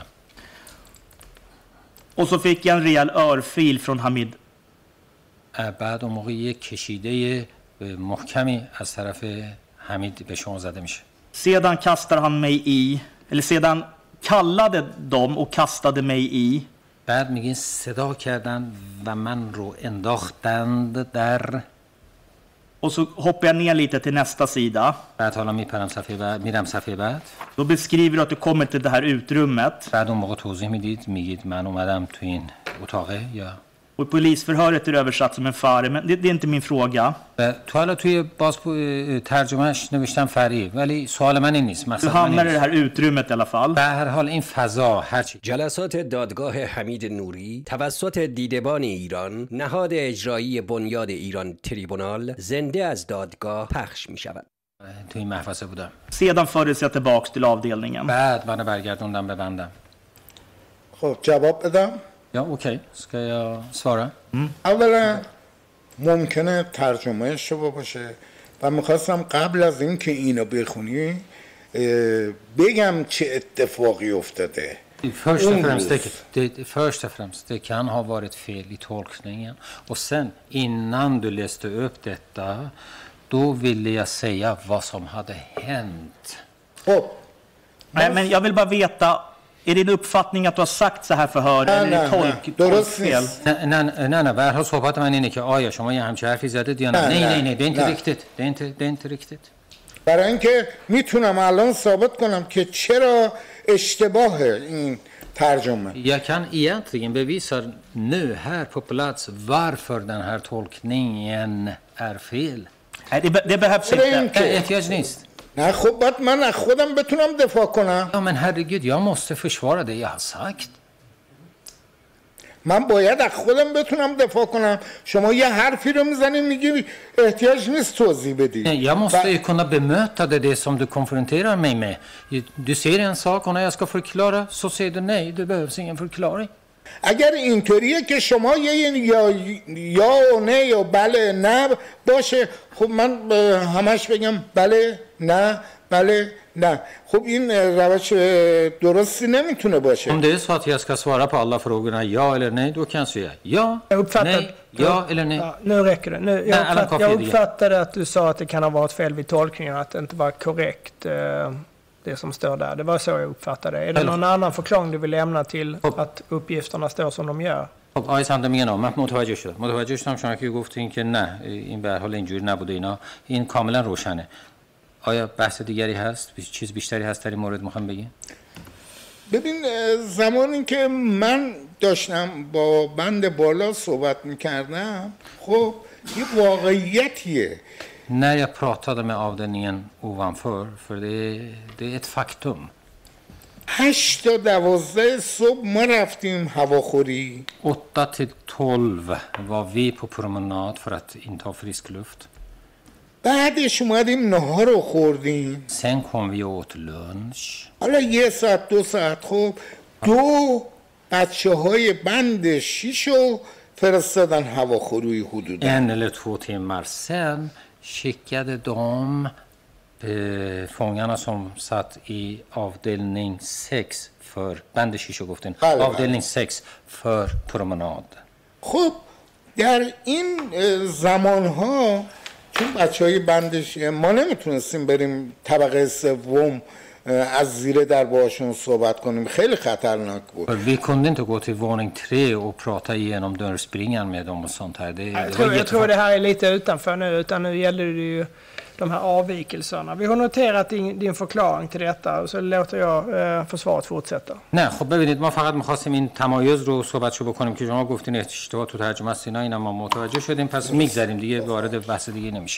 Och så fick jag en rejäl örfil från Hamid. بعد اون موقع یک کشیده محکمی از طرف حمید به شما زده میشه. Sedan kastar han mig i eller sedan kallade de och kastade mig i. بعد میگین صدا کردن و من رو انداختند در. Och så hoppar jag ner lite till nästa sida. بعد حالا میپرم صفحه بعد میرم صفحه بعد. Då beskriver du att du kommer till det här utrummet. بعد اون موقع توضیح میدید میگید من اومدم تو این اتاقه یا Och polisförhöret är översatt som en fare, men det, det är inte min fråga. تو حالا توی باز ترجمهش نوشتم فری ولی سوال من این نیست. Du hamnar i det här utrymmet i alla fall. به هر حال این فضا هرچی جلسات دادگاه حمید نوری توسط دیدبان ایران نهاد اجرایی بنیاد ایران تریبونال زنده از دادگاه پخش می شود. تو این محفظه بودم. Sedan fördes jag tillbaks till avdelningen. بعد من برگردوندم به بندم. خب جواب بدم. Ja, okej. Ska jag svara? Mm. اولا ممکنه ترجمه اشتباه باشه و میخواستم قبل از این که اینو بخونی بگم چه اتفاقی افتاده. Först och, främst, det, det, först och främst, det kan ha varit fel i tolkningen. Och sen, innan du läste upp detta, då ville jag säga vad som hade hänt. Oh. Nej, men jag vill bara veta, är din uppfattning att du har sagt så här förhör eller är det tolk, tolkfel? Nej, nej, nej, nej. Vad har صحبت من اینه که آیا شما یه همچه حرفی زدید یا نه؟ نه، نه، نه. Det är inte riktigt. Det är inte, det är inte riktigt. برای اینکه میتونم الان ثابت کنم که چرا اشتباهه این ترجمه. Jag kan egentligen bevisa nu här på plats varför den här tolkningen är fel. Nej, det, det behövs inte. احتیاج نیست. نه خب باید من از خودم بتونم دفاع کنم. Ja, men herregud, jag måste försvara det jag har sagt. من باید از خودم بتونم دفاع کنم. شما یه حرفی رو میزنی میگی احتیاج نیست توضیح بدی. Jag måste ju kunna bemöta det, det som du konfronterar mig med. Du säger en sak och när jag ska förklara så säger du nej, det behövs ingen förklaring. اگر اینطوریه که شما یه یا یا و نه یا بله نه باشه خب من همش بگم بله نه بله نه خب این روش درستی نمیتونه باشه. Om det är så att jag ska svara på alla frågorna ja eller nej, då kan jag säga ja, nej, ja eller nej. Ja, nu räcker det. Nu, jag, nej, uppfatt, jag uppfattade att du sa att det kan ha varit fel vid tolkningen, att det inte var korrekt eh, det som står där. Det var så jag uppfattade det. Är det någon annan förklaring du vill lämna till att uppgifterna står som de gör؟ خب آقای صندمیان من متوجه شدم. متوجه شدم شما که گفتین که نه این به هر حال اینجوری نبوده اینا. این کاملا روشنه. آیا بحث دیگری هست؟ چیز بیشتری هست در این مورد میخوام بگین؟ ببین زمانی که من داشتم با بند بالا صحبت میکردم خب یه واقعیتیه. När jag pratade med avdelningen ovanför, för det, det är ett faktum. هشت تا دوازده صبح ما رفتیم هواخوری. åtta till tolv var vi på promenad för att inta frisk luft. بعدش اومدیم نهار رو خوردیم. Sen kom vi åt lunch. حالا یه ساعت دو ساعت خب دو بچه های بند شیشو فرستادن هواخوری حدودا. En eller två timmar sen skickade de eh, fångarna som satt i avdelning sex för band shisho goften. Avdelning sex för promenad. خب در این زمانها چون بچهای بندش ما نمیتونستیم بریم طبقه سوم از زیر در باشون صحبت کنیم خیلی خطرناک بود. Vi kunde inte gå till våning tre och prata igenom dörrspringan med dem och sånt här. Det, jag, tror, jag tror det här är lite utanför nu, utan nu gäller det ju de här avvikelserna. Vi har noterat din, din förklaring till detta och så låter jag eh, försvaret fortsätta. نه خب ببینید ما فقط می‌خواستیم این تمایز رو صحبتشو بکنیم که شما گفتین اشتباه تو ترجمه است اینا اینا ما متوجه شدیم پس میگذریم دیگه وارد بحث دیگه نمیشیم.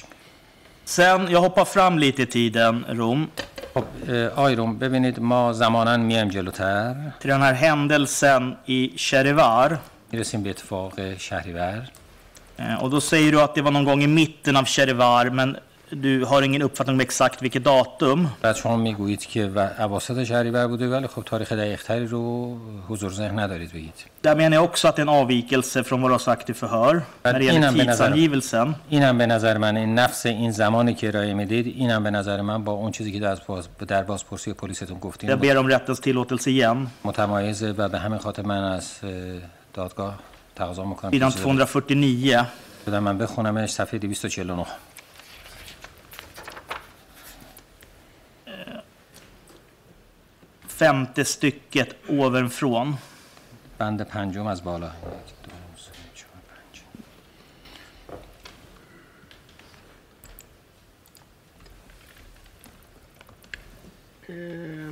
Sen jag hoppar fram lite i tiden Rom. خب آی روم ببینید ما زماناً میایم جلوتر. Till den här händelsen i Cherivar. میرسیم به اتفاق شهریور. Och då säger du att det var någon gång i mitten av Cherivar men du har ingen uppfattning om exakt vilket datum. بعد شما میگویید که اواسط شهریور بوده ولی خب تاریخ دقیق‌تری رو حضور ذهن ندارید بگید. Där menar jag också att det är en avvikelse från vad du har sagt i förhör när det gäller tidsangivelsen. اینم به نظر من این نفس این زمانی که ارائه میدید اینم به نظر من با اون چیزی که در باز در بازپرسی پلیستون گفتین. Jag ber om rättens tillåtelse igen. متمایزه و به همین خاطر من از دادگاه تقاضا میکنم. sidan tvåhundrafyrtionio. بدم من بخونمش صفحه دویست و چهل و نه. Femte stycket ovanifrån. بند پنجم از بالا. Eh,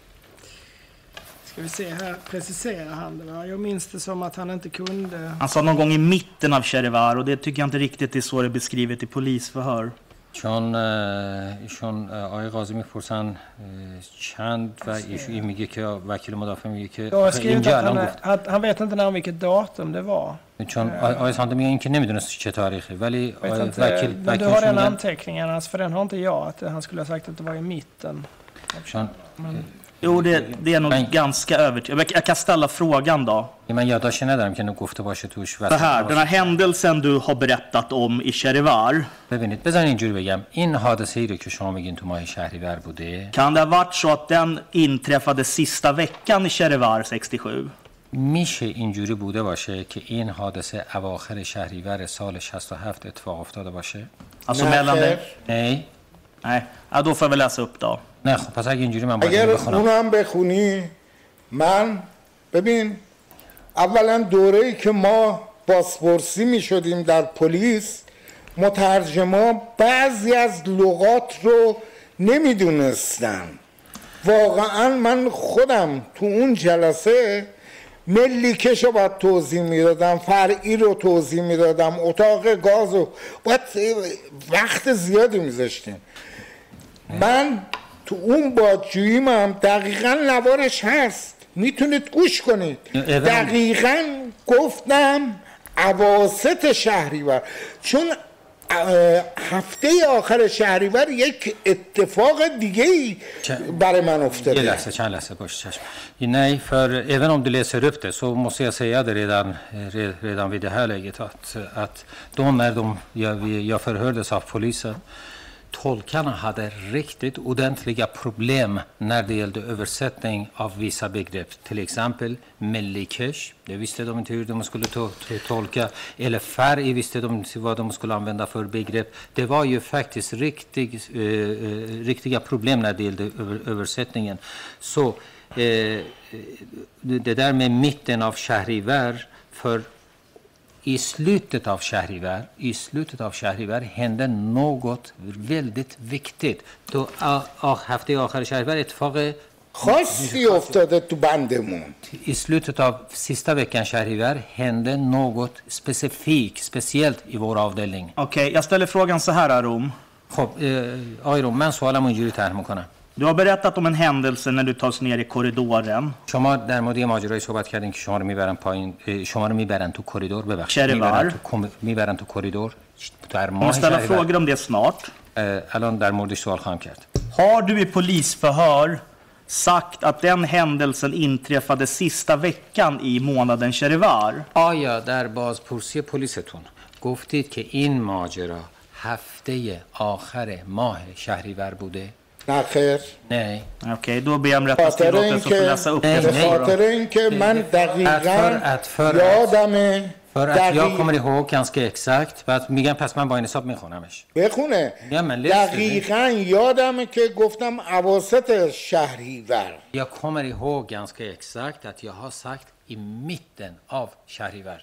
ska vi se här, preciserar han det va? Jag minns det som att han inte kunde... Han sa någon gång i mitten av Cherivar och det tycker jag inte riktigt är så det är beskrivet i polisförhör. چون ایشون آقای قاضی میپرسن چند و ایشون میگه که وکیل مدافع میگه که اینجا الان گفت han vet inte när vilket datum det var. چون آقای سانده میگه اینکه نمیدونست چه تاریخی ولی وکیل men du har den anteckningen alltså för den har inte jag att han skulle ha sagt att det var i mitten. چون Jo, det, det är nog men, ganska övertygande. Jag kan ställa frågan då. Men jag dashar ner där kan nog gofta باشه توش. Det här, den här händelsen du har berättat om i Cherivar. ببینید بذارین اینجوری بگم این حادثه‌ای رو که شما میگین تو ماه شهریور بوده. Kan det ha varit så att den inträffade sista veckan i Cherivar sextiosju? میشه اینجوری بوده باشه که این حادثه اواخر شهریور سال شصت و هفت اتفاق افتاده باشه؟ Alltså mellan det? Nej. Nej, ja, då får jag väl läsa upp då. نه خب پس اگه اینجوری من باید اگر بخونم. اونم بخونی من ببین اولا دوره‌ای که ما بازپرسی می‌شدیم در پلیس مترجما بعضی از لغات رو نمیدونستن. واقعا من خودم تو اون جلسه ملیکش رو باید توضیح میدادم، فرعی رو توضیح میدادم، اتاق گاز رو باید وقت زیادی میذاشتیم. من تو اون بادجوییم هم دقیقا نوارش هست میتونید گوش کنید. دقیقا گفتم اواسط شهریور چون هفته آخر شهریور یک اتفاق دیگه برای من افتاده. یه لحظه چند لحظه باش چشم. Nej, för även om du läser upp det så måste jag säga det redan, redan vid det här läget att, att de när de, jag, jag förhördes av polisen tolkarna hade riktigt ordentliga problem när det gällde översättning av vissa begrepp. Till exempel mellikesh, det visste de inte hur de skulle to- to- tolka. Eller färg visste de inte vad de skulle använda för begrepp. Det var ju faktiskt riktig, eh, riktiga problem när det gällde över- översättningen. Så eh, det där med mitten av Shahrivar för I slutet av Shahrivar, i slutet av Shahrivar hände något väldigt viktigt. Då hafte آخر شهریور اتفاق خاصی افتاده تو بندمون. I slutet av sista veckan Shahrivar hände något specifikt, speciellt i vår avdelning. Okej, okay, jag ställer frågan så här Arom. خب آقای روم من سوالم اینجوری طرح میکنم. Du har berättat om en händelse när du tas ner i korridoren. شما در مورد ماجرایی صحبت کردین که شما رو میبرن پایین شما رو میبرن تو کریدور ببخشید میبرن تو میبرن تو کریدور در ماه ställa frågor om det snart. الان در موردش سوال خواهم کرد. Har du i polisförhör sagt att den händelsen inträffade sista veckan i månaden Cherivar? آیا در بازپرسی پلیستون گفتید که این ماجرا هفته آخر ماه شهریور بوده؟ نه خیر. نه. Okej, då ber jag om rättelse så får jag läsa upp det. به خاطر اینکه من دقیقاً یادمه för att jag kommer ihåg ganska exakt بعد میگم پس من با این حساب میخونمش. بخونه. دقیقاً یادمه که گفتم اواسط شهریور. Jag kommer ihåg ganska exakt att jag har sagt i mitten av شهریور.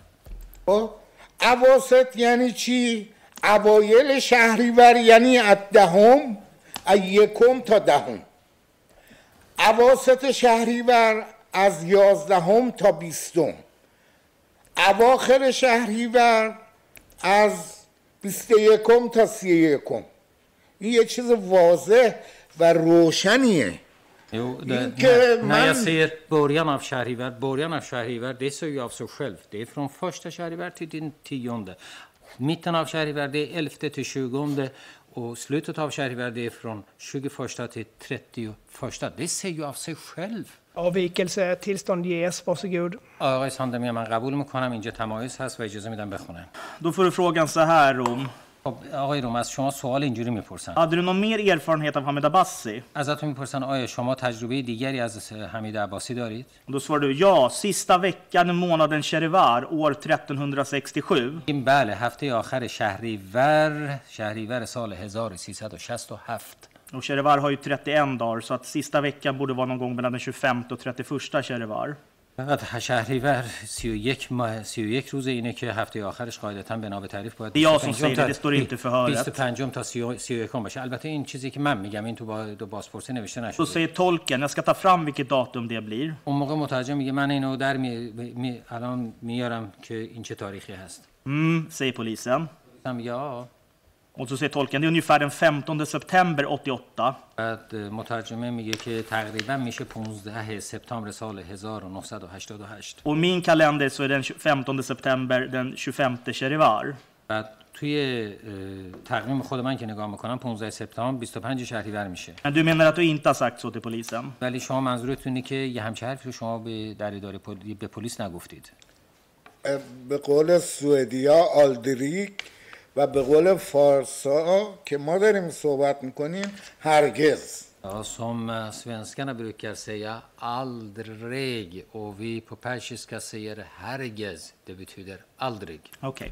اواسط یعنی چی؟ اوایل شهریور یعنی از دهم از یکم تا دهم. اواسط شهریور از یازدهم تا بیستم. اواخر شهریور از بیست و یکم تا سی و یکم. این یه چیز واضح و روشنیه. Jo, det, när, när jag ser början av Shahrivar, början av Shahrivar, det säger ju av sig själv. Det är från första Shahrivar till den tionde. Mitten av Shahrivar det är elfte till tjugonde och slutet av Shahrivar det är från tjugoförsta till trettioförsta. Det säger ju av sig själv. avvikelse tillstånd ges, varsågod. آقای ساندمی من قبول میکنم اینجا تمایز هست و اجازه میدم بخونم. Då får du frågan så här Rom. آقای روم از شما سوال اینجوری میپرسن. Hade du någon mer erfarenhet av Hamid Abbasi? ازتون میپرسن آیا شما تجربه دیگری از حمید عباسی دارید؟ Då svarar du ja, sista veckan i månaden Cherivar år tretton sextiosju. این بله هفته آخر شهریور شهریور سال هزار و سیصد و شصت و هفت. Och Cherivar har ju trettioen dagar så att sista veckan borde vara någon gång mellan den tjugofemte och trettioförsta Cherivar. بعد شهریور سی و یک ماه سی و یک روز اینه که هفته آخرش قاعدتاً بنا به تعریف باید Det är jag som säger det, det står inte i förhöret. بیست و پنج تا سی و یک باشه. البته این چیزی که من میگم این تو با دو بازپرسی نوشته Så نشده. säger tolken, jag ska ta fram vilket datum det blir. اون موقع مترجم میگه من اینو در می... می... الان میارم که این چه تاریخی هست. Mm, säger polisen. هم یا Och så säger tolken, det är ungefär den femtonde september åttioåtta. بعد مترجمه میگه که تقریبا میشه پانزده سپتامبر سال هزار و نهصد و هشتاد و هشت. Och min kalender så är den femtonde september den tjugofemte Sherivar. بعد توی تقویم خود من که نگاه میکنم پانزده سپتامبر بیست و پنج شهریور میشه. Men du menar att du inte har sagt så till polisen? ولی شما منظورتون اینه که یه همچین حرفی رو شما به در اداره پل... به پلیس نگفتید. به قول سوئدیا آلدریک و به قول فارسا که ما داریم صحبت میکنیم هرگز. Ja, som svenskarna brukar säga aldrig och vi på persiska säger hergez. Det betyder aldrig. Okej. Okay.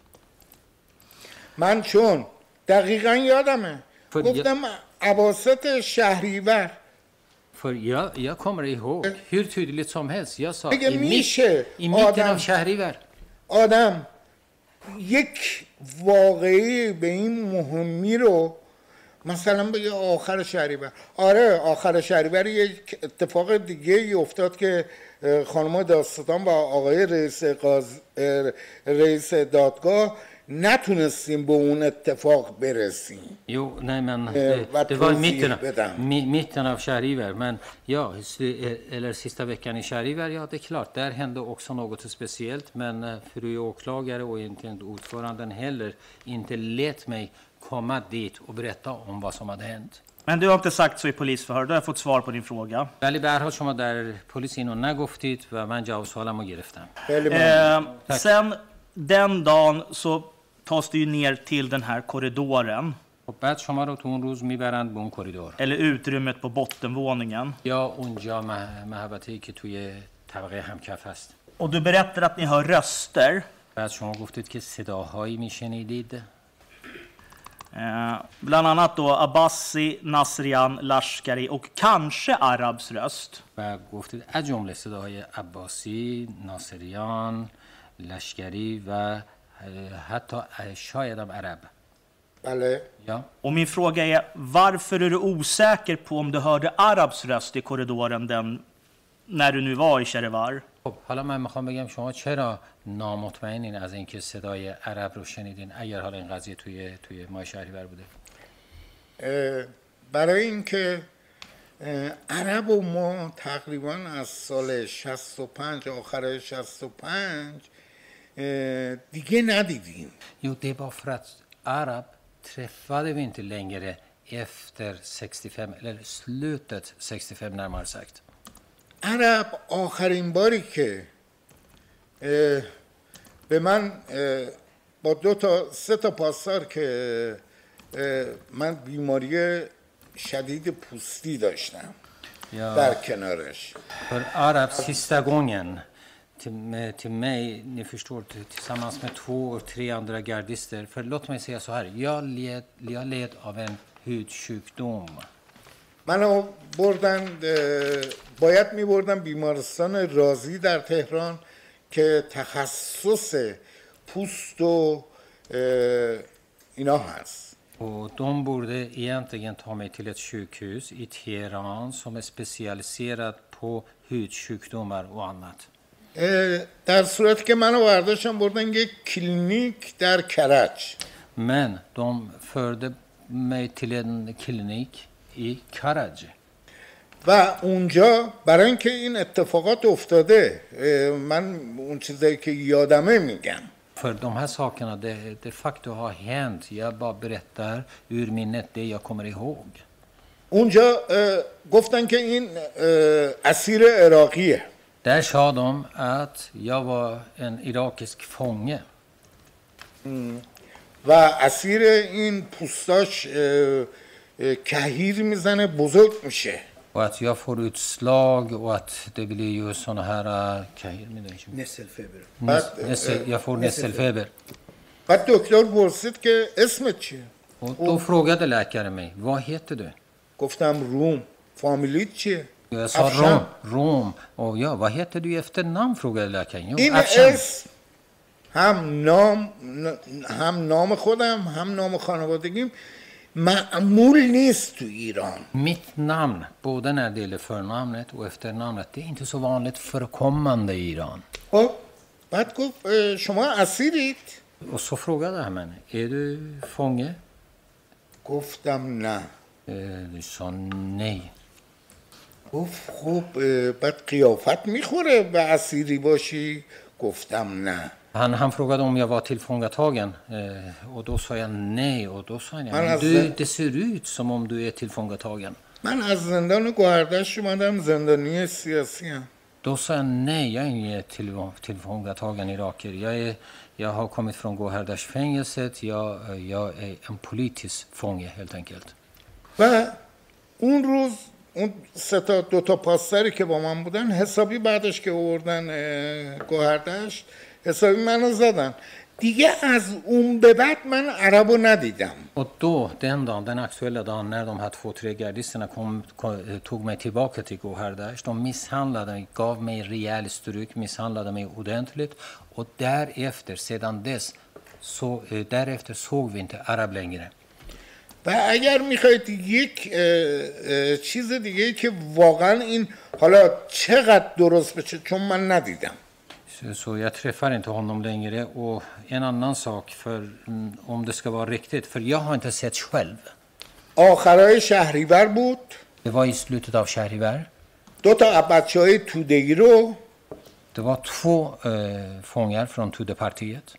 من چون دقیقا یادمه گفتم اواسط شهریور. För jag, jag kommer ihåg hur tydligt som helst. Jag sa i, mitt, i mitten av شهریور. آدم یک واقعی به این مهمی رو مثلا بگه آخر شهریور. آره آخر شهریور یک اتفاق دیگه ای افتاد که خانم داستان و آقای رئیس قاض... رئیس دادگاه نتونستیم به اون اتفاق برسیم. Jo, nej men det, det var i mitten av, mitten av Shahriver, men ja, eller sista veckan i Shahriver, ja det är klart, där hände också något speciellt, men fru åklagare och inte ordföranden heller inte lät mig komma dit och berätta om vad som hade hänt. Men du har inte sagt så i polisförhör, då har jag fått svar på din fråga. ولی به هر حال شما در پلیس اینو نگفتید و من جواب سوالمو گرفتم. Eh, sen den dagen så tas det ju ner till den här korridoren. Och بعد شما رو تو اون روز میبرند به اون کریدور. Eller utrymmet på bottenvåningen. یا اونجا محوطه‌ای که توی طبقه همکف هست. Och du berättar att ni hör röster. بعد شما گفتید که صداهایی میشنیدید. Eh, bland annat då Abbasi, Nasrian, Lashkari och kanske Arabs röst. و گفتید از جمله صداهای عباسی، ناصریان، لشکری و حتی شاید هم عرب. بله. Ja. Och min fråga är, varför är du osäker på om du hörde Arabs röst i korridoren den, när du nu var i Shahrivar? خب حالا من میخوام بگم شما چرا نامطمئنین از اینکه صدای عرب رو شنیدین اگر حالا این قضیه توی توی ماه شهریور بوده؟ برای اینکه عرب و ما تقریبا از سال شصت و پنج آخر شصت و پنج دیگه ندیدیم. Jo, det var för att Arab träffade vi inte längre efter sextiofem eller slutet sextiofem närmare sagt. عرب آخرین باری که به من با دو تا سه تا پاسدار که من بیماری شدید پوستی داشتم ja, در کنارش. För Arab sista gången till, till mig, ni förstår, tillsammans med två och tre andra gardister. För låt mig säga så här, jag led, jag led av en hudsjukdom. منو بردن باید می بردن بیمارستان رازی در تهران که تخصص پوست و اینا هست. Och de borde egentligen ta mig till ett sjukhus i Teheran som är specialiserat på hudsjukdomar och annat. در صورتی که منو برداشتن بردن یک کلینیک در کرج. Men de förde mig till en klinik i Karaj. و اونجا برای اینکه این اتفاقات افتاده من اون چیزایی که یادمه میگم. För de här sakerna det de facto har hänt. Jag bara berättar ur minnet det jag kommer ihåg. اونجا گفتن که این اسیر عراقیه. Där sa de att jag var en irakisk fånge. و اسیر این پوستاش کهیر میزنه بزرگ میشه. Och att jag får utslag och att det blir ju såna här kahir nässelfeber. Jag får nässelfeber. بعد دکتر پرسید که اسمت چیه؟ Och då frågade läkaren mig, vad heter du? گفتم روم. فامیلیت چیه؟ Jag sa Rom, Rom. Och ja, vad heter du i efternamn, frågade läkaren. Jo, این اسم هم نام هم نام خودم هم نام خانوادگیم معمول نیست تو ایران. Mitt namn, både när det gäller förnamnet och efternamnet, det är inte så vanligt förekommande i Iran. خب بعد گفت شما اسیرید؟ Och så frågade han mig, är du fånge? گفتم نه. Du sa nej. گفت خب بعد قیافت میخوره به اسیری باشی؟ گفتم نه. Han, han frågade om jag var tillfångatagen eh, och då sa jag nej och då sa han ja, du, det ser ut som om du är tillfångatagen. من از زندان گوهردشت اومدم زندانی سیاسی ام. Då sa jag nej, jag är inte till, tillfångatagen iraker. Jag, är, jag har kommit från Gohardashfängelset, jag, jag är en politisk fånge helt enkelt. و اون روز اون سه تا دو تا پاسداری که با من بودن حسابی بعدش که آوردن گوهردشت حسابی منو زدن. دیگه از اون به بعد من عربو ندیدم. Och då, den dagen, den aktuella dagen när de här två, tre gardisterna kom, kom, tog mig tillbaka till Gohardasht, de misshandlade mig, gav mig rejäl stryk, misshandlade mig ordentligt och därefter, sedan dess, så, därefter såg vi inte arab längre. و اگر میخواید یک چیز دیگه که واقعا این حالا چقدر درست بشه چون من ندیدم. Så jag träffar inte honom längre och en annan sak för om det ska vara riktigt för jag har inte sett själv. آخرای شهریور بود. Det var i slutet av Shahrivar. دو تا بچهای توده‌ای رو Det var två eh, fångar från Tudepartiet.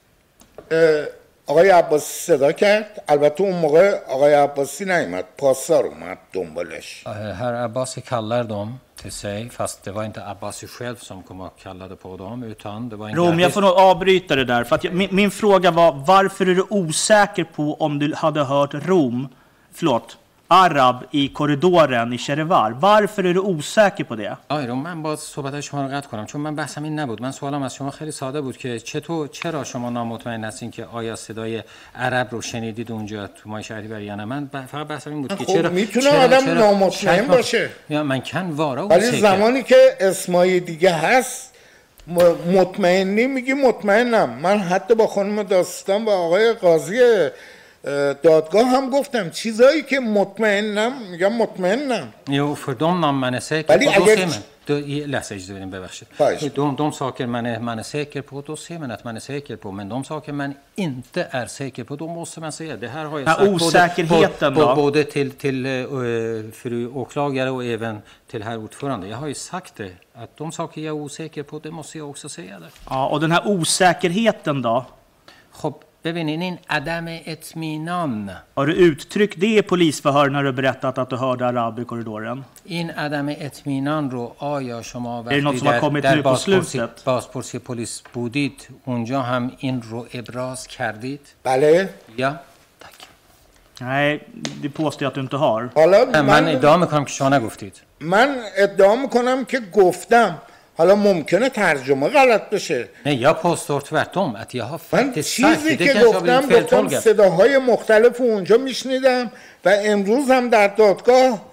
آقای عباسی صدا کرد. البته اون موقع آقای عباسی نیامد، پاسدار اومد دنبالش. Herr Abbasi kallar dem till sig, fast det var inte Abbasi själv som kom och kallade på dem, utan det var en Rom, jag får nog avbryta det där, för att jag, min, min fråga var, varför är du osäker på om du hade hört Rom, förlåt, arab i korridoren i Shahrivar? Varför är du osäker på det? آی رو من باز صحبت شما رو قطع کنم چون من بحثم این نبود. من سوالم از شما خیلی ساده بود که چطور چرا شما نامطمئن هستین که آیا صدای عرب رو شنیدید اونجا تو مای شهریور یا نه. من فقط بحثم این بود که چرا میتونه آدم نامطمئن باشه. یا من کن وارا ولی زمانی که اسمای دیگه هست مطمئنی میگی مطمئنم. من حتی با خانم داستان و آقای قاضی دادگاه هم گفتم چیزایی که مطمئنم میگم مطمئنم. Jo, för de namn man är säker på, då ser man. Då läser jag inte bevärst. De, de saker man är, man är säker på, då ser man att man är säker på. Men de saker man inte är säker på, då måste man säga. Det här har jag sagt osäkerheten både, då? både till, till uh, fru åklagare och även till herr ordförande. Jag har ju sagt det, att de saker jag är osäker på, det måste jag också säga det. Ja, och den här osäkerheten då? خب ببینین این عدم اطمینان. Har du uttryckt det i polisförhör när du berättat att du hörde arab i korridoren? این عدم اطمینان رو آیا شما وقتی در, در بازپرسی, بازپرسی پلیس بودید اونجا هم این رو ابراز کردید؟ بله. یا tack. Nej, det påstår jag att du inte har. حالا من ادعا میکنم که شما نگفتید. من ادعا میکنم که گفتم. حالا ممکنه ترجمه غلط بشه. نه یا پاسدار tvärtom att jag har faktiskt sagt چیزی که گفتم گفتم صداهای مختلف اونجا میشنیدم و امروز هم در دادگاه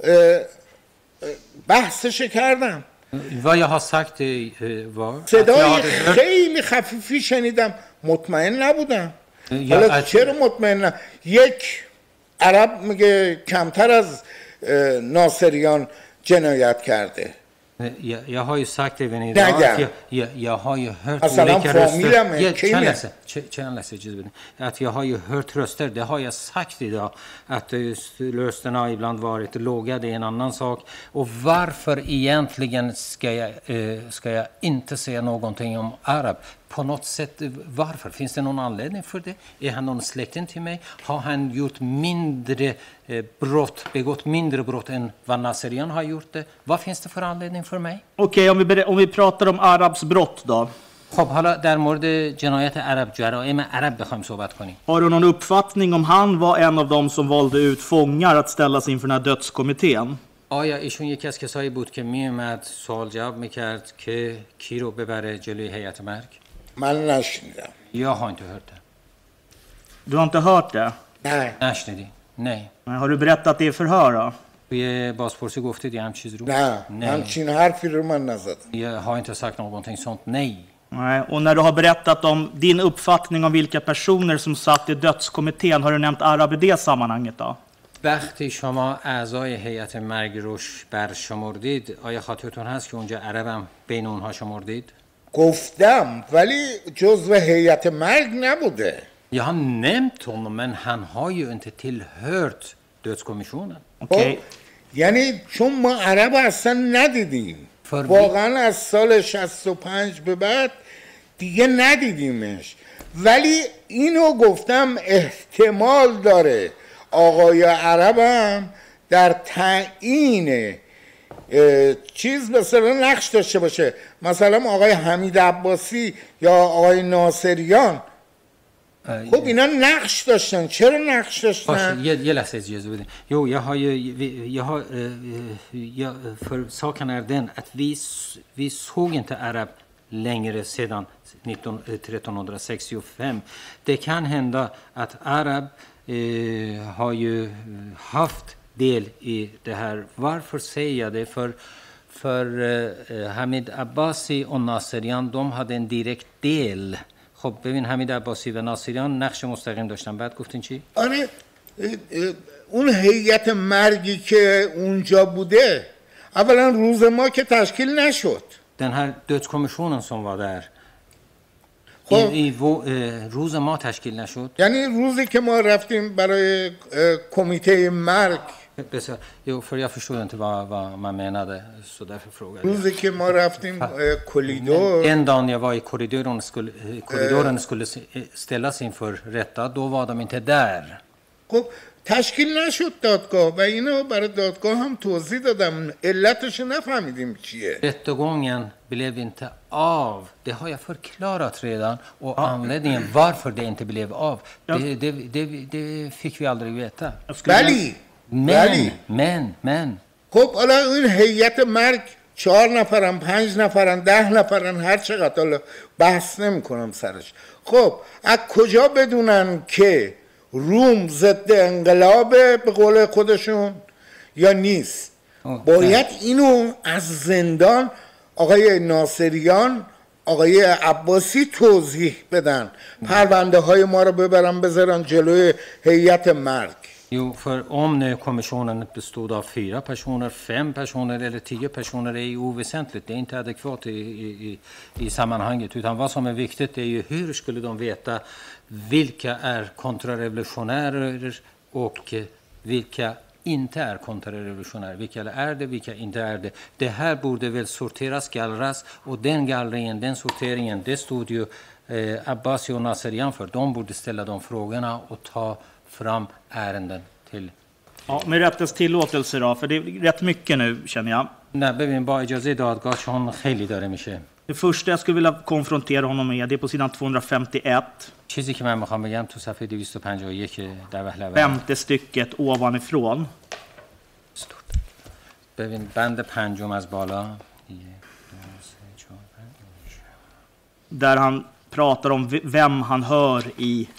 بحثش کردم. vad jag har sagt var صدای خیلی خفیفی شنیدم مطمئن نبودم. حالا چرا مطمئن؟ یک عرب میگه کمتر از ناصریان جنایت کرده. Jag, jag har ju sagt även idag att jag, jag, jag har ju hört olika röster. Att jag har ju hört röster, det har jag sagt idag. Att rösterna har ibland varit låga, det är en annan sak. Och varför egentligen ska jag, ska jag inte säga någonting om arab? På något sätt, varför? Finns det någon anledning för det? Är han någon släkting till mig? Har han gjort mindre eh, brott, begått mindre brott än vad Nasserian har gjort det? Vad finns det för anledning för mig? Okej, okay, om, vi om vi pratar om Arabs brott då. خب حالا در مورد جنایت عرب جرایم عرب بخوایم صحبت کنیم. Har du någon uppfattning om han var en av dem som valde ut fångar att ställas inför den här dödskommittén? آیا ایشون یکی از کسایی بود که می اومد سوال جواب میکرد که کی رو ببره جلوی هیئت مرگ؟ من نشنیدم. Jag har inte hört det. Du har inte hört det? Nej. نشنیدی؟ Nej. Har du berättat det i förhör då? توی بازپرسی گفتید یه هم چیز رو؟ نه همچین حرفی رو من نزدم. Jag har inte sagt någonting sånt, nej. Nej, och när du har berättat om din uppfattning om vilka personer som satt i dödskommittén, har du nämnt Arab i det sammanhanget då? وقتی شما اعضای هیئت مرگ رو برشمردید آیا خاطرتون هست که اونجا عربم بین اونها شمردید؟ گفتم ولی جزو هیئت مرگ نبوده. Jag har nämnt honom men han har ju inte tillhört dödskommissionen. Okej. یعنی چون ما عرب اصلا ندیدیم واقعا از سال شصت و پنج به بعد دیگه ندیدیمش، ولی اینو گفتم احتمال داره آقای عربم در تعیین چیز مثلا نقش داشته باشه. مثلا آقای حمید عباسی یا آقای ناصریان، خب اینا نقش داشتن. چرا نقش داشتن؟ یه یه لحظه اجازه بدین. Jo, jag har ju jag har jag för saken är den att vi vi såg inte Arab längre sedan trettonhundrasextiofem. Det kan hända att Arab eh, har ju haft del i det här. Varför säger jag det? För för eh, Hamid Abbasi och Naserian, de hade en direkt del. خب ببین حمید عباسی و ناصریان نقش مستقیم داشتن. بعد گفتین چی؟ آره اون هیئت مرگی که اونجا بوده اولا روز ما که تشکیل نشد. Den här dödskommissionen som var där. خب i, i روز ما تشکیل نشد. یعنی روزی که ما رفتیم برای کمیته مرگ. Bästa, jo, för jag förstod inte vad, vad man menade, så därför frågade jag. روزی که ما رفتیم کوریدور. En dag jag var i korridoren skulle, korridoren skulle ställas inför rätta, då var de inte där. خب تشکیل نشد دادگاه و اینو برای دادگاه هم توضیح دادم، علتش نفهمیدیم چیه. Rättegången blev inte av. Det har jag förklarat redan, och anledningen varför det inte blev av, det, det, det, det fick vi aldrig veta. ولی Men, men, men. خب حالا این هیئت مرگ چهار نفرن، پنج نفرن، ده نفرن، هر چقدر، حالا بحث نمی کنم سرش. خب از کجا بدونن که روم ضد انقلابه به قول خودشون یا نیست؟ باید اینو از زندان آقای ناصریان، آقای عباسی توضیح بدن، پرونده های ما رو ببرن بذارن جلوی هیئت مرگ. Jo, för om nu kommissionen bestod av fyra personer, fem personer eller tio personer är ju oväsentligt. Det är inte adekvat i, i, i sammanhanget. Utan vad som är viktigt är ju hur skulle de veta vilka är kontrarevolutionärer och vilka inte är kontrarevolutionärer. Vilka är det, vilka inte är det. Det här borde väl sorteras, gallras, och den gallringen, den sorteringen, det stod ju eh, Abbasi och Naserian för. De borde ställa de frågorna och ta fram ärenden till. Ja, med rättens tillåtelse då, för det är rätt mycket nu känner jag. نه ببین با اجازه دادگاه چون خیلی داره میشه. Det första jag skulle vilja konfrontera honom med, det är på sidan tvåhundrafemtioett. چیزی که من میخوام بگم تو صفحه دویست و پنجاه و یک در وهله femte stycket ovanifrån. ببین بند پنجم از بالا. Där han pratar om vem han hör i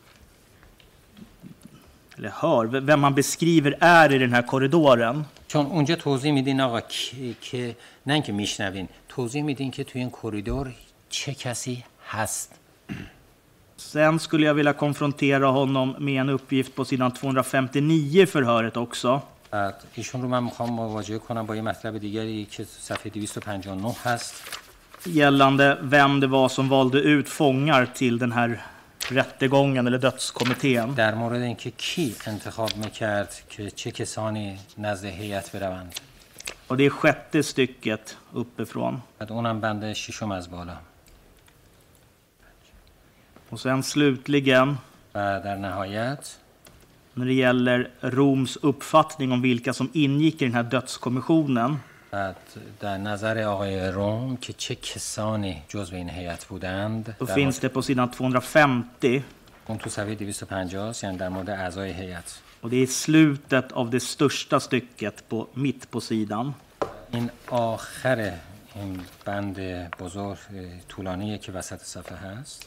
eller hör, vem han beskriver är i den här korridoren. چون اونجا توضیح میدین آقا که نه اینکه میشنوین، توضیح میدین که توی این کریدور چه کسی هست. Sen skulle jag vilja konfrontera honom med en uppgift på sidan tvåhundrafemtionio i förhöret också. بعد ایشون رو من میخوام مواجهه کنم با یه مطلب دیگری که صفحه دویست و پنجاه و نه هست. Gällande vem det var som valde ut fångar till den här rättegången eller dödskommittén. در مورد اینکه کی انتخاب میکرد که چه کسانی نزد هیئت بروند. Och det är sjätte stycket uppifrån. بعد اونم بند ششم از بالا. Och sen slutligen, و در نهایت när det gäller Roms uppfattning om vilka som ingick i den här dödskommissionen. بعد در نظر آقای روم که چه کسانی جزو این هیئت بودند. Då finns det på sidan tvåhundrafemtio. اون تو صفحه دویست و پنجاه یعنی در مورد اعضای هیئت. Och det är slutet av det största stycket på mitt på sidan. این آخر این بند بزرگ طولانیه که وسط صفحه هست.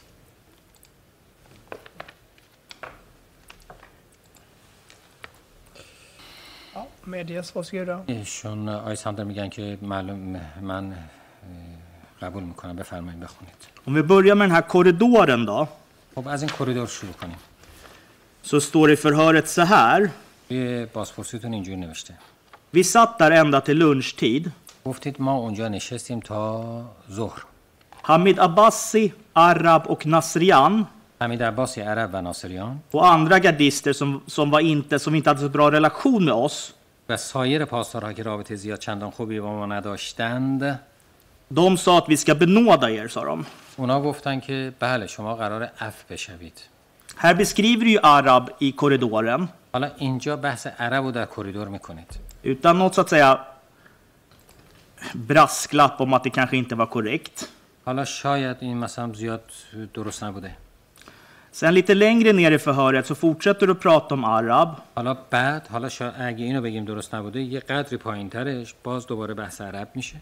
medges, varsågoda. ایشون آقای ساندر میگن که معلوم من اه، قبول میکنم. بفرمایید بخونید. Om vi börjar med den här korridoren då, خب از این کریدور شروع کنیم. så står det i förhöret så här. توی بازپرسیتون اینجوری نوشته. Vi satt där ända till lunchtid. گفتید ما اونجا نشستیم تا ظهر. Hamid Abbasi, Arab och Nasrian حمید عباسی عرب و ناصریان och andra gardister som, som, var inte, som inte hade så bra relation med oss. و سایر پاسدارها که رابطه زیاد چندان خوبی با ما نداشتند، De sa att vi ska benåda er, sa de. اونا گفتن که بله شما قرار عفو بشوید. Här beskriver ju Arab i korridoren. حالا اینجا بحث عرب رو در کریدور میکنید. Utan något så att säga brasklapp om att det kanske inte var korrekt. حالا شاید این مثلا زیاد درست نبوده. Sen lite längre ner i förhöret så fortsätter du att prata om Arab. حالا بعد حالا شاید اگه اینو بگیم درست نبوده یه قدری پایینترش باز دوباره بحث عرب میشه.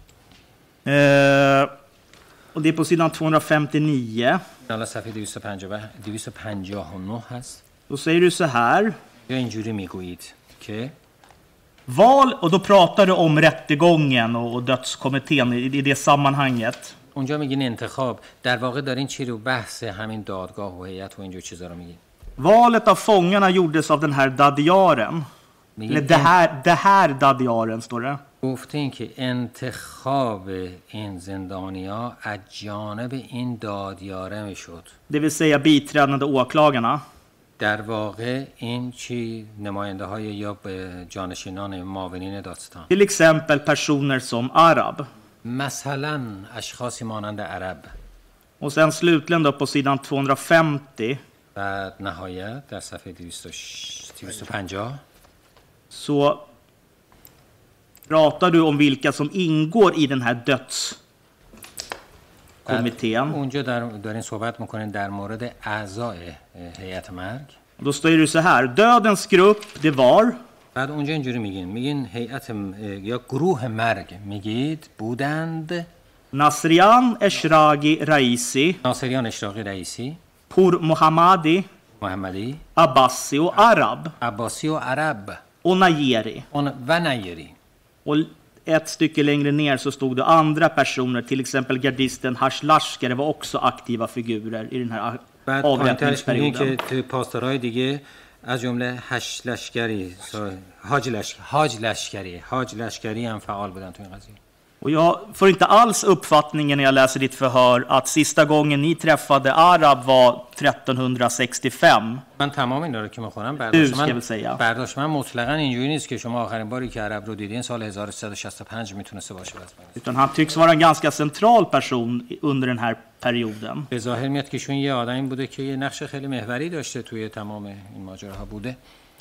Eh, och det är på sidan tvåhundrafemtionio. حالا صفحه دویست و پنجاه و نه هست. Då säger du så här. یا اینجوری میگویید که Val, och då pratar du om rättegången och, och dödskommittén i, i det sammanhanget. اونجا میگین انتخاب، در واقع دارین چی رو بحث همین دادگاه و هیئت و اینجور چیزا رو میگین. Valet av fångarna gjordes av den här Dadiaren. Eller det här, det här Dadiaren står det. گفتین که انتخاب این زندانیا از جانب این دادیاره میشد. Det vill säga biträdande åklagarna. در واقع این چی نماینده های یا جانشینان معاونین دادستان. Till exempel personer som Arab. مثلا اشخاصی مانند عرب. Och sen slutligen då på sidan tvåhundrafemtio. و نهایت در صفحه دویست و پنجاه så pratar du om vilka som ingår i den här dödskommittén. اونجا در دارین صحبت میکنین در مورد اعضای هیئت مرگ. Då står det så här: dödens grupp, det var. بعد اونجا اینجوری میگین میگین هیئت یا گروه مرگ میگید بودند Nasrian Eshraghi Raisi, ناصریان اشراقی رئیسی، Pur Mohammadi, محمدی، Abbasi och Arab عباسی و عرب och Najeri. و نیری. Och ett stycke längre ner så stod det andra personer, till exempel gardisten Hashlashkari var också aktiva figurer i den här avrättningsperioden. که پاسدارهای دیگه از جمله هش لشکری حاج لشکری حاج لشکری حاج لشکری هم فعال بودن تو این قضیه. Och jag får inte alls uppfattningen när jag läser ditt förhör att sista gången ni träffade Arab var trettonhundrasextiofem. من تمام اینا رو که میخونم برداشت من من برداشت من مطلقاً اینجوری نیست که شما آخرین باری که عرب رو دیدین سال هزار و سیصد و شصت و پنج میتونسته باشه. Utan han tycks vara en ganska central person under den här perioden. به ظاهر میاد که شون یه آدمی بوده که یه نقش خیلی محوری داشته توی تمام این ماجراها بوده.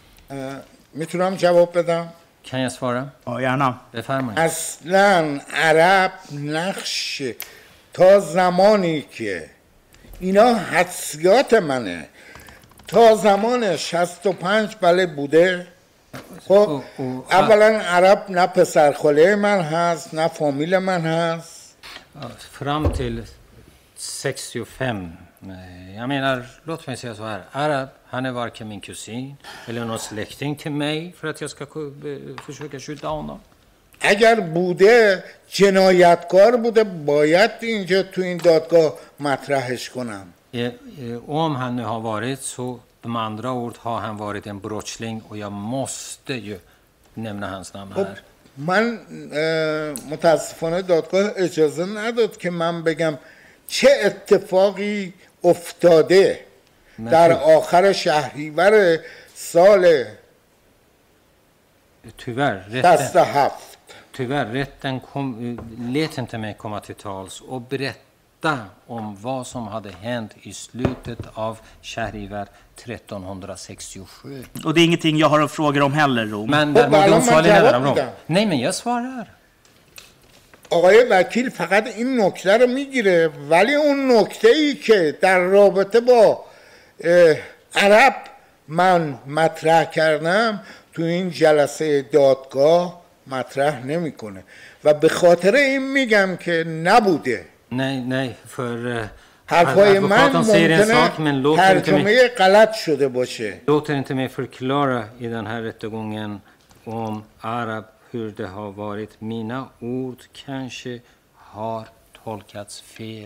میتونم جواب بدم؟ Kan jag svara? Ja, gärna. بفرمایید. اصلا عرب نقش تا زمانی که اینا حدسیات منه تا زمان شصت و پنج بله بوده. خب اولا عرب نه پسرخاله من هست نه فامیل من هست. Fram till sextiofem. Jag menar, låt mig säga så här. Arab, han är varken min kusin eller någon släkting till mig för att jag ska försöka skydda honom. اگر بوده جنایتکار بوده باید اینجا تو این دادگاه مطرحش کنم. Om han nu har varit så, de andra ord har han varit en brottsling och jag måste ju nämna hans namn här. من متاسفانه دادگاه اجازه نداد که من بگم چه اتفاقی افتاده در آخر شهریور سال شصت و هفت. Tyvärr, rätten kom, lät inte mig komma till tals och berätta om vad som hade hänt i slutet av Shahrivar trettonhundrasextiosju. Och det är ingenting jag har att fråga om heller, Rom. Men däremot de svaren ندارم Rom. Nej, men jag svarar. آقای وکیل فقط این نکته رو میگیره ولی اون نکته ای که در رابطه با عرب من مطرح کردم تو این جلسه دادگاه مطرح نمیکنه و به خاطر این میگم که نبوده. Nej, nej, för حرفای من ممکنه ترجمه غلط شده باشه. Låter inte mig förklara i den här rättegången om Arab hur det har varit. Mina ord kanske har tolkats fel.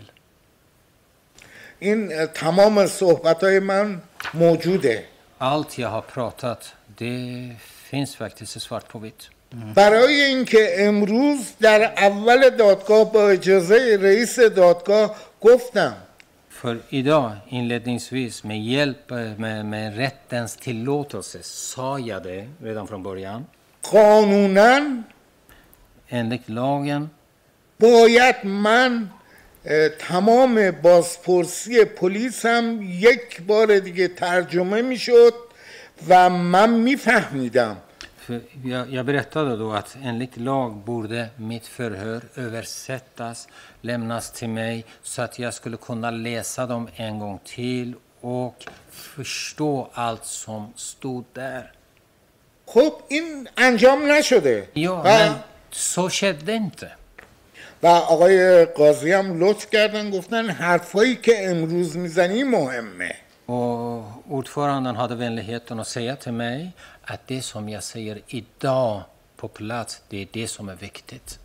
این تمام صحبت‌های من موجوده. Allt jag har pratat, det finns faktiskt svart på vitt. برای اینکه امروز در اول دادگاه با اجازه رئیس دادگاه گفتم För idag inledningsvis med hjälp med, med rättens tillåtelse sa jag det redan från början. قانوناً Enligt lagen باید من تمام بازپرسی پلیس هم یک بار دیگه ترجمه میشد و من میفهمیدم. Jag, jag berättade då att enligt lag borde mitt förhör översättas, lämnas till mig så att jag skulle kunna läsa dem en gång till och förstå allt som stod där. خب این انجام نشده. Ja, men så skedde inte. و آقای قاضی هم لطف کردن گفتن حرفایی که امروز میزنی مهمه. Och ordföranden hade vänligheten att säga till mig att det som jag säger idag på plats, det är det som är viktigt.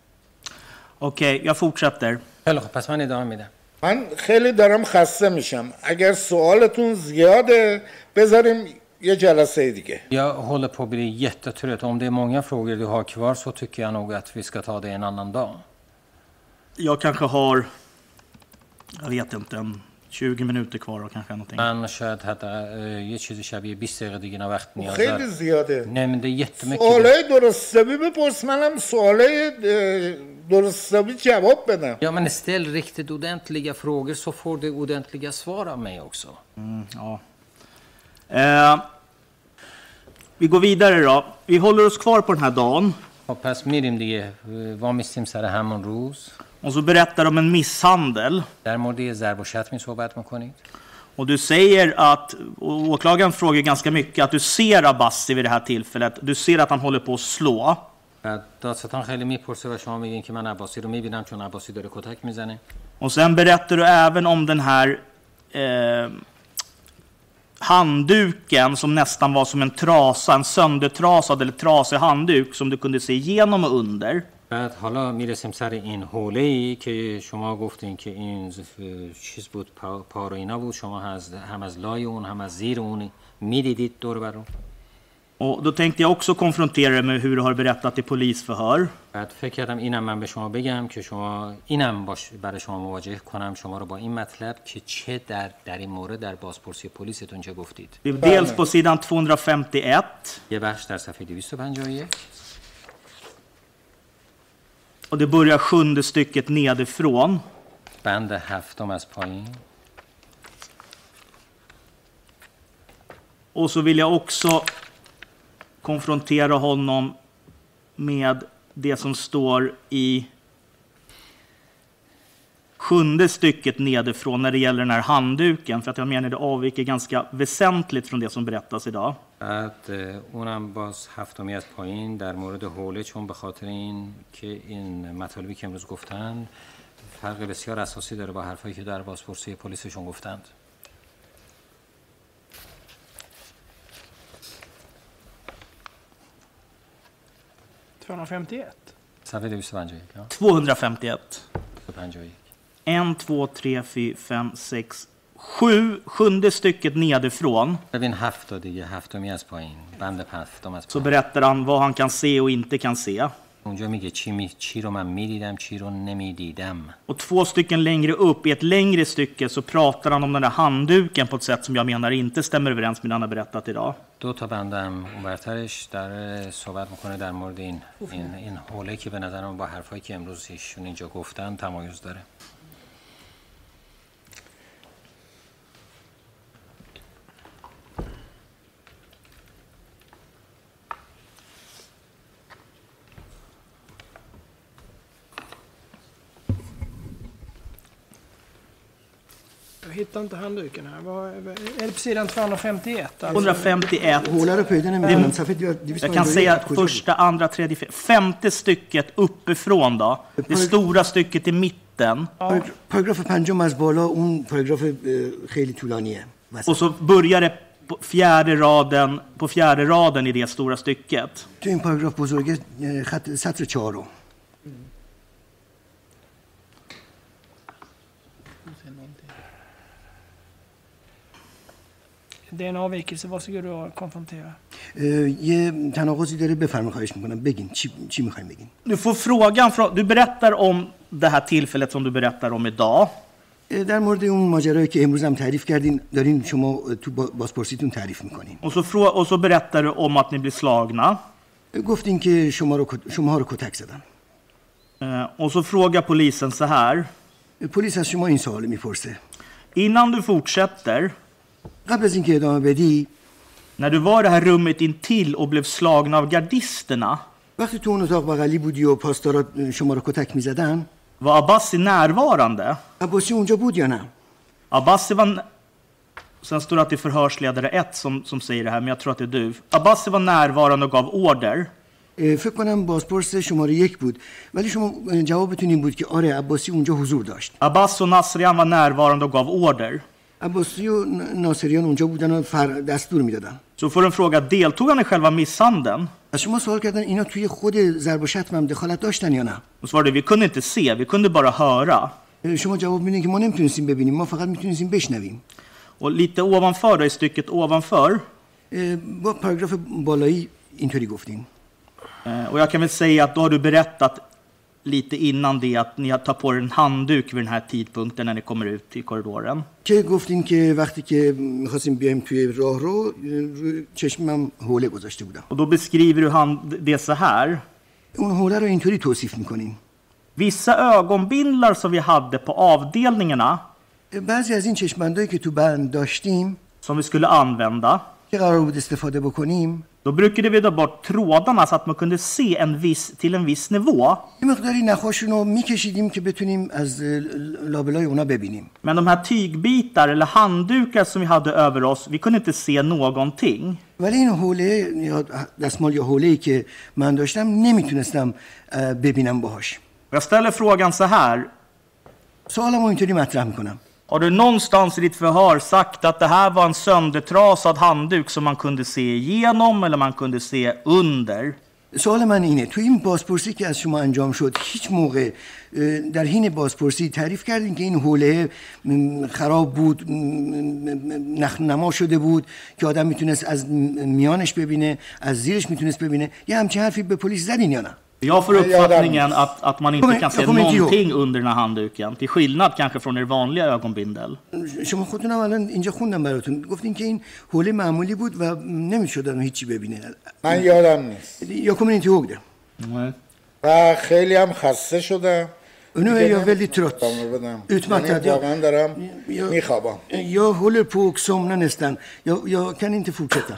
Okej, okay, jag fortsätter. خیلی خب پس من ادامه میدم. من خیلی دارم خسته میشم. اگر سوالتون زیاده بذاریم یه جلسه دیگه. Jag håller på att bli jättetrött. Om det är många frågor du har kvar så tycker jag nog att vi ska ta det en annan dag. Jag kanske har, jag vet inte, en tjugo minuter kvar och kanske någonting. من شاید حتی یه چیزی شبیه بیست دقیقه دیگه وقت نیاز خیلی دارم. زیاده. Nej men det är jättemycket. سوالای درستابی بپرس منم سوالای درستابی جواب بدم. Ja men ställ riktigt ordentliga frågor så får du ordentliga svar av mig också. Mm, ja. Eh, vi går vidare då. Vi håller oss kvar på den här dagen. خب پس میریم دیگه. وامیستیم سر همون روز. Och så berättar de om en misshandel. در مورد ضرب و شتمی صحبت میکنید. Och du säger att, och åklagaren frågar ganska mycket, att du ser Abbasi vid det här tillfället. Du ser att han håller på att slå. دادستان خیلی میپرسه و شما میگین که من عباسی رو میبینم چون عباسی داره کتک میزنه. Och sen berättar du även om den här eh, handduken som nästan var som en trasa, en söndertrasad eller trasig handduk som du kunde se igenom och under. بعد حالا میرسیم سر این حوله‌ای که شما گفتین که این چیز بود پا, پا رو اینا بود شما از هم از لای اون هم از زیر اون میدیدید دور بر اون. Och då tänkte jag också konfrontera dig med hur du har berättat i polisförhör. بعد فکر کردم اینم من به شما بگم که شما اینم باش برای شما مواجه کنم شما رو با این مطلب که چه در در این مورد در بازپرسی پلیستون چه گفتید. Dels på sidan tvåhundrafemtioett. یه بخش در صفحه دویست و پنجاه و یک. Och det börjar sjunde stycket nedifrån. بند هفتم از پایین. Och så vill jag också konfrontera honom med det som står i sjunde stycket nedifrån när det gäller den här handduken. För att jag menar det avviker ganska väsentligt från det som berättas idag. بعد اونم باز هفتمی از پایین در مورد حوله چون به خاطر این که این مطالبی که امروز گفتن فرق بسیار اساسی داره با حرفایی که در بازپرسی پلیسشون گفتند. tvåhundrafemtioett. صفحه دویست و پنجاه و یک. tvåhundrafemtioett. En, två, tre, fyra, fem, sex, sju. Sjunde stycket nedifrån. ببین هفت دیگه هفتمی از پایین بند هفتم از Så berättar han vad han kan se och inte kan se. اونجا میگه چی می چی رو من میدیدم چی رو نمیدیدم. Och två stycken längre upp i ett längre stycke så pratar han om den där handduken på ett sätt som jag menar inte stämmer överens med det han har berättat idag. دو تا بندم اونورترش در صحبت میکنه در مورد این این این حوله که به نظرم با حرفایی که امروز ایشون اینجا گفتن تمایز داره. Jag hittar inte handduken här. Vad, är det på sidan tvåhundrafemtioett? Alltså? tvåhundrafemtioett. Jag kan säga första, andra, tredje, femte stycket uppifrån då. Det stora stycket i mitten. Paragraf پنجم از بالا اون پاراگراف خیلی طولانیه. Och så börjar det på fjärde raden, på fjärde raden i det stora stycket. تو این پاراگراف بزرگه خط سطر چهارم. Det är en avvikelse. Varsågod och konfrontera. یه تناقضی داره بفرمایید خواهش میکنم بگین چی چی میخواین بگین. Du får frågan från, du berättar om det här tillfället som du berättar om idag. در مورد اون ماجرایی که امروز هم تعریف کردین دارین شما تو بازپرسیتون تعریف میکنین. Och så frå, och så berättar du om att ni blir slagna. گفتین که شما رو شما رو کتک زدن. Och så frågar polisen så här. پلیس از شما این سوال میپرسه. Innan du fortsätter. قبل از اینکه ادامه بدی. När du var i det här rummet intill och blev slagna av gardisterna. وقتی تو اون اتاق بغلی بودی و پاسدارا شما رو کتک میزدن. Var Abbasi närvarande? عباسی اونجا بود یا نه؟ Abbasi var... Sen står det att det är förhörsledare ett som, som säger det här, men jag tror att det är du. Abbasi var närvarande och gav order. فکر کنم بازپرس شماره یک بود ولی شما جوابتون این بود که آره عباسی اونجا حضور داشت. Abbas och Nasrian var närvarande och gav order. عباسی و ناصریان اونجا بودن و دستور میدادن. Så får en fråga, deltog han i själva misshandeln? از شما سوال کردن اینا توی خود ضرب و شتم هم دخالت داشتن یا نه؟ Och svarade, vi kunde inte se, vi kunde bara höra. شما جواب میدین که ما نمیتونستیم ببینیم ما فقط میتونستیم بشنویم. Och lite ovanför då, i stycket ovanför. با پاراگراف بالایی اینطوری گفتین. Och jag kan väl säga att då har du berättat lite innan det att ni tar på er en handduk vid den här tidpunkten när ni kommer ut i korridoren. که گفتین که وقتی که می‌خواستیم بیایم توی راهرو چشمم حوله گذاشته بودم. Och då beskriver du han det så här. اون حوله رو اینطوری توصیف می‌کنین. Vissa ögonbindlar som vi hade på avdelningarna. بعضی از این چشم‌بندایی که تو بند داشتیم som vi skulle använda. که قرار بود استفاده بکنیم. Då brukade vi ta bort trådarna så att man kunde se en viss, till en viss nivå. یه مقداری نخاشون رو می‌کشیدیم که بتونیم از لابلای اونا ببینیم. Men de här tygbitar eller handdukar som vi hade över oss, vi kunde inte se någonting. ولی این حوله یا دستمال یا حوله‌ای که من داشتم نمیتونستم ببینم باهاش. Jag ställer frågan så här. سوالمو اینطوری مطرح میکنم. Har du någonstans i ditt förhör sagt att det här var en söndertrasad handduk som man kunde se igenom eller man kunde se under? سوال من اینه تو این بازپرسی که از شما انجام شد هیچ موقع در حین بازپرسی تعریف کردین که این حوله خراب بود نما شده بود که آدم میتونست از میانش ببینه از زیرش میتونست ببینه یه همچین حرفی به پلیس زدین یا نه؟ Jag får uppfattningen att, att man inte kan se någonting under den här handduken. Till skillnad kanske från er vanliga ögonbindel. شما خودتون هم الان اینجا خوندم براتون گفتین که این حوله معمولی بود و نمیشد هیچی ببینه. من یادم نیست. Jag kommer inte ihåg det. و خیلی هم خسته شدم. Nu är jag väldigt trött. Utmattad. Jag دارم میخوابم. Jag håller på att somna nästan. Jag jag kan inte fortsätta.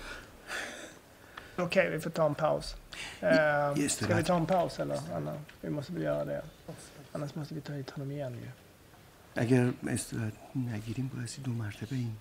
Okej, okay, vi får ta en paus. Uh, ska vi ta en paus eller? Anna? Vi måste väl göra det. Annars måste vi ta hit honom igen ju. اگر استراحت نگیریم باعث دو مرتبه این.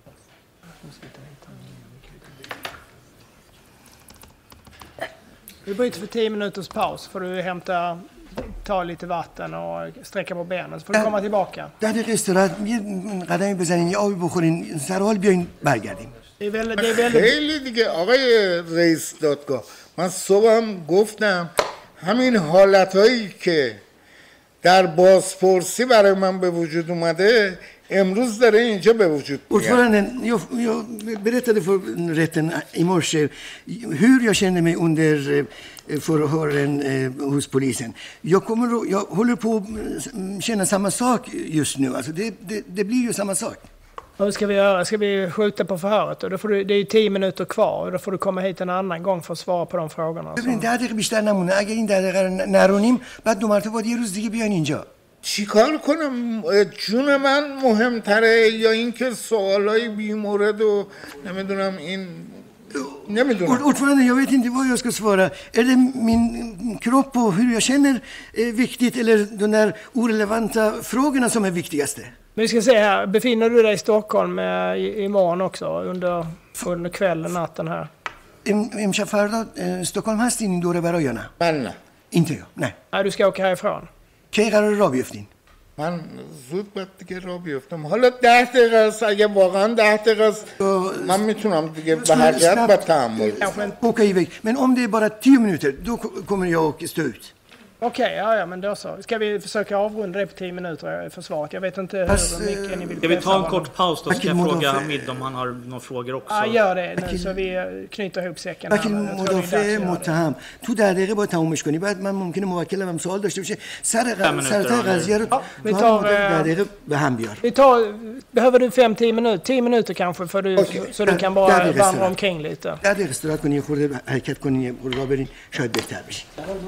Vi bryter för tio minuters paus. Får du hämta, ta lite vatten och sträcka på benen. Så får du komma tillbaka. ده دقیقه استراحت یه قدمی بزنین یه آبی بخورین سر حال بیاین برگردیم. Det är väldigt, det är väldigt... خیلی دیگه آقای رئیس دادگاه من صبحم گفتم همین حالتهایی که در بازپرسی برای من به وجود اومده امروز داره اینجا به وجود میاد. Ordföranden, jag, jag berättade för rätten i morse hur jag känner mig under förhören hos polisen. Jag, kommer, jag håller på att känna samma sak just nu. Alltså det, det, det blir ju samma sak. Vad ska vi göra? Ska vi skjuta på förhöret? Då får du, det är ju tio minuter kvar. Då får du komma hit en annan gång för att svara på de frågorna. ببین ده دقیقه بیشتر نمونه. اگه این ده دقیقه نرونیم بعد دو مرتبه باید یه روز دیگه بیان اینجا. چیکار کنم؟ جون من مهمتره یا اینکه سوالای بیمورد و نمیدونم این نمیدونم. Ordförande, jag vet inte vad jag ska svara. Är det min kropp och hur jag känner är viktigt eller de där orelevanta frågorna som är viktigaste? Men vi ska se här, befinner du dig i Stockholm eh, imorgon också under, under kvällen, natten här? امشب فردا استکهلم هستین این دوره برای یا نه؟ من نه. inte jag, nej. Nej, du ska åka härifrån. کی قرار راه بیفتین؟ من زود باید دیگه را بیفتم. حالا ده دقیقه است، اگه واقعا ده دقیقه است من میتونم دیگه به هر جهت با تحمل åka iväg. Men om det är bara tio minuter, då kommer jag att stå ut. Okej, okay, ja, ja, men då så. Ska vi försöka avrunda det på tio minuter för svaret? Jag vet inte hur mycket ni vill. Ska vi ta en kort paus då? Ska jag fråga Hamid om han har några frågor också? Ja, gör det nu så vi knyter ihop säcken. وکیل مدافع متهم تو ده دقیقه باید تمومش کنی. بعد من ممکنه موکلم هم سوال داشته باشه. سر سر قضیه رو vi tar ده دقیقه به هم بیار. Vi tar behöver du fem tio minuter, tio minuter kanske för du så du kan bara vandra omkring lite. ده دقیقه استراحت کنی، خورده حرکت کنی، راه برین، شاید بهتر بشه.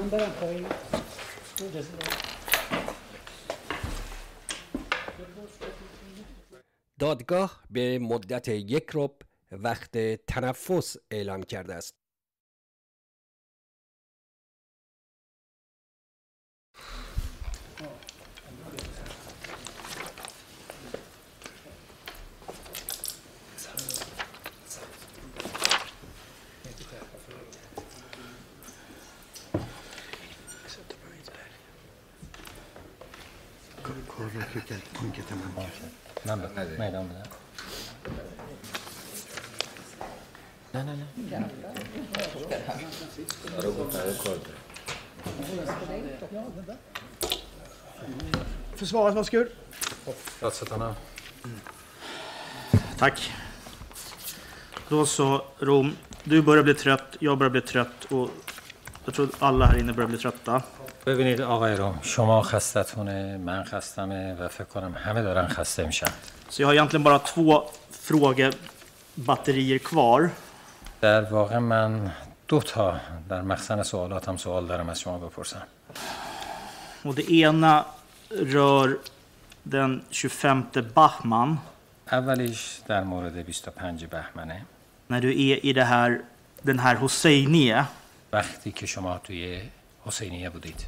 دادگاه به مدت یک ربع وقت تنفس اعلام کرده است. من میدان بدم. نه نه نه. Försvaret, varsågod. Tack. Då så, Rom. Du börjar bli trött, jag börjar bli trött och jag tror alla här inne börjar bli trötta. ببینید آقای روم، شما خستتونه، من خستمه و فکر کنم همه دارن خسته میشن. Så jag har egentligen bara två frågebatterier kvar. در واقع من دو تا در مخزن سوالاتم سوال دارم از شما بپرسم. Och det ena rör den tjugofemte Bahman. اولیش در مورد بیست و پنج بهمنه. När du är i det här, den här Hosseiniye. وقتی که شما توی حسینیه بودید.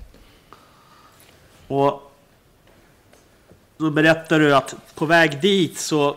Och då berättar du att på väg dit så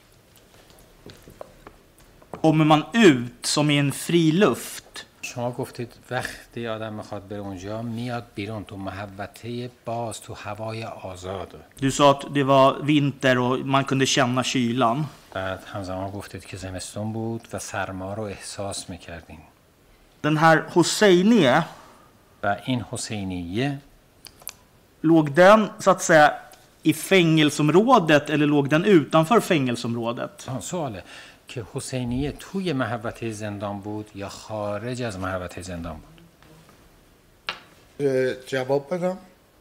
kommer man ut som i en fri luft. شما گفتید وقتی آدم میخواد بره اونجا میاد بیرون تو محوطه باز تو هوای آزاد. Du sa att det var vinter och man kunde känna kylan. بعد همزمان گفتید که زمستون بود و سرما رو احساس میکردین. Den här Hosseiniye و این حسینیه låg den så att säga i fängelseområdet eller låg den utanför fängelseområdet? سواله که حسینیه توی محوطه زندان بود یا خارج از محوطه زندان بود؟ جواب بدم؟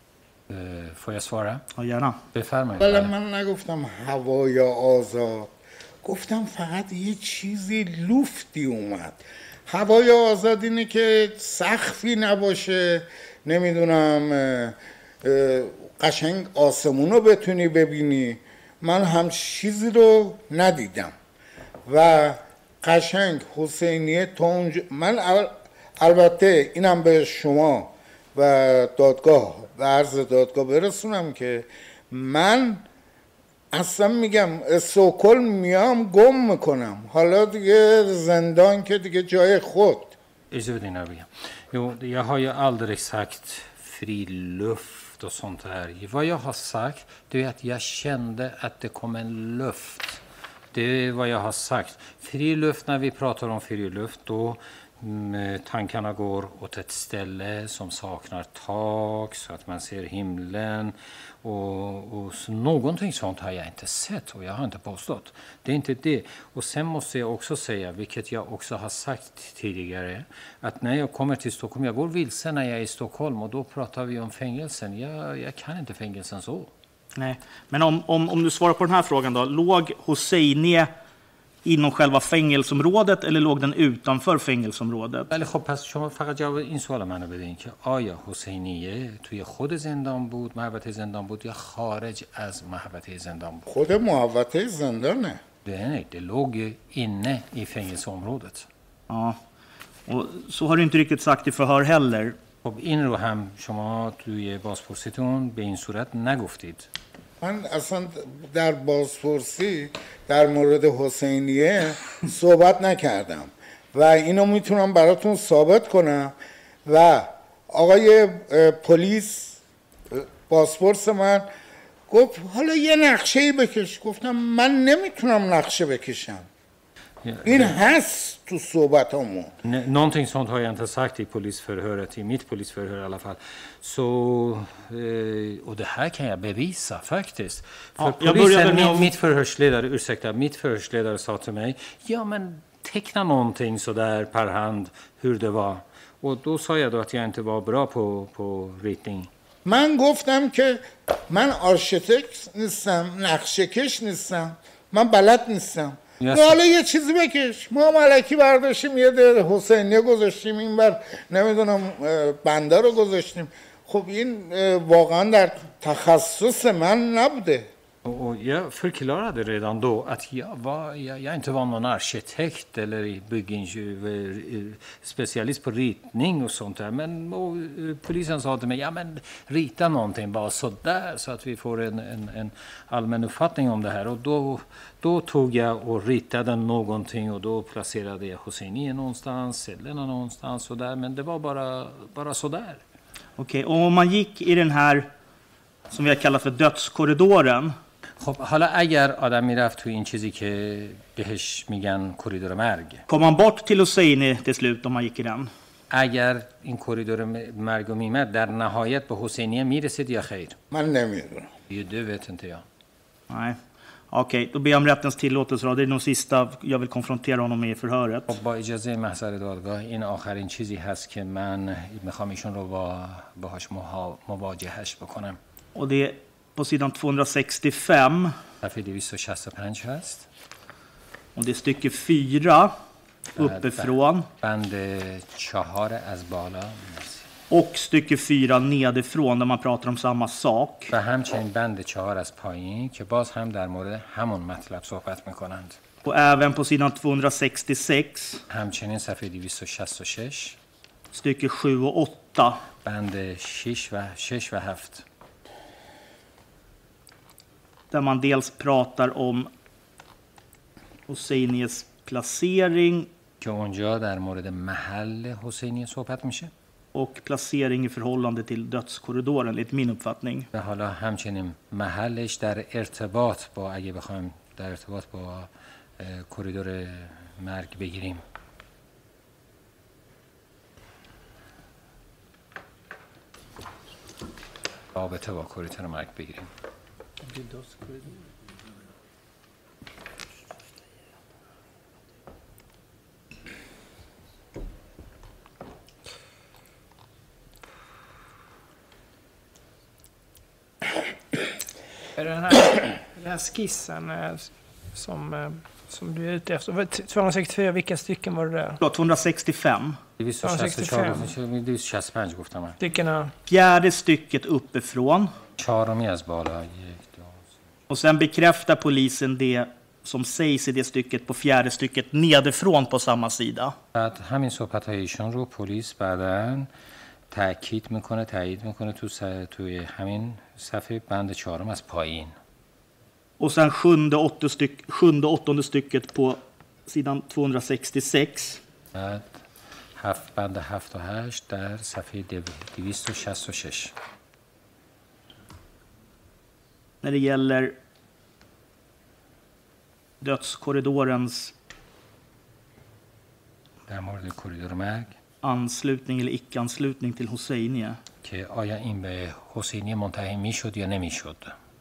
får jag svara؟ Ja, gärna. بفرمایید. ولی من نگفتم هوای آزاد، گفتم فقط یه چیزی لوفتی اومد. هوای آزاد اینه که سقفی نباشه، نمیدونم قشنگ آسمون رو بتونی ببینی. من هم چیزی رو ندیدم و قشنگ حسینیه تا اونجا. من البته اینم به شما و دادگاه و عرض دادگاه برسونم که من اصلا میگم استکهلم میام گم میکنم. حالا دیگه زندان که دیگه جای خود. Jo, jag har ju aldrig sagt fri luft och sånt här. Vad jag har sagt det är att jag kände att det kom en luft. Det är vad jag har sagt. Fri luft, när vi pratar om fri luft då tankarna går åt ett ställe som saknar tak så att man ser himlen och, och så någonting sånt har jag inte sett och jag har inte påstått. Det är inte det. Och sen måste jag också säga, vilket jag också har sagt tidigare, att när jag kommer till Stockholm, jag går vilse när jag är i Stockholm och då pratar vi om fängelsen. Jag, jag kan inte fängelsen så. Nej, men om, om, om du svarar på den här frågan då, låg Hosseiniye inom själva fängelseområdet eller låg den utanför fängelseområdet? ولی خب پس شما فقط جواب این سوال منو بدین که آیا حسینیه توی خود زندان بود، محوطه زندان بود یا خارج از محوطه زندان بود؟ خود محوطه زندانه. Nej, det låg ju inne i fängelseområdet. Ja. Och så har du inte riktigt sagt i förhör heller. خب این رو هم شما توی بازپرسیتون به این صورت نگفتید. من اصلا در بازپرسی در مورد حسینیه صحبت نکردم و اینو میتونم براتون ثابت کنم و آقای پلیس بازپرس من گفت حالا یه نقشه‌ای بکش. گفتم من نمیتونم نقشه بکشم. این هست تو صحبتامون. Någonting sånt har jag inte sagt i polisförhöret, i mitt polisförhör i alla fall. Så, och det här kan jag bevisa faktiskt. För Ja, polisen, min, mitt förhörsledare, ursäkta, mitt förhörsledare sa till mig, ja men teckna någonting så där per hand hur det var. Och då sa jag då att jag inte var bra på, på ritning. من گفتم که من آرشیتکت نیستم، نقشه کش نیستم، من بلد نیستم. حالا یه چیزی بکش. ما ملکی برداشتیم یه ده حسینیه گذاشتیم این بر نمیدونم بنده رو گذاشتیم. خب این واقعا در تخصص من نبوده. Och jag förklarade redan då att jag, var, jag, jag inte var någon arkitekt eller byggspecialist på ritning och sånt där. Men och, polisen sa till mig, ja men rita någonting bara så där så att vi får en, en, en allmän uppfattning om det här. Och då, då tog jag och ritade någonting och då placerade jag Hosseini någonstans, cellerna någonstans och där. Men det var bara, bara så där. Okej, och om man gick i den här som vi har kallat för dödskorridoren. خب حالا اگر آدم میرفت تو این چیزی که بهش میگن کریدور مرگ. Kom man bort till Hosseini till slut om man gick i den? اگر این کریدور مرگ میمد در نهایت به حسینیه میرسید یا خیر؟ من نمیدونم. Du vet inte jag. Nej. Okej, då ber jag om rättens tillåtelse. Det är nog sista jag vill konfrontera honom med i förhöret. خب با اجازه محضر دادگاه این آخرین چیزی هست که من میخوام ایشون رو با باهاش مواجهش بکنم. Och det är på sidan tvåhundrasextiofem. صفحه دویست و شصت و پنج هست. Och det är stycke fyra uppifrån. بند چهار از بالا. Och stycke fyra nedifrån där man pratar om samma sak. و همچنین بند چهار از پایین که باز هم در مورد همون مطلب صحبت میکنند. Och även på sidan tvåhundrasextiosex. همچنین صفحه دویست و شصت و شش. Stycke sju och åtta. بند شش و شش و هفت. Där man dels pratar om Hosseinis placering. که اونجا در مورد محل حسینی صحبت میشه. Och placering i förhållande till dödskorridoren, enligt min uppfattning. و حالا همچنین محلش در ارتباط با اگه بخوایم در ارتباط با کریدور مرگ بگیریم. رابطه با کریدور مرگ بگیریم. Den här, den här skissen som, som du är ute efter. tvåhundrasextiofyra, vilka stycken var det där? tvåhundrasextiofem. tvåhundrasextiofem گفتم من. Styckena. Fjärde stycket uppifrån. چهارمی از بالا. Och sen bekräftar polisen det som sägs i det stycket på fjärde stycket nedifrån på samma sida. بعد همین صحبت‌های ایشون رو پلیس بعداً تأکید میکنه، تایید میکنه تو توی همین صفحه بند چهارم از پایین. Och sen sjunde åttonde, styck, sjunde åttonde stycket på sidan tvåhundrasextiosex. بعد هفت بند هفت و هشت در صفحه دویست و شصت و شش. När det gäller dödskorridorens در مورد کریدور مرگ anslutning eller icke-anslutning till Hosseini. که آیا این به حسینی منتهی میشد یا نمیشد؟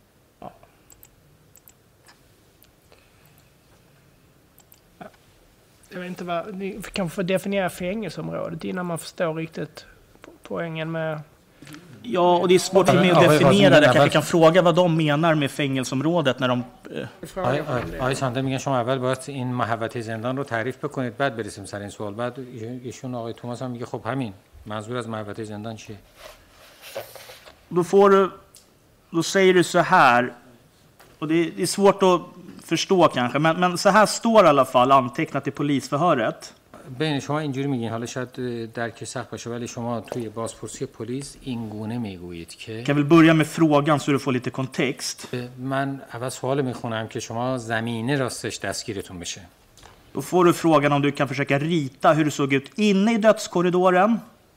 Jag vet inte vad, ni kanske får definiera fängelseområdet innan man förstår riktigt poängen med... Ja, och det är svårt för mig att definiera det. Jag kanske kan fråga vad de menar med fängelseområdet när de... آقای سانده میگن شما اول باید این محوطه زندان رو تعریف بکنید بعد برسیم سر این سوال. بعد ایشون آقای توماس هم میگه خب همین منظور از محوطه زندان چیه؟ Då får du, då säger du så här, och det, det är svårt att förstå kanske, men, men så här står i alla fall antecknat i polisförhöret. بین شما اینجوری میگین، حالا شاید درک سخت باشه ولی شما توی بازپرسی پلیس این گونه میگویید که Kan vi börja med frågan så du får lite kontext. من اول سوال میخونم که شما زمینه راستش دستگیرتون بشه. Då får du frågan om du kan försöka rita hur det såg ut inne i dödskorridoren.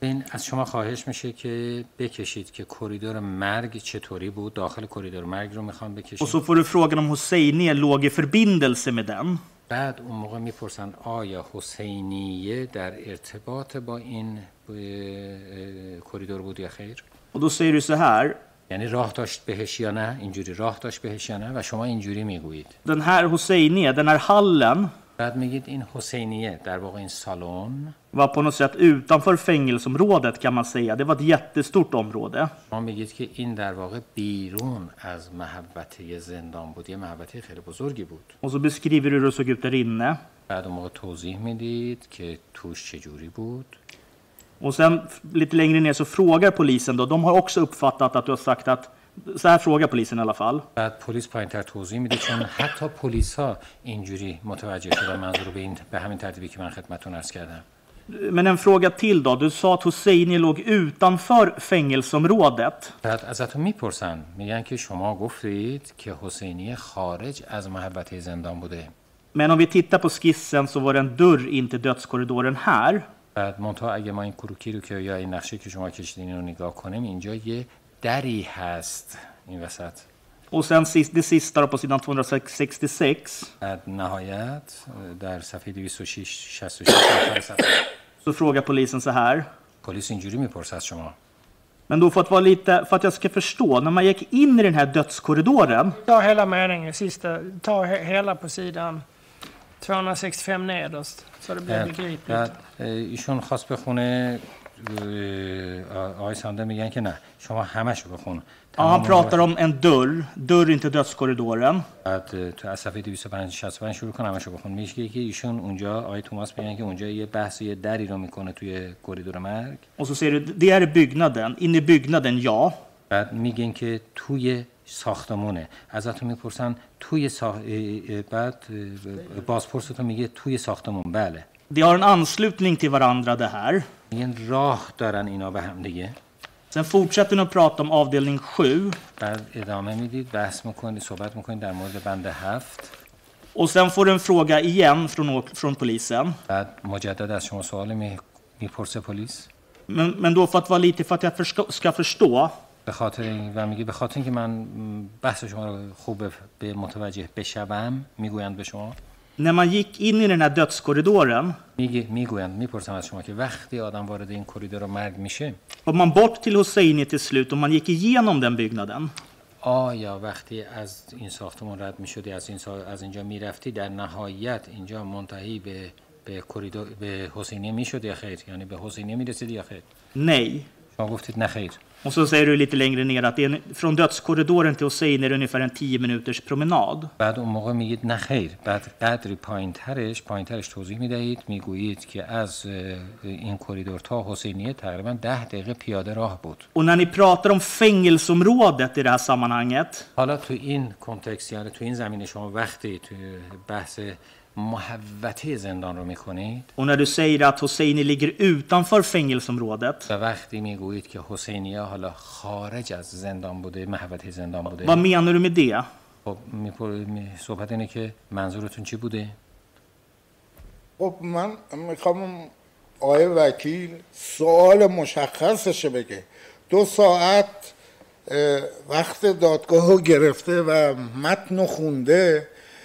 این از شما خواهش میشه که بکشید که کوریدور مرگ چطوری بود. داخل کوریدور مرگ رو میخوام بکشید. Och så får du frågan om Hosseini låg i förbindelse med den. بعد اون موقع میپرسن آیا حسینیه در ارتباط با این کوریدور بود یا خیر؟ Och då säger du så här. یعنی راه داشت بهش یا نه؟ اینجوری راه داشت بهش یا نه؟ و شما اینجوری میگویید. Den här Hosseini, den här hallen. بعد میگید این حسینیه در واقع این سالن var på något sätt utanför fängelseområdet kan man säga. Det var ett jättestort område. ما میگید که این در واقع بیرون از محوطه زندان بود. یه محوطه خیلی بزرگی بود. Och så beskriver du hur det såg ut där inne. بعد اون موقع توضیح میدید که توش چجوری بود. Och sen lite längre ner så frågar polisen då. De har också uppfattat att du har sagt att så här frågar polisen i alla fall. بعد پلیس پایین‌تر توضیح میده چون حتی پلیس‌ها اینجوری متوجه شدن منظور به این به همین ترتیبی که من خدمتتون عرض کردم. Men en fråga till då. Du sa att Hosseini låg utanför fängelseområdet. بعد ازتون میپرسن میگن که شما گفتید که حسینی خارج از محوطه زندان بوده. Men om vi tittar på skissen så var det en dörr in till dödskorridoren här. بعد منتها اگه ما این کروکی رو که یا این نقشه که شما کشیدین رو نگاه کنیم اینجا یه دری هست این وسط. Och sen sist, det sista på sidan tvåhundrasextiosex. بعد نهایت در صفحه دویست و شصت و شش Så frågar polisen så här. پلیس اینجوری میپرسه از شما. Men då för att vara lite för att jag ska förstå när man gick in i den här dödskorridoren. Ta hela meningen sista, ta he, hela på sidan tvåhundrasextiofem nederst så det blir begripligt. ایشون خواست بخونه آقای سانده میگن که نه شما همشو بخون. Ja, han pratar om en dörr, dörr in till dödskorridoren. بعد تو از صفحه دویست و شصت و پنج شروع کن همشو بخون. میگه که ایشون اونجا آقای توماس میگن که اونجا یه بحث یه دری رو میکنه توی کوریدور مرگ. Och så ser du det är byggnaden, inne i byggnaden ja. بعد میگن که توی ساختمونه. ازتون میپرسن توی ساخ... بعد بازپرستون میگه توی ساختمون. بله. De har en anslutning till varandra det här. این راه دارن اینا به هم دیگه. Sen fortsätter ni att prata om avdelning sju. بعد ادامه میدید بحث میکنید صحبت میکنید در مورد بند هفت. Och sen får du en fråga igen från från polisen. بعد مجدد از شما سوال میپرسه پلیس. Men men då för att vara lite för att jag förstå, ska förstå. به خاطر این و میگه به خاطر اینکه من بحث شما رو خوب به متوجه بشم میگویند به شما. När man gick in i den här dödskorridoren. میگه میگویند میپرسم از شما که وقتی آدم وارد این کوریدور مرگ میشه. Kom man bort till Hosseini till slut och man gick igenom den byggnaden. آیا وقتی از این ساختمان رد میشدی از این سا... از اینجا میرفتی در نهایت اینجا منتهی به به کوریدور به حسینی میشد یا خیر؟ یعنی به حسینی میرسیدی یا خیر؟ Nej. شما گفتید نه خیر. Och så säger du lite längre ner att det är från dödskorridoren till Hosseini är det ungefär en tio minuters promenad. بعد اون موقع میگید نه خیر. بعد قدری پایینترش پایینترش توضیح میدهید میگویید که از این کوریدور تا حسینیه تقریبا ده دقیقه پیاده راه بود. Och när ni pratar om fängelseområdet i det här sammanhanget. حالا تو این کنتکست یعنی تو این زمینه شما وقتی تو بحث محوطه زندان رو میکنید. Och när du säger att Hosseini ligger utanför fängelseområdet. و وقتی میگویید که حسینیه حالا خارج از زندان بوده محوطه زندان بوده. Vad menar du med det? خب صحبت اینه که منظورتون چی بوده؟ خب من میخوام آقای وکیل سوال مشخصش بگه. دو ساعت وقت دادگاه رو گرفته و متن خونده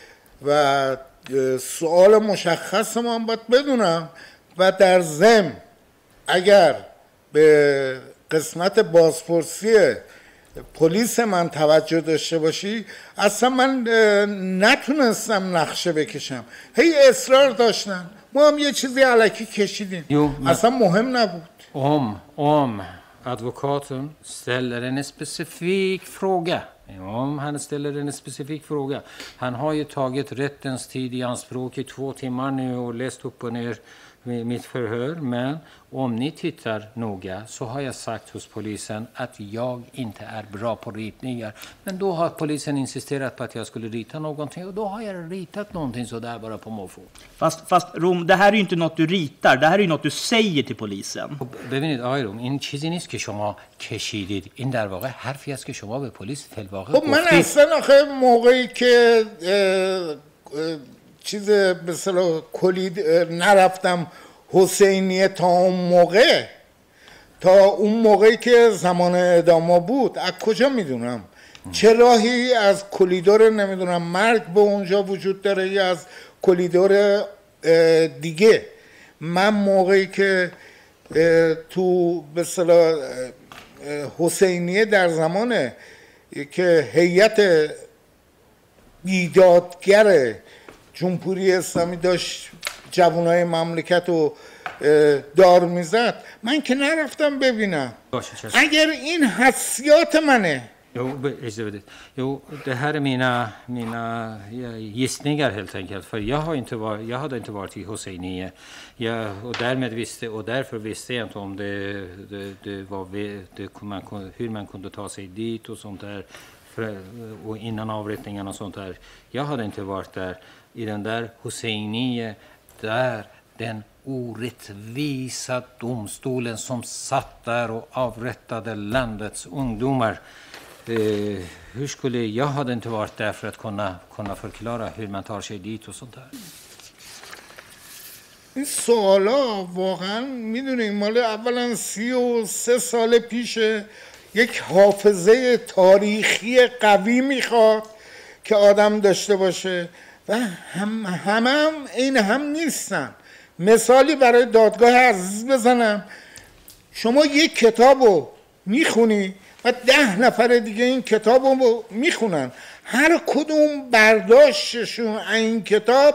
و سوال مشخص ما هم باید بدونم و در ضمن اگر به قسمت بازپرسی پلیس من توجه داشته باشی اصلا من نتونستم نقشه بکشم. هی اصرار داشتن ما هم یه چیزی علکی کشیدیم اصلا مهم نبود. Om, om advokaten ställer en specifik fråga. Om han ställer en specifik fråga. Han har ju tagit rättens tid i anspråk i två timmar nu och läst upp och ner mitt förhör. Men om ni tittar noga så har jag sagt hos polisen att jag inte är bra på ritningar. Men då har polisen insisterat på att jag skulle rita någonting och då har jag ritat någonting så där bara på måfå. Fast, fast Rom, det här är ju inte något du ritar, det här är ju något du säger till polisen. ببینید آقای روم این چیزی نیست که شما کشیدید. این در واقع حرفی است که شما به پلیس فی‌الواقع گفتید. خب من اصلا آخه موقعی که چیز به اصطلاح کلید نرفتم حسینیه تا اون موقع تا اون موقعی که زمان اعدام بود از کجا میدونم؟ چه راهی از کلیدور نمیدونم مرگ به اونجا وجود داره یا از کلیدور دیگه؟ من موقعی که تو به اصطلاح حسینیه در زمان که هیئت بیدادگر جمهوری اسلامی داشت جوانای مملکت رو دار میزد، من که نرفتم ببینم. اگر این حسیات منه. Jo, jo, det här är mina, mina gissningar helt enkelt. För jag, har inte var, jag hade inte varit i Hosseiniye. Jag, och därmed visste, och därför visste jag inte om det, det, det var, det, man, hur man kunde ta sig dit och sånt där. För, och innan avrättningarna och sånt där. Jag hade inte varit där i den där Hosseiniye där den orättvisa domstolen som satt där och avrättade landets ungdomar. Eh, hur skulle jag hade inte varit där för att kunna kunna förklara hur man tar sig dit och sånt där. این سوالا واقعا میدونیم مال اولا سی و سه سال پیشه. یک حافظه تاریخی قوی میخواد که آدم داشته باشه و هم هم, هم این هم نیستن. مثالی برای دادگاه عزیز بزنم، شما یک کتابو میخونی و ده نفر دیگه این کتابو میخونن، هر کدوم برداشتشون این کتاب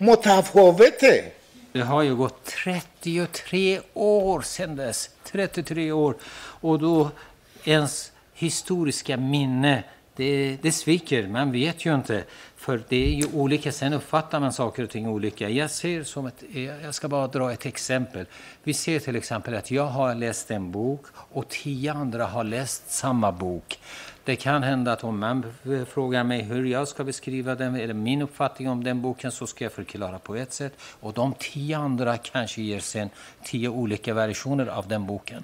متفاوته. Det har ju gått trettiotre år sedan dess, trettiotre år, och då ens historiska minne, det, det sviker, man vet ju inte, för det är ju olika, sen uppfattar man saker och ting olika. Jag ser som ett, jag ska bara dra ett exempel. Vi ser till exempel att jag har läst en bok och tio andra har läst samma bok. Det kan hända att om man frågar mig hur jag ska beskriva den, eller min uppfattning om den boken, så ska jag förklara på ett sätt. Och de tio andra kanske ger sen tio olika versioner av den boken.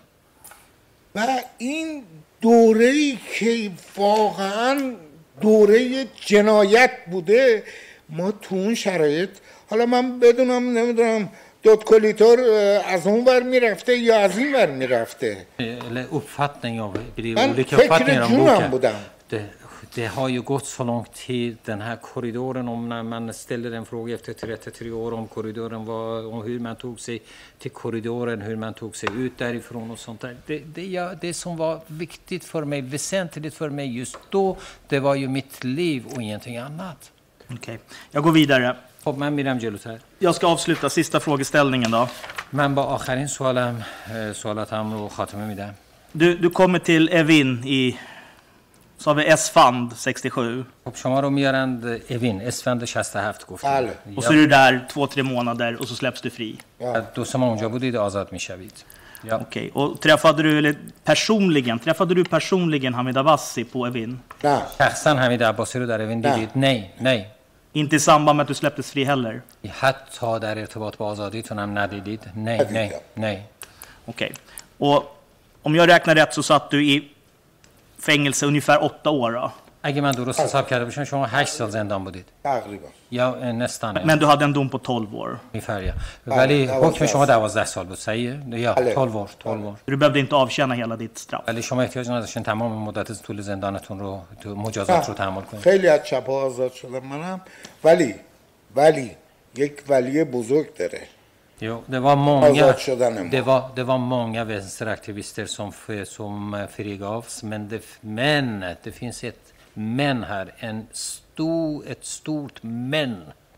و این دوره‌ای که واقعاً دوره جنایت بوده، ما تو اون شرایط، حالا من بدونم نمیدونم دادکلیتور از اون ور میرفته یا از این ور میرفته. Eller uppfattning av من olika فکر uppfattningar om جونم boken. بودم. Det, det har ju gått så lång tid, den här korridoren, om när man ställer en fråga efter trettiotre år om korridoren var, om hur man tog sig till korridoren, hur man tog sig ut därifrån och sånt där. Det, det, ja, det som var viktigt för mig, väsentligt för mig just då, det var ju mitt liv och ingenting annat. Okej, okay. Jag går vidare. خب من میرم جلوتر. Jag ska avsluta sista frågeställningen då. من با آخرین سوالم سوالاتم رو خاتمه میدم. Du, du kommer till Evin i, så har vi Esfand sextiosju. خب شما رو میارند اوین، اسفند شصت و هفت گفتید. Och så är du där två, tre månader och så släpps du fri. دو سه ماه اونجا بودید آزاد میشوید. Ja. Okej, okay. Och träffade du, eller personligen, träffade du personligen Hamid Abbasi på Evin? Nej. شخصا حمید عباسی رو در اوین دیدید؟ Nej, nej. Inte i samband med att du släpptes fri heller? حتی در ارتباط با آزادیتون هم ندیدید؟ Nej, nej, nej. Okej. Okay. Och om jag räknar rätt så satt du i fängelse ungefär åtta år då? اگه من درست حساب کرده باشم شما هشت سال زندان بودید. تقریبا. یا nästan. Men du hade en dom på tolv år. ungefär ja. ولی حکم شما دوازده سال بود. صحیحه؟ یا tolv år, tolv år. Du behövde inte avtjäna hela ditt straff. ولی شما احتیاج نداشتین تمام مدت طول زندانتون رو مجازات رو تحمل کنید. خیلی از چپا آزاد شدم منم، ولی ولی یک ولی بزرگ داره. Jo, det var många det var det var många vänsteraktivister som som frigavs, men det men det finns ett men här, en stor ett stort men.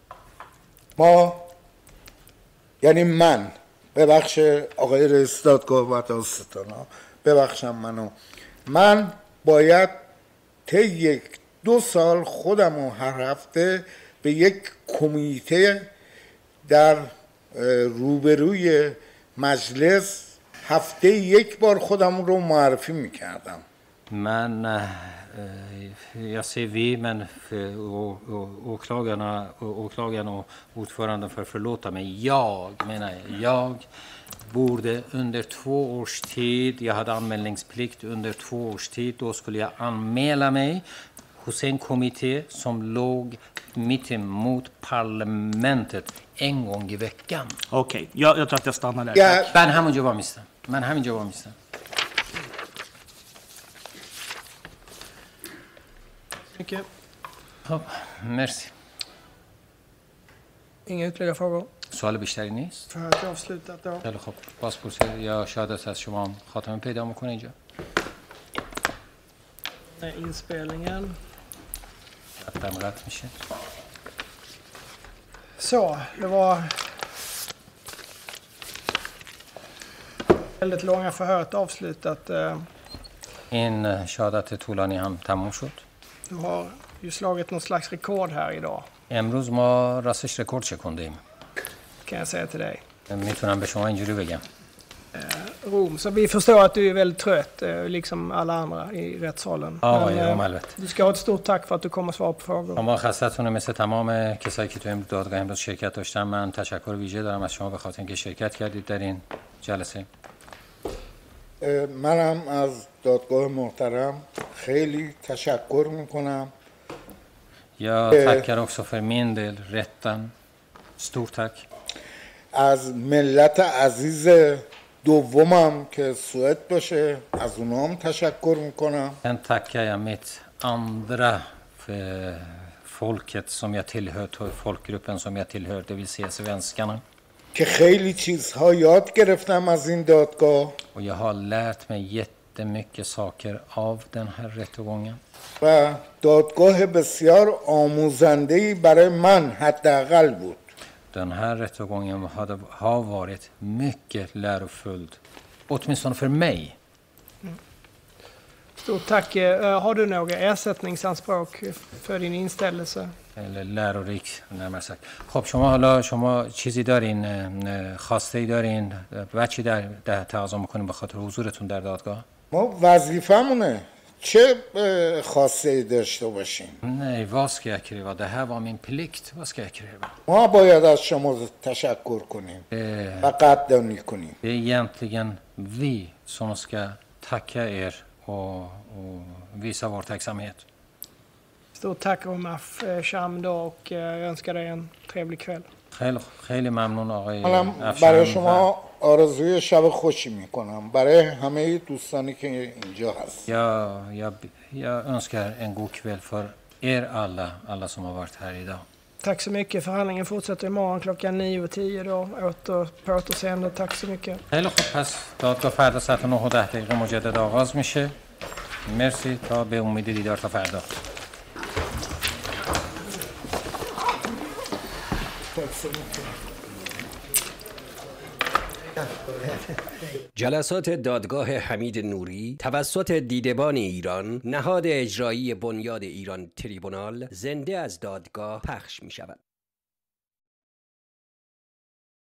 ما یعنی من ببخش آقای رئیس دادگاه و دادستانا، ببخشم منو، من باید طی یک دو سال خودم رو هر هفته به یک کمیته در روبروی مجلس هفته یک بار خودم رو معرفی میکردم. Men jag ser vi, men åklagarna, åklagarna och ordföranden för förlåta mig. Jag menar jag borde under två års tid, jag hade anmälningsplikt under två års tid, då skulle jag anmäla mig hos en kommitté som låg mitt emot parlamentet en gång i veckan. Okej, okay. jag, jag tror att jag stannar där. Ja. Ben همونجا با میستم. من همینجا با میستم. Mycket. خب مرسی. Inga ytterligare frågor? سوال بیشتری نیست؟ Förhöret är avslutat då. خیلی خب بازپرسی یا شهادت از شما هم خاتمه پیدا میکنه اینجا. Inspelningen. قطعا قطع میشه. Så, det var väldigt långa förhöret avslutat. این شهادت طولانی هم تموم شد. Du har ju slagit någon slags rekord här idag. امروز ما راستش رکورد شکندیم. Kan jag säga till dig. میتونم به شما اینجوری بگم. Rom, så vi förstår att du är väldigt trött, liksom alla andra i rättssalen. Ja, ja, البته. Du ska ha ett stort tack för att du kommer och svara på frågor. شما خسته‌تونه مثل تمام کسایی که تو این دادگاه امروز شرکت داشتن. من تشکر ویژه دارم از شما به خاطر اینکه شرکت کردید در این جلسه. منم از دادگاه محترم خیلی تشکر میکنم. Jag tackar också för min del rätten. Stort tack. از ملت عزیز دومم که سوئد باشه از اونها هم تشکر میکنم. Sen tackar jag mitt andra folket som jag tillhör, folkgruppen som jag tillhör, det vill säga svenskarna. که خیلی چیزها یاد گرفتم از این دادگاه. Och jag har lärt mig jättemycket saker av den här rättegången. و دادگاه بسیار آموزنده‌ای برای من حداقل بود. Den här rättegången hade, har varit mycket lärofull, åtminstone för mig. Stort tack. Har du några ersättningsanspråk för din inställelse? eller lärorik närmare sagt. خب شما حالا شما چیزی دارین، خواسته‌ای دارین، بچی در ده تقاضا میکنین به خاطر حضورتون در دادگاه؟ ما وظیفمونه چه خواسته‌ای داشته باشیم؟ Nej, vad ska jag kräva? Det här var min plikt. Vad ska jag kräva? ما باید از شما تشکر کنیم و قدردانی کنیم. Det är egentligen vi som ska tacka er och, och visa vår tacksamhet. Stort tack Omaf Sham och jag önskar dig en trevlig kväll. خیلی خیلی ممنون آقای منم برای شما آرزوی شب خوشی میکنم برای همه دوستانی که اینجا هست. Jag, jag, jag önskar en god kväll för er alla, alla som har varit här idag. Tack så mycket. Förhandlingen fortsätter imorgon klockan nio och tio då. Åter, på återseende. Tack så mycket. خیلی خوب، پس دادگاه فردا ساعت نه و ده دقیقه مجدد آغاز میشه. مرسی، تا به امید دیدار تا فردا. جلسات دادگاه حمید نوری توسط دیدبان ایران، نهاد اجرایی بنیاد ایران تریبونال، زنده از دادگاه پخش می شود.